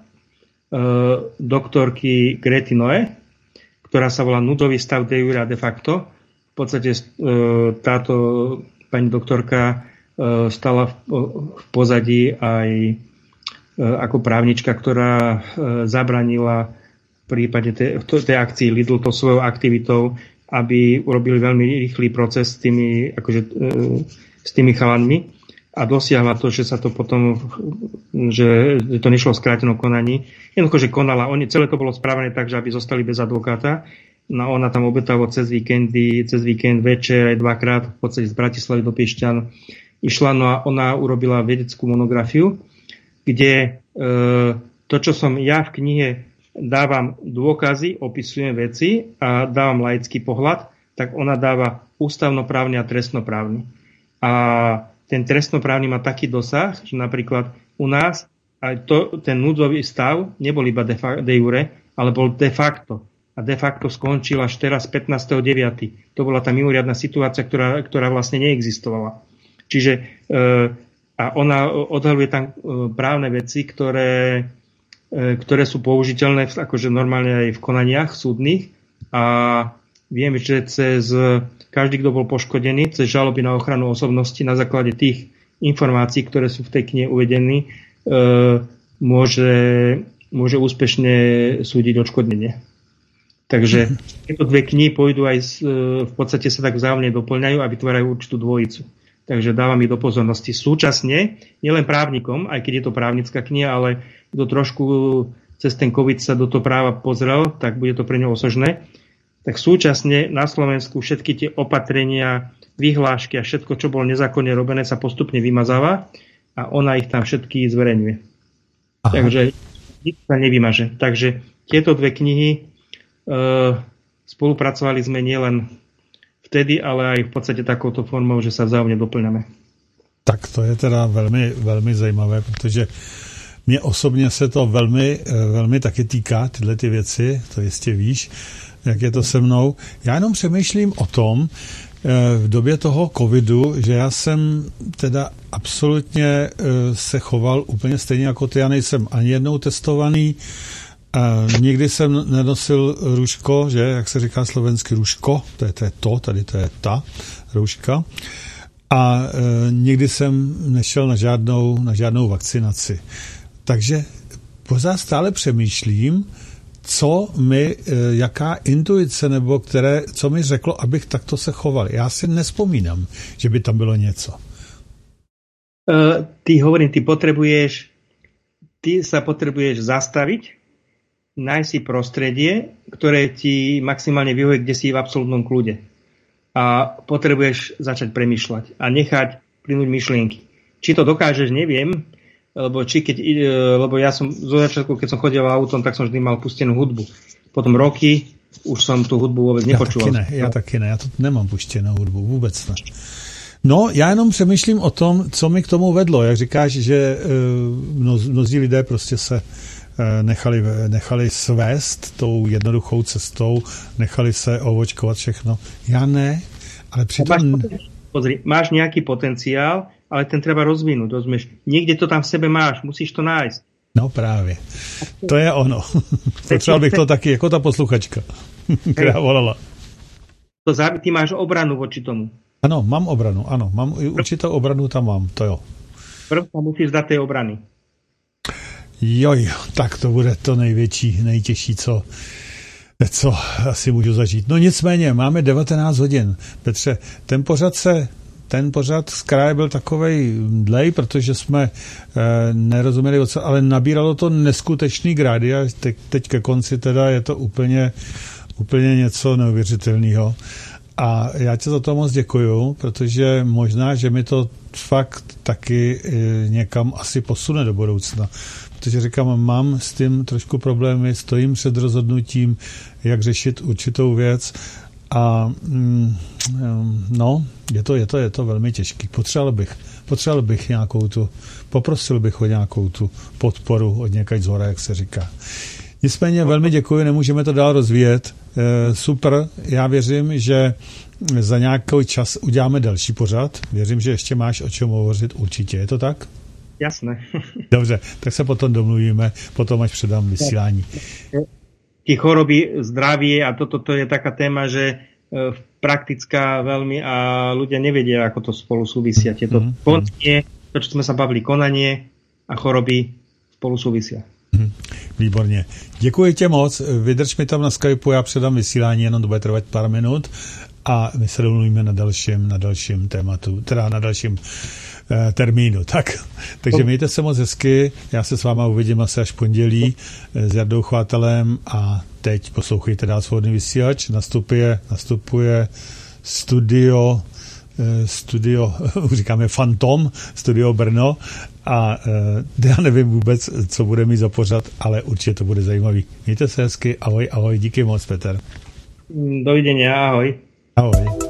doktorky Grety Noe, ktorá sa volá Núdzový stav de jure a de facto. V podstate e, táto pani doktorka stala v pozadí aj ako právnička, ktorá zabranila v prípade tej, tej akcii Lidl to svojou aktivitou, aby urobili veľmi rýchly proces s tými, akože, s tými chalanmi a dosiahla to, že sa to potom, že to nešlo v skrátenom konaní. Jednoducho, že konala. Oni, celé to bolo spravené tak, že aby zostali bez advokáta. No ona tam obetavo cez víkendy, cez víkend večer aj dvakrát v podstate z Bratislavy do Piešťan išla, no a ona urobila vedeckú monografiu, kde e, to, čo som ja v knihe dávam dôkazy, opisujem veci a dávam laický pohľad, tak ona dáva ústavnoprávny a trestnoprávny. A ten trestnoprávny má taký dosah, že napríklad u nás aj to, ten núdzový stav nebol iba de, fa- de jure, ale bol de facto. A de facto skončil až teraz pätnásteho deviateho To bola tá mimoriadna situácia, ktorá, ktorá vlastne neexistovala. Čiže e, a ona odhaľuje tam e, právne veci, ktoré, e, ktoré sú použiteľné v, akože normálne aj v konaniach súdnych a viem, že cez každý, kto bol poškodený, cez žaloby na ochranu osobnosti na základe tých informácií, ktoré sú v tej knihe uvedení, e, môže, môže úspešne súdiť odškodnenie. Takže tieto dve knihy pôjdu aj z, v podstate sa tak vzájomne doplňajú a vytvárajú určitú dvojicu. Takže dávam ich do pozornosti. Súčasne, nielen právnikom, aj keď je to právnická kniha, ale kto trošku cez ten COVID sa do toho práva pozrel, tak bude to pre ňo osožné. Tak súčasne na Slovensku všetky tie opatrenia, vyhlášky a všetko, čo bolo nezákonne robené, sa postupne vymazáva a ona ich tam všetky zverejňuje. Aha. Takže nič sa nevymaže. Takže tieto dve knihy e, spolupracovali sme nielen vtedy, ale aj v podstate takouto formou, že sa vzájomne doplňame. Tak to je teda velmi, velmi zajímavé, protože mě osobně se to velmi, velmi taky týká, tyhle ty věci, to jistě víš, jak je to se mnou. Já jenom přemýšlím o tom, v době toho covidu, že já jsem teda absolutně se choval úplně stejně jako ty, já nejsem ani jednou testovaný, Uh, nikdy jsem nenosil růžko, že, jak se říká slovensky růžko, to je, to je to, tady to je ta růžka. A uh, nikdy jsem nešel na žádnou, na žádnou vakcinaci. Takže pořád stále přemýšlím, co mi, jaká intuice, nebo které, co mi řeklo, abych takto se choval. Já si nespomínam, že by tam bylo něco. Uh, ty hovorím, ty potrebuješ, ty sa potrebuješ zastaviť, nájsť si prostredie, ktoré ti maximálne vyhovuje, kde si v absolútnom kľude. A potrebuješ začať premýšľať a nechať plynúť myšlienky. Či to dokážeš, neviem, lebo, či keď, lebo ja som zo začiatku, keď som chodil autom, tak som vždy mal pustenú hudbu. Potom roky už som tú hudbu vôbec nepočúval. Ja taky ne, ja taky ne, ja to nemám puštěnou hudbu, vůbec ne. No, já jenom přemýšlím o tom, co mi k tomu vedlo. Jak říkáš, že mnoz, mnozí lidé prostě se nechali, nechali svést tou jednoduchou cestou, nechali se ovočkovat všechno. Já ne, ale přitom... Máš, pozri, máš nějaký potenciál, ale ten treba rozvinúť, rozumieš? Niekde to tam v sebe máš, musíš to nájsť. No právě. To je ono. Potřeboval bych to taky, jako ta posluchačka, která volala. To závi, ty máš obranu voči tomu. Ano, mám obranu, ano. Mám určitou obranu, tam mám, to jo. Prv tam musíš dát té obrany. Joj, tak to bude to největší, nejtěžší, co, co asi můžu zažít. No nicméně, máme devatenáct hodin. Petře, ten pořad se Ten pořad z kraje byl takovej dlej, protože jsme e, nerozuměli, ale nabíralo to neskutečný grády a teď, teď ke konci teda je to úplně, úplně něco neuvěřitelného. A já ti za to moc děkuju, protože možná, že mi to fakt taky e, někam asi posune do budoucna. Protože říkám, mám s tím trošku problémy, stojím před rozhodnutím, jak řešit určitou věc. A mm, no, je to, je to, je to velmi těžký. Potřeboval bych, potřeboval bych nějakou tu, poprosil bych o nějakou tu podporu od někaď zhora, jak se říká. Nicméně velmi děkuji, nemůžeme to dál rozvíjet. E, super, já věřím, že za nějaký čas uděláme další pořad. Věřím, že ještě máš o čem hovořit určitě. Je to tak? Jasné. Dobře, tak se potom domluvíme, potom až předám vysílání. Tie choroby, zdravie a toto to je taká téma, že e, praktická veľmi a ľudia nevedia, ako to spolu súvisia. Tieto mm-hmm. konanie, to, čo sme sa bavili, konanie a choroby spolu súvisia. Mm-hmm. Výborně. Děkuji tě moc. Vydrž mi tam na Skypeu, já předám vysílání, jenom to bude trvat pár minut a my se domluvíme na dalším, na dalším tématu, teda na dalším eh, termínu. Tak, takže mějte se moc hezky, já se s váma uvidím asi až pondělí eh, s Jardou Chvátelem a teď poslouchejte dál Svobodný vysílač, nastupuje, nastupuje studio, eh, studio, říkáme Fantom, studio Brno a eh, já nevím vůbec, co bude mít za pořad, ale určitě to bude zajímavý. Mějte se hezky, ahoj, ahoj, díky moc, Petr. Dovidenia, ahoj. Ahoj.